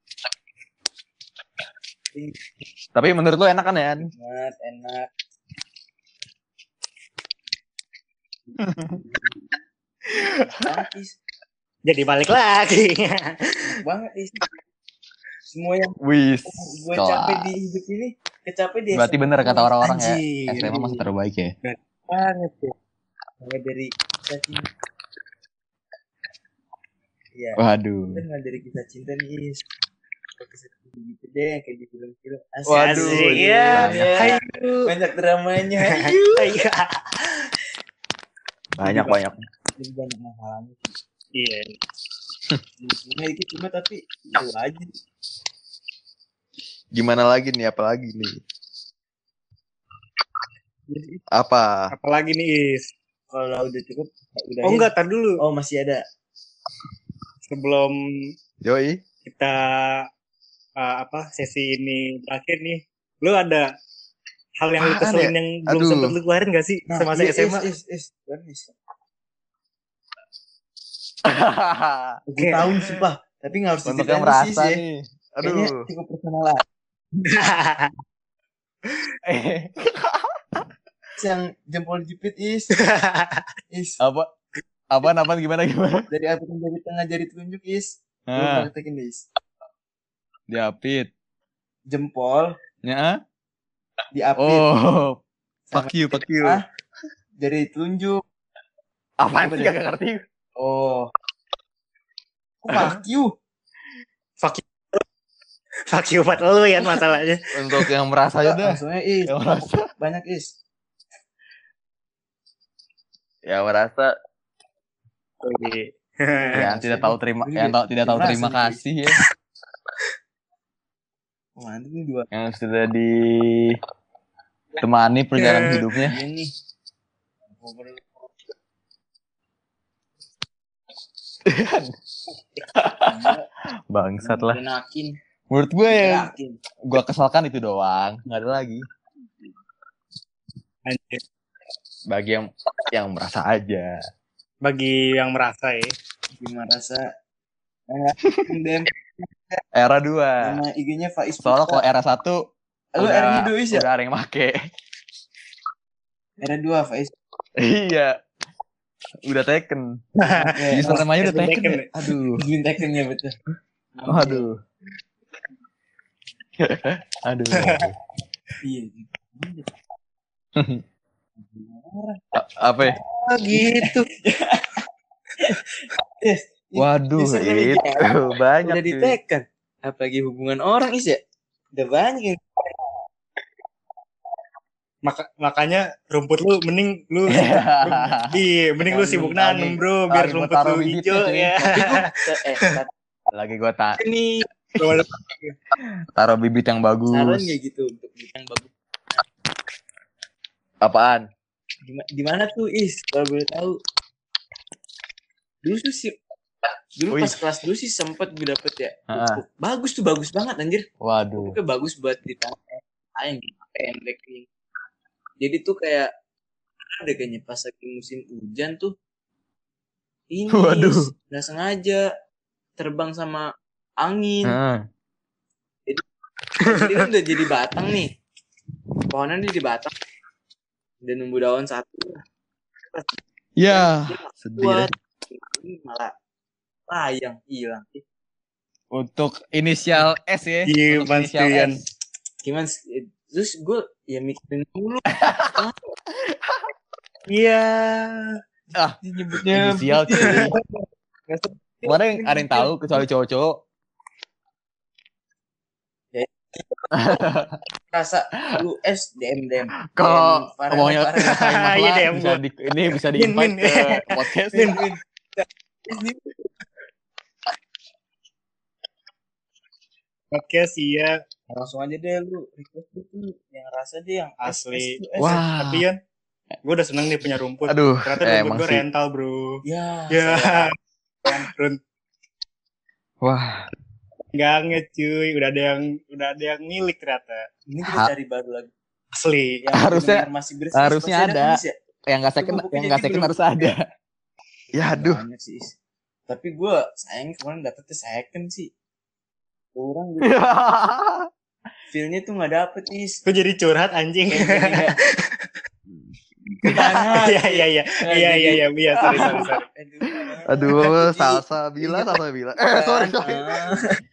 Speaker 3: Tapi menurut lu enak kan ya?
Speaker 2: Enak, enak. Enak, Is.
Speaker 1: Jadi balik lagi.
Speaker 2: Enak banget, Is. Semua yang
Speaker 3: Wis.
Speaker 2: gue capek di hidup ini, kecapek di
Speaker 3: Berarti
Speaker 2: S M A.
Speaker 3: bener kata orang-orang ya.
Speaker 1: Anjir.
Speaker 3: S M A masa terbaik ya.
Speaker 1: Banget ya.
Speaker 2: Mulai dari kisah cinta. Iya.
Speaker 3: Waduh.
Speaker 2: Kita mulai dari kisah cinta nih, Is. Kisah cinta gitu deh, kayak di film-film. Asik.
Speaker 3: Waduh,
Speaker 1: Asik,
Speaker 3: iya.
Speaker 1: ya. Ayo.
Speaker 2: Banyak dramanya. Ayo.
Speaker 1: Ayo.
Speaker 3: Banyak banyak.
Speaker 2: Jadi banyak masalahnya.
Speaker 1: Iya.
Speaker 2: Cuma dikit cuma tapi itu aja.
Speaker 3: Gimana lagi nih? Apa lagi nih?
Speaker 1: Jadi,
Speaker 3: Apa?
Speaker 1: apalagi nih Is?
Speaker 2: Kalau udah cukup, udah.
Speaker 1: Oh enggak, tar dulu.
Speaker 2: Oh masih ada.
Speaker 1: Sebelum
Speaker 3: Yoi.
Speaker 1: kita uh, apa sesi ini berakhir nih, lu ada hal yang lu
Speaker 3: Apaan
Speaker 1: keselin
Speaker 3: ya?
Speaker 1: yang belum
Speaker 3: Aduh.
Speaker 1: sempet lu keluarin gak sih semasa
Speaker 2: iya,
Speaker 1: S M A?
Speaker 2: Is, is, is, Kan, is.
Speaker 1: Oke.
Speaker 2: Gue tahu sumpah, tapi nggak harus
Speaker 3: Untuk
Speaker 2: diceritain
Speaker 3: yang
Speaker 2: lu, Sis,
Speaker 3: merasa
Speaker 2: ya.
Speaker 3: nih.
Speaker 2: Kayaknya
Speaker 3: Aduh.
Speaker 2: cukup personal lah.
Speaker 3: Eh,
Speaker 2: Is yang jempol jepit is, is
Speaker 3: apa? Apa? Apa? Gimana? Gimana?
Speaker 2: dari apit jari tengah jari telunjuk is. Lu
Speaker 3: Nah,
Speaker 2: praktekin deh, is.
Speaker 3: diapit.
Speaker 2: Jempol
Speaker 3: Ya.
Speaker 2: diapit,
Speaker 3: Oh. Fuck you, fuck you.
Speaker 2: Ah. jari telunjuk.
Speaker 3: Apaan
Speaker 2: Apa
Speaker 3: sih?
Speaker 2: deh?
Speaker 3: Gak ngerti.
Speaker 2: Oh. Kok fuck you?
Speaker 1: Fuck you buat lu ya masalahnya.
Speaker 3: Untuk yang merasa aja dah.
Speaker 2: Langsungnya is.
Speaker 3: Yang merasa.
Speaker 2: Banyak is.
Speaker 3: Yang merasa.
Speaker 1: Oke.
Speaker 3: Yang tidak tahu terima. Yang tahu tidak tahu
Speaker 2: Merasa
Speaker 3: terima
Speaker 2: nih.
Speaker 3: kasih ya.
Speaker 2: Mantap nih dua.
Speaker 3: Yang sudah ditemani perjalanan hidupnya.
Speaker 2: Ini.
Speaker 3: Bangsat lah.
Speaker 2: Enakin.
Speaker 3: Menurut gue ya,
Speaker 2: Enakin.
Speaker 3: gue kesalkan itu doang. Nggak ada lagi.
Speaker 1: Anjir.
Speaker 3: Bagi yang yang merasa aja.
Speaker 1: Bagi yang merasa ya.
Speaker 2: Gimana rasa? D M
Speaker 3: Era dua.
Speaker 2: sama I G-nya Faiz.
Speaker 3: Soalnya kalau era satu
Speaker 2: Lu R-nya dua is ya?
Speaker 3: udah ada yang make.
Speaker 2: Era dua Faiz.
Speaker 3: Iya. Udah taken.
Speaker 2: Ya,
Speaker 3: Username-nya udah
Speaker 1: Udah
Speaker 3: taken.
Speaker 1: taken,
Speaker 3: ya? Aduh.
Speaker 2: Green Taken ya betul.
Speaker 3: Aduh. Aduh.
Speaker 2: Iya.
Speaker 3: A- Apa ya?
Speaker 1: Oh, gitu.
Speaker 2: Yes.
Speaker 3: Waduh,
Speaker 2: Username
Speaker 3: itu banyak.
Speaker 2: Udah
Speaker 3: cuy.
Speaker 2: ditekan. Apalagi hubungan orang is ya? Udah banyak yang
Speaker 1: Maka, makanya rumput lu mending lu iya mending lu sibuk
Speaker 3: Lagi-
Speaker 1: nanam bro biar
Speaker 3: lagi gua
Speaker 1: rumput
Speaker 3: taruh
Speaker 1: lu
Speaker 3: bibitnya,
Speaker 1: hijau
Speaker 3: cuy.
Speaker 1: ya.
Speaker 2: eh tar-
Speaker 3: Lagi gua tak
Speaker 2: ini
Speaker 3: taruh bibit yang bagus.
Speaker 2: saran ya gitu untuk yang bagus.
Speaker 3: Apaan?
Speaker 2: Gimana, gimana tuh is kalau boleh tahu? Dulu tuh sih dulu
Speaker 3: Wih.
Speaker 2: pas kelas dulu sih sempet gue dapet ya.
Speaker 3: Ah.
Speaker 2: Bagus tuh bagus banget anjir.
Speaker 3: Waduh.
Speaker 2: Pokoknya bagus buat ditanya yang pendek nih. Jadi tuh kayak ada kayaknya pas lagi musim hujan tuh ini
Speaker 3: Waduh.
Speaker 2: nggak sengaja terbang sama angin.
Speaker 3: Heeh.
Speaker 2: Jadi kan udah jadi batang nih. Pohonnya udah di batang. Udah nunggu daun satu.
Speaker 3: Ya, sedih.
Speaker 2: Buat
Speaker 3: deh.
Speaker 2: ini malah layang hilang.
Speaker 3: Untuk inisial S ya.
Speaker 1: Iya,
Speaker 3: Untuk inisial
Speaker 1: Bastian.
Speaker 3: S.
Speaker 2: Gimana sih? Terus gue ya mikirin dulu.
Speaker 1: Iya.
Speaker 3: Ah,
Speaker 2: Nyebutnya
Speaker 3: inisial cuy.
Speaker 2: Nggak
Speaker 3: Mana yang ada yang tahu kecuali cowok-cowok.
Speaker 2: Rasa U S D M D M.
Speaker 3: Kalau
Speaker 2: Farel,
Speaker 3: ngomongnya
Speaker 2: Farel.
Speaker 3: ngerasain
Speaker 1: Iya,
Speaker 3: mahla,
Speaker 1: D M
Speaker 3: bisa
Speaker 1: gua.
Speaker 3: di, ini bisa di
Speaker 1: Min,
Speaker 3: invite
Speaker 1: min.
Speaker 3: ke podcast.
Speaker 1: Min. Oke sih ya,
Speaker 2: Langsung aja deh lu request itu yang rasa deh yang
Speaker 1: asli.
Speaker 2: S, S, S.
Speaker 3: Wah.
Speaker 1: Tapi Yan, gue udah seneng nih punya rumput.
Speaker 3: Aduh,
Speaker 1: Ternyata
Speaker 3: eh,
Speaker 1: rumput
Speaker 3: emang
Speaker 1: gue
Speaker 3: sih.
Speaker 1: rental bro.
Speaker 2: Ya,
Speaker 1: Ya.
Speaker 2: saya
Speaker 1: Run-
Speaker 3: Wah,
Speaker 1: Nggak nge cuy, udah ada yang udah ada yang milik ternyata.
Speaker 2: ini kita
Speaker 3: Ha-
Speaker 2: cari baru lagi.
Speaker 1: Asli.
Speaker 2: Yang
Speaker 3: Harusnya-
Speaker 2: benar-benar masih bersih.
Speaker 3: harusnya
Speaker 2: Masih
Speaker 3: ada.
Speaker 2: kan, Is, ya?
Speaker 3: yang nggak second,
Speaker 2: Pupuknya
Speaker 3: yang nggak
Speaker 2: jadi
Speaker 3: second
Speaker 2: belum-
Speaker 3: harus ada. Ya aduh.
Speaker 2: Banyak sih, Is. Tapi gue sayang kemarin dapetnya second sih. Kurang gitu. Feel-nya tuh gak dapet, Is.
Speaker 1: Gue jadi curhat anjing.
Speaker 2: Kayak jadi nggak- Jangan.
Speaker 1: Iya iya iya. Iya iya iya, iya, sorry sorry sorry.
Speaker 2: Aduh,
Speaker 3: Aduh,
Speaker 2: Jadi-
Speaker 3: salsa bila, salsa bila. Eh, sorry, sorry.
Speaker 2: Ah.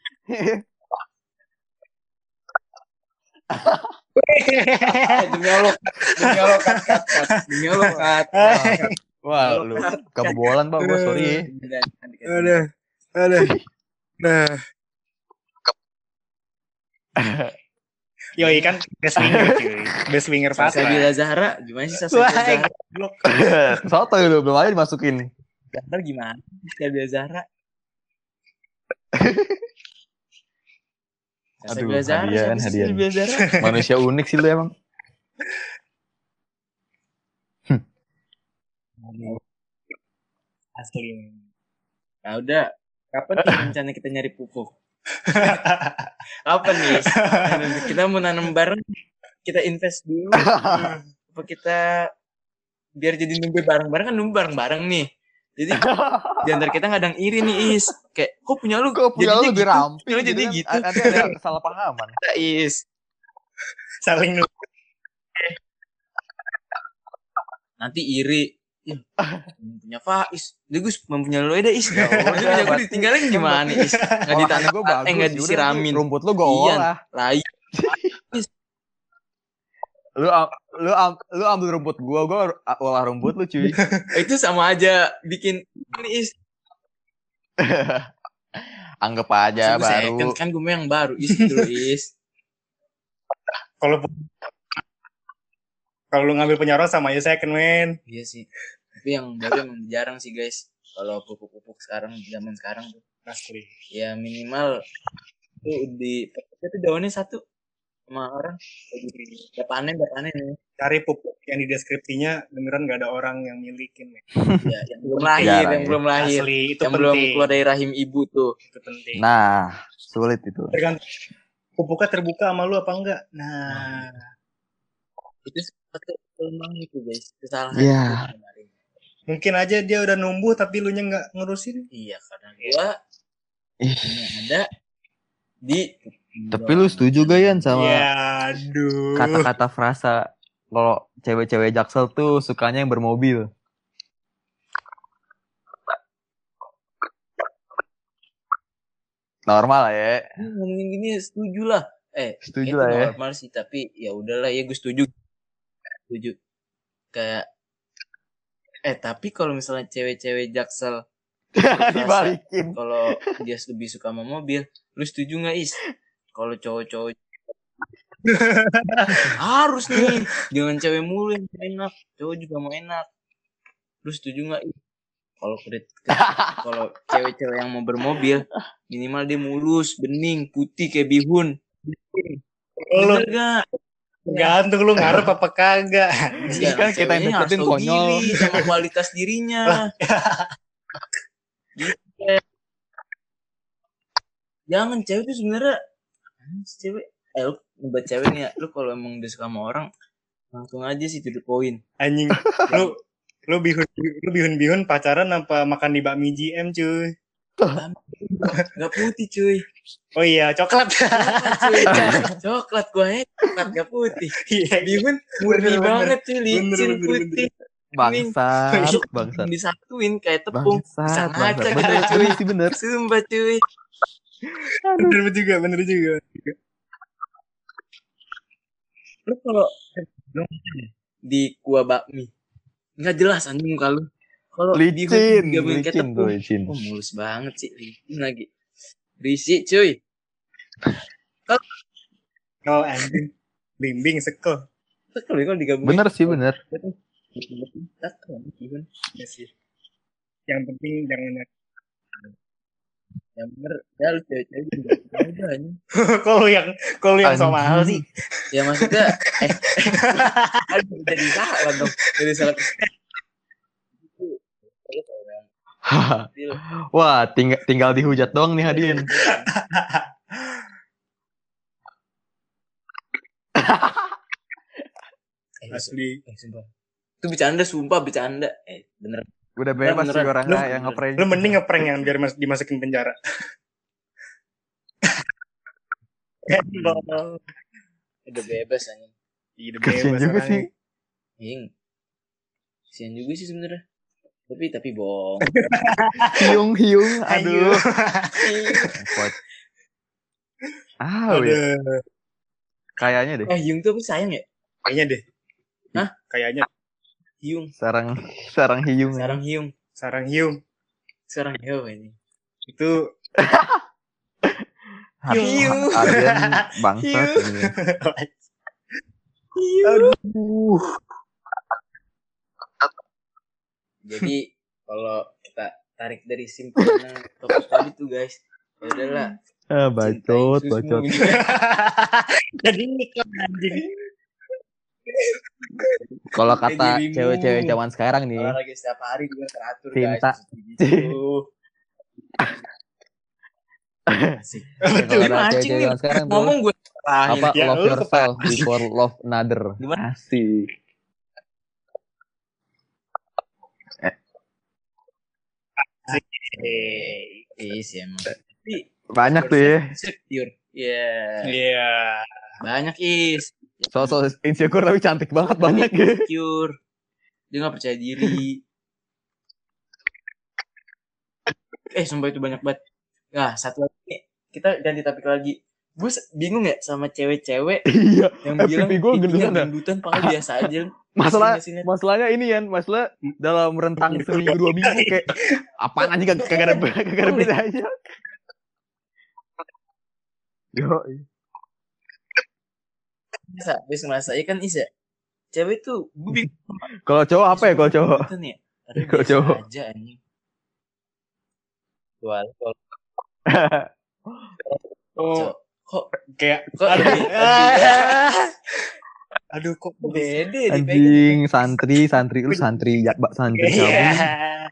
Speaker 2: Eh, demi Allah, demi Allah cut, cut, cut. Demi Allah cut.
Speaker 3: Wah, lu kebobolan, Pak. Gue sorry ya.
Speaker 1: Aduh. Aduh. Nah. Yoi kan best winger cuy. Best winger Patra.
Speaker 2: Salsabila Zahra, gimana sih Salsabila
Speaker 1: Wah,
Speaker 2: Zahra?
Speaker 1: goblok.
Speaker 3: Soto lu, belum aja dimasukin.
Speaker 2: Zahra gimana? Salsabila Zahra.
Speaker 3: Aduh,
Speaker 2: Salsabila Zahra,
Speaker 3: hadiah,
Speaker 2: siapa sih
Speaker 3: hadiah.
Speaker 2: Salsabila Zahra?
Speaker 3: Manusia unik sih lu emang.
Speaker 1: Asli.
Speaker 2: Nah udah, kapan nih rencana kita nyari pupuk? Kapan nih? Kita mau nanam bareng, kita invest dulu. Apa kita biar jadi numbe bareng-bareng kan numbe bareng-bareng nih. Jadi di antara kita nggak ada yang iri nih Is. Kayak kok punya lu
Speaker 3: Kok punya lu
Speaker 2: jadinya
Speaker 3: lebih
Speaker 2: gitu?
Speaker 3: ramping
Speaker 2: Lu jadi
Speaker 3: kan?
Speaker 2: gitu.
Speaker 3: Ada ada kesalahpahaman.
Speaker 2: Kita, Is.
Speaker 1: Saling nu-
Speaker 2: Nanti iri. Ih, punya Faiz. Dia Gus mempunyai lu aja Is.
Speaker 3: Ya udah,
Speaker 2: Dia punya gue
Speaker 3: berarti-
Speaker 2: ditinggalin gimana Is? Nggak ditanam,
Speaker 3: gue bagus.
Speaker 2: eh nggak
Speaker 3: yaudah,
Speaker 2: disiramin.
Speaker 3: Rumput lu gue
Speaker 2: Iya.
Speaker 3: olah.
Speaker 2: Lai.
Speaker 3: Lu am- lu am- lu ambil rumput gua, gua olah rumput lu cuy.
Speaker 2: Itu sama aja bikin ini Is.
Speaker 3: Anggap aja
Speaker 2: Maksud gue
Speaker 3: baru.
Speaker 2: second, kan gue mau yang baru Is dulu Is.
Speaker 1: Kalau kalau lu ngambil punya orang sama aja second man.
Speaker 2: Iya sih. Tapi yang baru emang jarang sih guys. Kalau pupuk-pupuk sekarang zaman sekarang tuh.
Speaker 1: Asli.
Speaker 2: Ya minimal tuh di itu daunnya satu sama orang. Udah panen, udah panen ya.
Speaker 1: Cari pupuk yang di deskripsinya beneran gak ada orang yang milikin. Men.
Speaker 2: Ya, yang belum lahir,
Speaker 3: Jarang
Speaker 2: yang
Speaker 3: ya.
Speaker 2: belum lahir.
Speaker 1: Asli itu
Speaker 2: Yang belum
Speaker 1: penting.
Speaker 2: keluar dari rahim ibu tuh.
Speaker 1: Itu penting.
Speaker 3: Nah, sulit itu.
Speaker 1: Tergantung pupuknya terbuka sama lu apa enggak. Nah,
Speaker 2: Itu satu kelemahan itu guys. Kesalahan
Speaker 3: Iya.
Speaker 2: itu kemarin.
Speaker 1: mungkin aja dia udah numbuh tapi lu nya nggak ngurusin.
Speaker 2: Iya, karena gua
Speaker 3: Ih,
Speaker 2: yang ada di
Speaker 3: tapi lu setuju gak Yan sama
Speaker 1: Ya, aduh.
Speaker 3: kata-kata frasa kalau cewek-cewek Jaksel tuh sukanya yang bermobil? Normal lah ya.
Speaker 2: Ini ngomongin gini setuju lah. Eh,
Speaker 3: Setuju
Speaker 2: itu
Speaker 3: lah ya.
Speaker 2: normal sih, tapi ya udahlah ya gue setuju. Setuju. Kayak eh tapi kalau misalnya cewek-cewek Jaksel
Speaker 3: Dibalikin.
Speaker 2: kalau dia lebih suka sama mobil, lu setuju nggak Is? Kalau cowok-cowok harus nih, jangan cewek mulu yang enak, cowok juga mau enak. Lu setuju nggak Is? Kalau kredit, kalau cewek-cewek yang mau bermobil, minimal dia mulus, bening, putih kayak bihun.
Speaker 1: Lu
Speaker 2: Bener gak?
Speaker 1: gantung lu ngarep apa kagak.
Speaker 2: Ya,
Speaker 3: kan kita yang
Speaker 2: ceweknya harus
Speaker 3: deketin
Speaker 2: tahu
Speaker 3: konyol.
Speaker 2: diri sama kualitas dirinya. Gitu. ya. Jangan cewek tuh sebenarnya cewek. Eh lu buat cewek nih ya, lu kalau emang udah suka sama orang langsung aja sih to the point.
Speaker 1: Anjing. Lu lu bihun lu bihun-bihun pacaran apa makan di bakmi G M cuy.
Speaker 2: Gak putih cuy.
Speaker 1: Oh iya, coklat.
Speaker 2: Coklat cuy. Coklat gua ya, coklat gak putih.
Speaker 1: Iya.
Speaker 2: Bihun murni
Speaker 1: Bener,
Speaker 2: banget cuy,
Speaker 1: Bener,
Speaker 2: licin
Speaker 1: bener,
Speaker 2: putih.
Speaker 3: Bangsat,
Speaker 2: Itu
Speaker 3: bangsat.
Speaker 2: disatuin kayak tepung. Bisa
Speaker 3: Bangsat,
Speaker 2: ngaca
Speaker 3: bangsat.
Speaker 2: kita
Speaker 3: Bener,
Speaker 2: cuy.
Speaker 3: bener sih bener.
Speaker 2: Sumpah cuy.
Speaker 1: Bener juga, bener juga.
Speaker 2: Lu kalau di kuah bakmi nggak jelas anjing muka lu. Kalau
Speaker 3: licin,
Speaker 2: digabungin kayak
Speaker 3: licin tuh,
Speaker 2: tepung.
Speaker 3: licin.
Speaker 2: Oh, mulus banget sih, licin lagi. Berisik, cuy.
Speaker 1: Oh anjing. Bimbing sekel.
Speaker 2: Sekel ya kalau digabungin.
Speaker 3: Bener sih, bener.
Speaker 2: Gimana?
Speaker 1: Ya sih. Yang penting jangan
Speaker 2: Yang bener, ya lu cewek-cewek juga aja anjing.
Speaker 1: kalau yang kalau yang so mahal sih.
Speaker 2: Ya maksudnya, eh, kan jadi salah dong. Jadi salah.
Speaker 3: Wah, tinggal tinggal dihujat doang nih Hadin.
Speaker 2: Eh,
Speaker 1: Asli.
Speaker 2: eh, sumpah. Itu bercanda, sumpah bercanda. Eh, bener.
Speaker 3: Udah bebas sih
Speaker 2: Beneran.
Speaker 3: orangnya
Speaker 1: Lu-
Speaker 3: yang ngeprank.
Speaker 1: Lu mending ngeprank yang biar mas, dimasukin penjara.
Speaker 2: Hmm. Udah bebas anjing.
Speaker 1: Iya,
Speaker 3: Kasian
Speaker 1: bebas
Speaker 3: juga
Speaker 1: orangnya.
Speaker 3: sih.
Speaker 2: Iya. Kasian juga sih sebenarnya. Tapi tapi bohong.
Speaker 3: Hiung hiung,
Speaker 1: Aduh.
Speaker 3: aduh. Repot. Ah, wait.
Speaker 1: Aduh.
Speaker 3: Kayaknya deh.
Speaker 2: Eh, Hyung tuh apa sayang ya?
Speaker 1: Kayaknya deh.
Speaker 2: Hah?
Speaker 1: Kayaknya
Speaker 2: Hyung.
Speaker 3: Sarang sarang hiung.
Speaker 2: Sarang Hyung.
Speaker 1: sarang hiung
Speaker 2: Sarang Hyung ini.
Speaker 1: itu
Speaker 2: Hiung.
Speaker 3: Aryan bangsa.
Speaker 1: aduh.
Speaker 2: Jadi kalau kita tarik dari simpulan topik tadi tuh guys, ya udahlah.
Speaker 3: Ah, bacot,
Speaker 2: cintai
Speaker 3: bacot.
Speaker 2: susmu.
Speaker 1: Jadi iklan anjing.
Speaker 3: Kalau kata
Speaker 2: dirimu.
Speaker 3: cewek-cewek zaman sekarang nih,
Speaker 2: Olahraga setiap hari juga teratur
Speaker 3: Cinta.
Speaker 2: guys. Gitu. Asik.
Speaker 1: Betul.
Speaker 3: kalau
Speaker 2: Gimana
Speaker 3: ada
Speaker 2: anjing
Speaker 3: cewek-cewek
Speaker 2: nih?
Speaker 3: zaman sekarang tuh
Speaker 2: Ngomong gue
Speaker 3: apa
Speaker 1: Ya,
Speaker 3: love
Speaker 1: lu
Speaker 3: yourself before love another.
Speaker 2: Gimana?
Speaker 3: Asik.
Speaker 1: Eh,
Speaker 2: Iya sih emang. Tapi
Speaker 3: Banyak tuh ya.
Speaker 2: insecure. Iya.
Speaker 1: Iya.
Speaker 2: Banyak is.
Speaker 3: Sosok insecure tapi cantik banget banyak ya.
Speaker 2: Insecure. Dia gak percaya diri. Eh sumpah itu banyak banget. Nah satu lagi nih, kita ganti topik lagi. Gue bingung ya sama cewek-cewek
Speaker 3: Iya.
Speaker 2: yang
Speaker 3: Eh,
Speaker 2: bilang
Speaker 3: pipi gua
Speaker 2: pipinya
Speaker 3: gendutan dah.
Speaker 2: gendutan padahal biasa aja.
Speaker 3: Masalah
Speaker 2: Sini, sini.
Speaker 3: masalahnya ini Yan, masalah dalam rentang seminggu dua minggu kayak apaan aja kagak kagak ada kagak ada bedanya. Yo,
Speaker 2: Bisa, bisa ngerasa ya kan Isa. Cewek tuh gue bingung.
Speaker 3: kalau cowok apa ya kalau cowok?
Speaker 2: Gendutan ya? Padahal
Speaker 3: Kalau
Speaker 2: biasa
Speaker 3: cowok.
Speaker 2: aja anjing. Wah, kalau
Speaker 1: Oh,
Speaker 2: kok
Speaker 1: kayak
Speaker 2: kok
Speaker 1: aduh.
Speaker 2: lebih- lebih-
Speaker 1: Aduh kok
Speaker 2: beda ya dipegang.
Speaker 3: Anjing, santri, santri lu santri ya, Mbak santri
Speaker 1: Iya.
Speaker 3: kamu.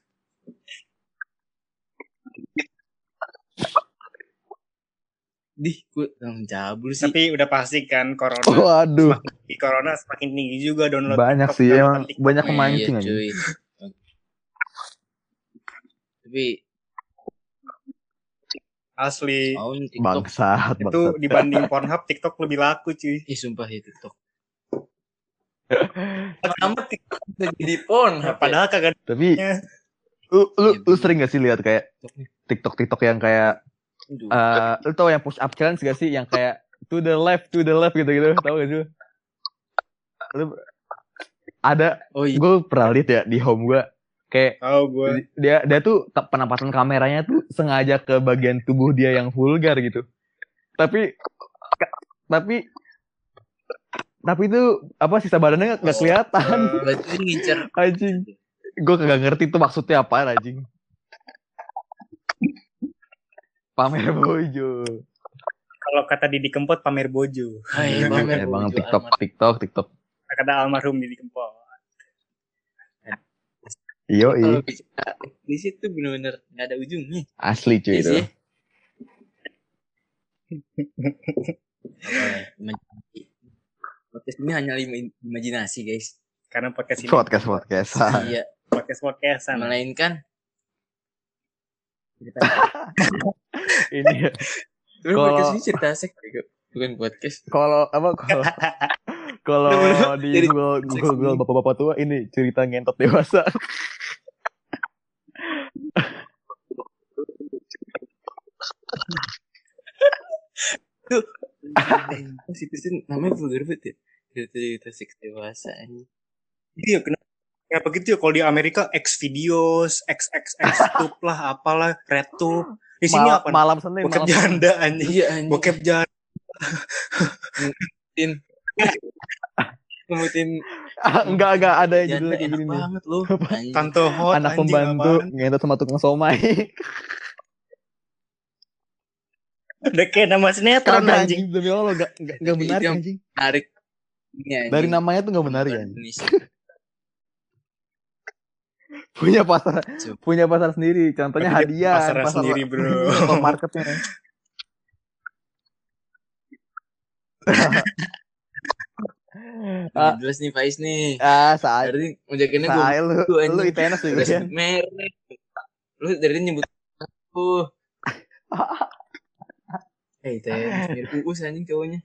Speaker 2: Dih, gue langsung cabul sih.
Speaker 1: Tapi udah pasti kan corona.
Speaker 3: Waduh,
Speaker 1: Di corona semakin tinggi juga download
Speaker 3: banyak
Speaker 1: TikTok,
Speaker 3: sih
Speaker 1: download
Speaker 3: emang
Speaker 1: TikTok.
Speaker 3: banyak
Speaker 2: Iya,
Speaker 3: kemancing aja.
Speaker 2: cuy. Tapi
Speaker 1: Asli.
Speaker 2: mau nih TikTok.
Speaker 3: Bangsat,
Speaker 1: Itu
Speaker 3: bangsat.
Speaker 1: dibanding Pornhub TikTok lebih laku cuy.
Speaker 2: Ih, sumpah ya TikTok. Lama TikTok udah jadi porn.
Speaker 1: Nah, padahal kagak
Speaker 3: Tapi
Speaker 1: ada.
Speaker 3: lu lu,
Speaker 2: Iya,
Speaker 3: lu
Speaker 2: bener.
Speaker 3: sering gak sih lihat kayak TikTok TikTok yang kayak
Speaker 2: Aduh.
Speaker 3: eh lu tau yang push up challenge gak sih yang kayak to the left to the left gitu gitu tau gak sih? Lu ada
Speaker 2: Oh iya.
Speaker 3: gue pernah lihat ya di home gue kayak
Speaker 1: Tahu gue.
Speaker 3: dia dia tuh te- penampatan kameranya tuh sengaja ke bagian tubuh dia yang vulgar gitu. Tapi ka- tapi tapi itu apa sisa badannya nggak
Speaker 2: Oh.
Speaker 3: kelihatan.
Speaker 2: Berarti dia ngincer.
Speaker 3: Anjing. Gue kagak ngerti tuh maksudnya apa anjing. Pamer bojo.
Speaker 1: Kalau kata Didi Kempot pamer bojo.
Speaker 2: Hai, pamer
Speaker 3: Emang
Speaker 2: bojo
Speaker 3: TikTok
Speaker 2: almarhum.
Speaker 3: TikTok TikTok.
Speaker 1: Kata almarhum Didi Kempot.
Speaker 3: Iyo
Speaker 2: Kalau
Speaker 3: i
Speaker 2: bicara di situ bener-bener nggak ada ujungnya.
Speaker 3: asli cuy
Speaker 2: Iya
Speaker 3: itu.
Speaker 2: sih. Imajinasi. Podcast ini hanya im- imajinasi guys.
Speaker 1: Karena podcast ini
Speaker 3: Podcast podcast.
Speaker 2: Iya.
Speaker 1: podcast podcastan.
Speaker 2: Melainkan cerita.
Speaker 3: Ini ya.
Speaker 2: Sebenarnya
Speaker 3: Kalau-
Speaker 2: podcast ini cerita seks bego. Bukan podcast.
Speaker 3: Kalau apa kalau kalau
Speaker 2: Bener-bener
Speaker 3: di
Speaker 2: jadi
Speaker 3: Google
Speaker 2: seks
Speaker 3: Google, Google
Speaker 2: ini.
Speaker 3: bapak-bapak tua ini cerita ngentot dewasa.
Speaker 2: Situ sih namanya vulgar banget ya. Cerita cerita seks dewasa ini.
Speaker 1: Iya kenapa Ya begitu ya, kalau di Amerika X videos, X X X tube lah, apalah, red tube. Di sini
Speaker 3: Mal-
Speaker 1: apa?
Speaker 3: malam Senin,
Speaker 1: Bokep
Speaker 3: malam Senin.
Speaker 1: janda anjing.
Speaker 2: Iya anjing.
Speaker 1: Bokep janda.
Speaker 2: Ngemutin. Ngemutin.
Speaker 3: enggak enggak ada yang
Speaker 2: Janda
Speaker 3: judulnya kayak
Speaker 2: enak
Speaker 3: gini nih.
Speaker 2: banget lu. Anjing.
Speaker 1: Tante hot
Speaker 3: Anak
Speaker 1: anjing
Speaker 3: pembantu
Speaker 1: apaan.
Speaker 3: ngentot sama tukang somai.
Speaker 1: Udah kayak nama sinetron
Speaker 3: Kagak
Speaker 1: anjing.
Speaker 3: anjing, demi Allah enggak enggak enggak
Speaker 2: Itu
Speaker 3: menarik
Speaker 2: yang
Speaker 3: anjing.
Speaker 2: Menarik. Ini anjing.
Speaker 3: Dari namanya tuh enggak menarik anjing.
Speaker 2: Indonesia.
Speaker 3: Punya pasar
Speaker 2: Coba.
Speaker 3: punya pasar sendiri. Contohnya
Speaker 1: Berarti
Speaker 3: hadiah,
Speaker 1: pasarnya
Speaker 3: pasar
Speaker 1: sendiri, bro.
Speaker 3: Top marketnya.
Speaker 2: Udah jelas nih Faiz nih.
Speaker 3: Ah, saat
Speaker 2: Dari ngajakinnya gue
Speaker 3: Saya lu,
Speaker 2: Lu anjing.
Speaker 3: lu I T N S juga
Speaker 2: udah
Speaker 3: ya.
Speaker 2: sebut merek. Lu dari tadi nyebut aku. Eh, teh mirip Uus anjing cowoknya.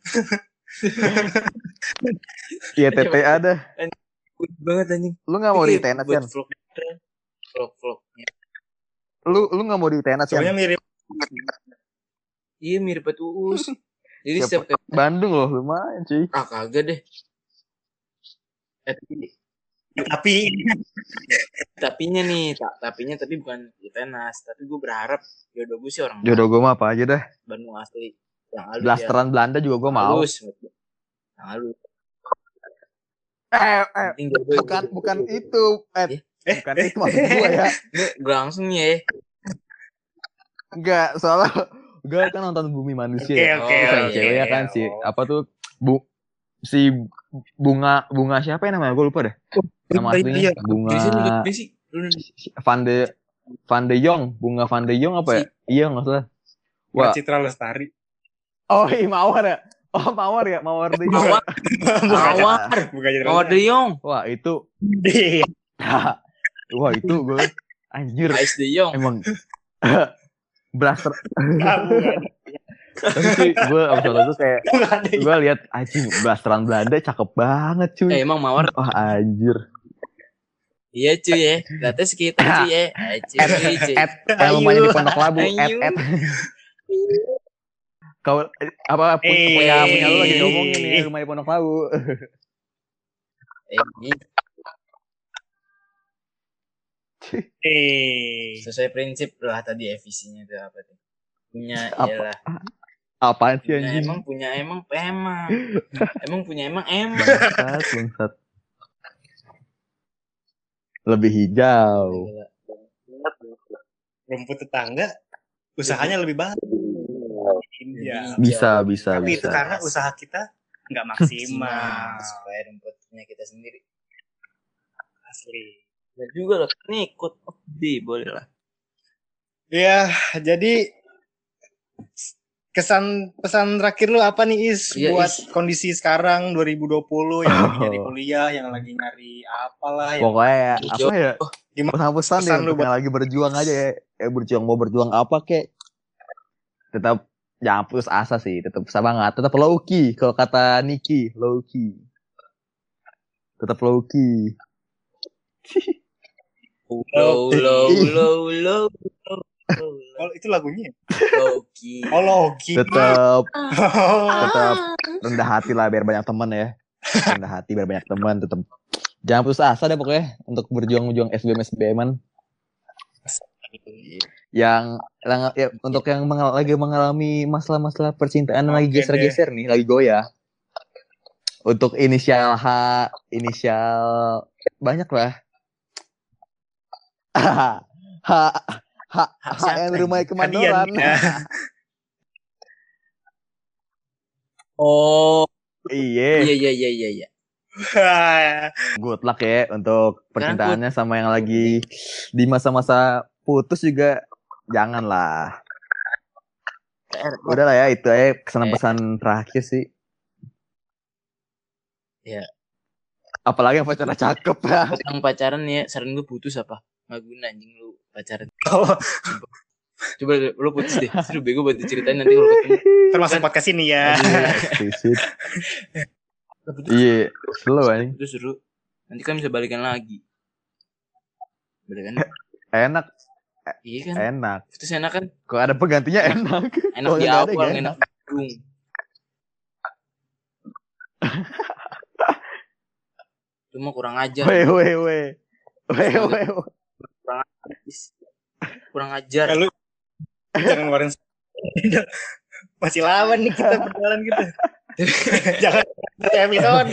Speaker 3: Iya T T A dah.
Speaker 2: Good banget anjing.
Speaker 3: Lu nggak mau di I T N S kan?
Speaker 2: Buat vlog. Vlog vlog.
Speaker 3: Lu lu nggak mau di I T N S kan?
Speaker 1: Soalnya mirip
Speaker 2: Iya mirip banget Uus. Jadi
Speaker 3: Siapa?
Speaker 2: setiap kayak
Speaker 3: Bandung loh, lumayan cuy.
Speaker 2: ah kagak deh. Eh, tapi
Speaker 1: tapi
Speaker 2: tapinya nih, tak tapinya tapi bukan di tenas, tapi gue berharap jodoh gue sih orang
Speaker 3: Jodoh gue mah apa aja dah.
Speaker 2: Bandung asli. Yang halus ya.
Speaker 3: Blasteran Belanda juga gue mau.
Speaker 2: Halus. Yang halus.
Speaker 3: Eh, eh,
Speaker 2: Penting jodoh
Speaker 3: bukan
Speaker 2: itu.
Speaker 3: bukan itu. Eh,
Speaker 1: eh
Speaker 3: bukan itu maksud gue ya.
Speaker 2: Ini gue langsung ya.
Speaker 3: Enggak, soalnya gue kan nonton Bumi Manusia.
Speaker 1: Oke,
Speaker 3: ya.
Speaker 1: oke,
Speaker 3: Terus yang
Speaker 2: oke.
Speaker 3: cewek ya kan si
Speaker 1: Oh.
Speaker 3: apa tuh bu si bunga bunga siapa ya namanya? Gue lupa deh. Nama aslinya bunga
Speaker 2: Bisa nih gue sih. Lu
Speaker 3: Van de Van de Jong, bunga Van de Jong apa ya? Iya nggak salah. Wah,
Speaker 1: Citra Lestari.
Speaker 3: oh iya Mawar ya. Oh Mawar ya, Mawar de Jong.
Speaker 2: Mawar. Mawar.
Speaker 1: Bukan Citra
Speaker 2: Mawar De Jong.
Speaker 3: Wah itu,
Speaker 1: Lestari.
Speaker 3: wah itu gue anjir
Speaker 2: Ais De Jong.
Speaker 3: emang blaster.
Speaker 1: Bukan.
Speaker 3: Tapi cuy, gue abis nonton itu kayak
Speaker 1: Bukan.
Speaker 3: gue lihat anjing blasteran Belanda cakep banget cuy.
Speaker 2: Eh emang Mawar.
Speaker 3: Wah anjir.
Speaker 2: Iya cuy ya. Data sekitar cuy ya. Eh, Cuy. cuy.
Speaker 3: At yang rumahnya di Pondok Labu. At
Speaker 2: Ayu.
Speaker 3: at. Kau eh, apa pu-
Speaker 1: Eh.
Speaker 3: punya punya lu lagi ngomongin nih rumah di Pondok Labu.
Speaker 2: Eh, ini
Speaker 1: Eh.
Speaker 2: sesuai prinsip lah tadi efisinya itu apa tuh? Punya
Speaker 3: Apa?
Speaker 2: iyalah.
Speaker 3: Apaan sih
Speaker 2: Punya
Speaker 3: anjing?
Speaker 2: emang punya emang emang. Emang punya emang emang.
Speaker 3: Bangsat, bangsat. Lebih hijau.
Speaker 2: Gila.
Speaker 1: Rumput tetangga usahanya lebih bagus. Iya.
Speaker 3: Bisa, bisa,
Speaker 1: Tapi
Speaker 3: bisa.
Speaker 1: itu karena usaha kita nggak maksimal.
Speaker 2: Supaya rumputnya kita sendiri.
Speaker 1: Asli.
Speaker 2: Ya juga lah, nih ikut di boleh lah.
Speaker 1: Ya, jadi kesan pesan terakhir lu apa nih Is
Speaker 2: Iya,
Speaker 1: buat
Speaker 2: Is.
Speaker 1: kondisi sekarang dua ribu dua puluh yang lagi
Speaker 3: Oh.
Speaker 1: nyari kuliah, yang lagi nyari apalah yang
Speaker 3: Pokoknya ya, apa ya?
Speaker 1: Gimana
Speaker 3: Pesan-pesan
Speaker 1: pesan
Speaker 3: nih
Speaker 1: lu
Speaker 3: untuk yang lagi berjuang aja ya. Eh berjuang mau berjuang apa kek? Tetap jangan putus asa sih, tetap semangat, tetap low key kalau kata Niki, low key. Tetap low key.
Speaker 2: Low, low, low, low, low,
Speaker 1: Oh, itu lagunya.
Speaker 2: low key.
Speaker 1: Oh, Loki.
Speaker 3: Tetap
Speaker 1: Oh.
Speaker 3: tetap rendah hati lah biar banyak teman ya. Rendah hati biar banyak teman, tetap jangan putus asa deh pokoknya untuk berjuang-berjuang S B M S B M-an. Yang, yang ya, untuk yang mengal- lagi mengalami masalah-masalah percintaan yang lagi
Speaker 1: Oke
Speaker 3: geser-geser nih, lagi goyah. Untuk inisial H, inisial banyak lah. H, H, H, H yang rumah kemandoran.
Speaker 1: Hadian, ya.
Speaker 2: Oh,
Speaker 3: Iya,
Speaker 2: iya iya iya iya iya.
Speaker 3: good luck ya untuk percintaannya sama yang lagi di masa-masa putus juga janganlah. Udah lah ya, itu aja kesan-pesan terakhir sih.
Speaker 2: Iya.
Speaker 3: Apalagi yang pacarnya cakep ya.
Speaker 2: Yang pacaran ya, saran gue putus apa? Nggak guna anjing lu pacaran.
Speaker 1: Oh,
Speaker 2: Coba lu putus deh. Seru bego buat diceritain nanti kalau ketemu.
Speaker 1: termasuk podcast ini ya.
Speaker 3: Exquisite. Iya, slow anjing.
Speaker 2: Itu seru. Nanti kan bisa balikan lagi. Balikan.
Speaker 3: Enak,
Speaker 2: Iya kan?
Speaker 3: enak.
Speaker 2: Itu enak kan?
Speaker 3: Kok ada penggantinya enak.
Speaker 2: Enak
Speaker 3: Kalau
Speaker 2: di
Speaker 3: nggak ada,
Speaker 2: awal,
Speaker 3: nggak
Speaker 2: enak di ujung. Cuma kurang ajar.
Speaker 3: Weh, weh, weh. Weo, weo.
Speaker 2: kurang ajar, Is. kurang ajar.
Speaker 1: Eh, lu jangan ngeluarin masih lama nih kita berjalan gitu. Jangan episode.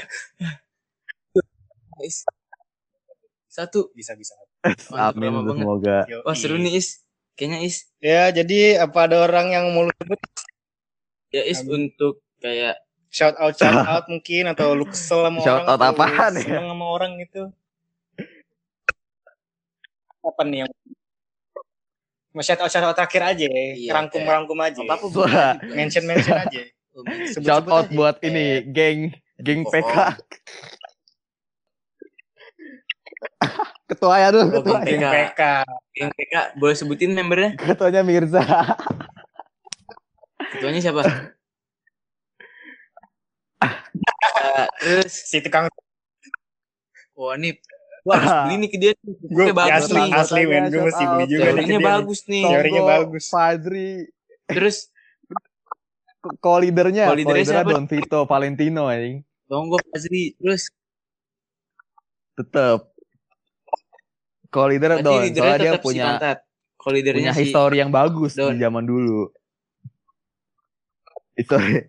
Speaker 2: Is. Satu
Speaker 1: Bisa bisa.
Speaker 2: Mantap,
Speaker 3: Amin
Speaker 2: lama banget.
Speaker 3: semoga.
Speaker 2: Wah seru nih Is, kayaknya Is.
Speaker 1: Ya jadi apa ada orang yang mau lu sebut
Speaker 2: Ya Is
Speaker 1: Amin.
Speaker 2: untuk kayak
Speaker 1: shout out shout out mungkin atau lu kesel sama
Speaker 3: Shout
Speaker 1: orang
Speaker 3: out
Speaker 1: atau
Speaker 3: apaan
Speaker 1: lu
Speaker 3: ya?
Speaker 1: seneng sama orang gitu. Apa nih yang mau shout out shout out terakhir aja,
Speaker 2: Iya,
Speaker 1: rangkum rangkum aja.
Speaker 2: apa apa
Speaker 3: Wah.
Speaker 1: Mention mention aja. Sebut-sebut
Speaker 3: Shout out
Speaker 1: aja.
Speaker 3: buat ini geng geng P K. Ketua ya dulu,
Speaker 2: Oh,
Speaker 3: ketua.
Speaker 2: geng
Speaker 1: Geng P K.
Speaker 2: Geng P K boleh sebutin membernya?
Speaker 3: Ketuanya Mirza.
Speaker 2: Ketuanya siapa? Uh, terus
Speaker 1: Si tukang
Speaker 2: wah nih gua harus beli nih ke dia.
Speaker 1: gue
Speaker 2: Gue bagus
Speaker 1: asli
Speaker 2: nih.
Speaker 1: asli men gue mesti beli juga nih ke
Speaker 2: Teorinya
Speaker 1: dia nih.
Speaker 2: bagus nih.
Speaker 1: Teorinya
Speaker 3: Tonggo,
Speaker 1: bagus.
Speaker 3: Fadri,
Speaker 2: Terus
Speaker 3: co-leadernya,
Speaker 2: Co-leadernya
Speaker 3: co-leadernya
Speaker 2: siapa?
Speaker 3: Don Vito Valentino anjing.
Speaker 2: Tonggo Fazri. Terus
Speaker 3: Tetep. Co-leader
Speaker 2: berarti
Speaker 3: Don,
Speaker 2: leadernya
Speaker 3: soalnya dia
Speaker 2: tetap si
Speaker 3: punya
Speaker 2: Pantat. Kalau leadernya
Speaker 3: punya
Speaker 2: si
Speaker 3: histori yang bagus
Speaker 2: Don.
Speaker 3: di zaman dulu. Histori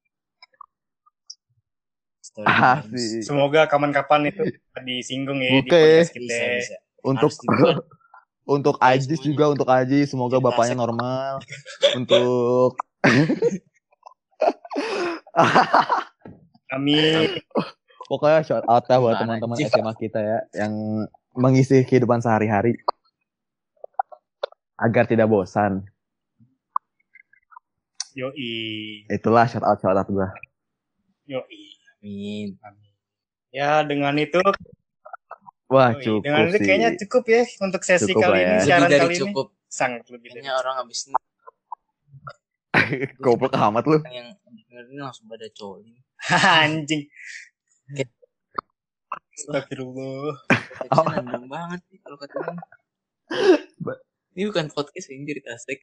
Speaker 2: Story
Speaker 3: ah
Speaker 2: bagus.
Speaker 3: sih.
Speaker 1: Semoga kapan-kapan itu disinggung ya di
Speaker 3: Oke.
Speaker 1: podcast kita.
Speaker 2: Bisa bisa.
Speaker 3: Untuk
Speaker 2: Harus dibuat.
Speaker 3: untuk
Speaker 2: Ayo
Speaker 3: Ajis
Speaker 2: semuanya.
Speaker 3: juga untuk Ajis semoga
Speaker 2: Cerita
Speaker 3: bapaknya
Speaker 2: sek.
Speaker 3: normal. Untuk
Speaker 1: Amin.
Speaker 3: pokoknya shout out ya buat
Speaker 2: Gimana,
Speaker 3: teman-teman
Speaker 2: anjing?
Speaker 3: S M A kita ya yang mengisi kehidupan sehari-hari agar tidak bosan.
Speaker 1: Yoi.
Speaker 3: Itulah shout out shout out gua.
Speaker 1: Yoi.
Speaker 2: Amin.
Speaker 1: Ya dengan itu
Speaker 3: Wah
Speaker 1: yoi.
Speaker 3: cukup
Speaker 1: Dengan itu
Speaker 3: sih.
Speaker 1: kayaknya cukup ya untuk sesi
Speaker 3: Cukup
Speaker 1: kali
Speaker 3: lah
Speaker 1: ini,
Speaker 3: ya.
Speaker 1: siaran
Speaker 2: Lebih dari
Speaker 1: kali
Speaker 2: cukup.
Speaker 1: ini. Sangat lebih dari
Speaker 2: Kayaknya orang abis ini
Speaker 3: Goblok amat lu.
Speaker 2: yang dengerin langsung pada coli.
Speaker 1: anjing. Astagfirullah.
Speaker 2: Konteksnya nandang banget sih kalau katanya. Ini bukan podcast ini cerita sek.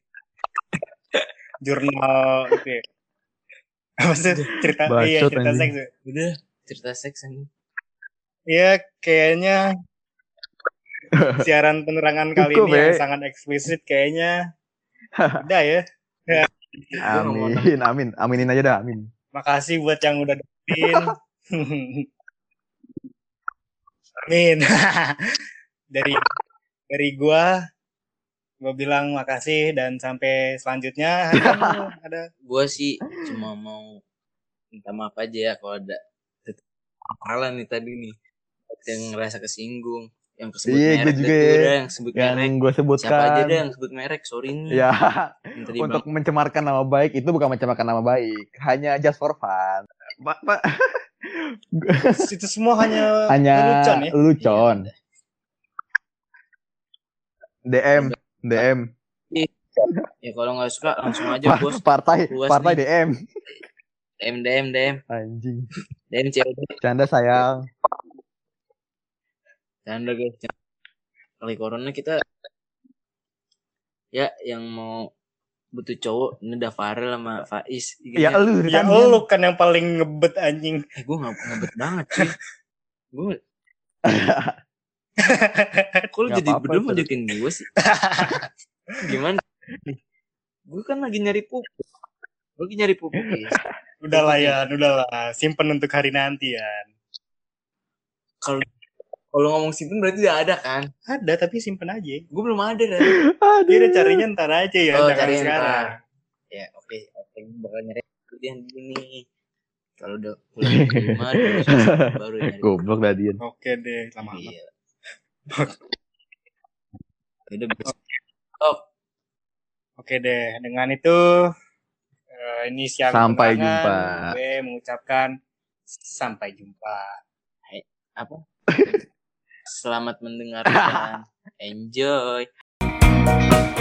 Speaker 1: Jurnal itu ya. Apa sih cerita
Speaker 3: Bacot,
Speaker 1: iya cerita
Speaker 3: anjing.
Speaker 1: seks. ya.
Speaker 2: Udah cerita seks ini.
Speaker 1: Iya kayaknya siaran penerangan kali
Speaker 3: Cukup,
Speaker 1: ini yang
Speaker 3: ya.
Speaker 1: sangat eksplisit kayaknya udah ya.
Speaker 3: Amin, amin, aminin aja dah, amin.
Speaker 1: Makasih buat yang udah dengerin. Amin. dari dari gua gua bilang makasih dan sampai selanjutnya. Ada ada
Speaker 2: Gue sih cuma mau minta maaf aja ya kalau ada salah nih tadi nih yang ngerasa kesinggung, yang kesebut
Speaker 3: Iya, gue
Speaker 2: merek
Speaker 3: juga
Speaker 2: dah tuh
Speaker 3: ya.
Speaker 2: dah, yang sebut
Speaker 3: Yang
Speaker 2: merek.
Speaker 3: gue
Speaker 2: Siapa aja
Speaker 3: sebutkan,
Speaker 2: dah yang sebut merek, sorry nih.
Speaker 3: ya,
Speaker 2: Minta di
Speaker 3: untuk mencemarkan nama baik itu bukan mencemarkan nama baik, hanya just for fun. Pak, Pak.
Speaker 1: itu semua hanya
Speaker 3: Hanya
Speaker 1: lelucon ya.
Speaker 3: lucon. D M, D M.
Speaker 2: Ya kalau nggak suka langsung aja
Speaker 3: Pa-
Speaker 2: bos.
Speaker 3: Partai,
Speaker 2: Luas
Speaker 3: partai
Speaker 2: nih.
Speaker 3: D M.
Speaker 2: D M D M D M
Speaker 3: Anjing.
Speaker 2: D M C O D.
Speaker 3: Canda sayang.
Speaker 2: Canda guys. Kali corona kita ya yang mau butuh cowok ini udah Farel sama Faiz.
Speaker 3: Ya lu,
Speaker 1: Ya
Speaker 3: kan,
Speaker 1: lu kan yang paling ngebet anjing.
Speaker 2: Eh gue nggak ngebet banget cuy. Gue kok lu
Speaker 3: Nggak
Speaker 2: jadi
Speaker 3: apa-apa,
Speaker 2: berdua
Speaker 3: terus.
Speaker 2: mojokin gue sih. Gimana? Gue kan lagi nyari pupuk. Gue lagi nyari pupuk guys.
Speaker 1: Udahlah ya, udahlah. Simpen untuk hari nanti ya.
Speaker 2: Kalau kalau ngomong simpen berarti udah ada kan?
Speaker 1: Ada tapi simpen aja.
Speaker 2: Gue belum ada kan?
Speaker 1: Dia udah carinya ntar aja ya,
Speaker 2: Oh,
Speaker 1: jangan
Speaker 2: carinya
Speaker 1: sekarang.
Speaker 2: ntar. Ya oke, oke gue bakal nyari kemudian gini. Kalau udah pulang ke rumah terus baru nyari.
Speaker 3: Goblok dah dia.
Speaker 1: Oke deh, lama amat.
Speaker 2: Iya. Udah bisa. Oh,
Speaker 1: Oke deh, dengan itu eh, ini siang
Speaker 3: Sampai
Speaker 1: penerangan.
Speaker 3: jumpa.
Speaker 1: Gue mengucapkan sampai jumpa.
Speaker 2: apa? Selamat mendengarkan. Enjoy.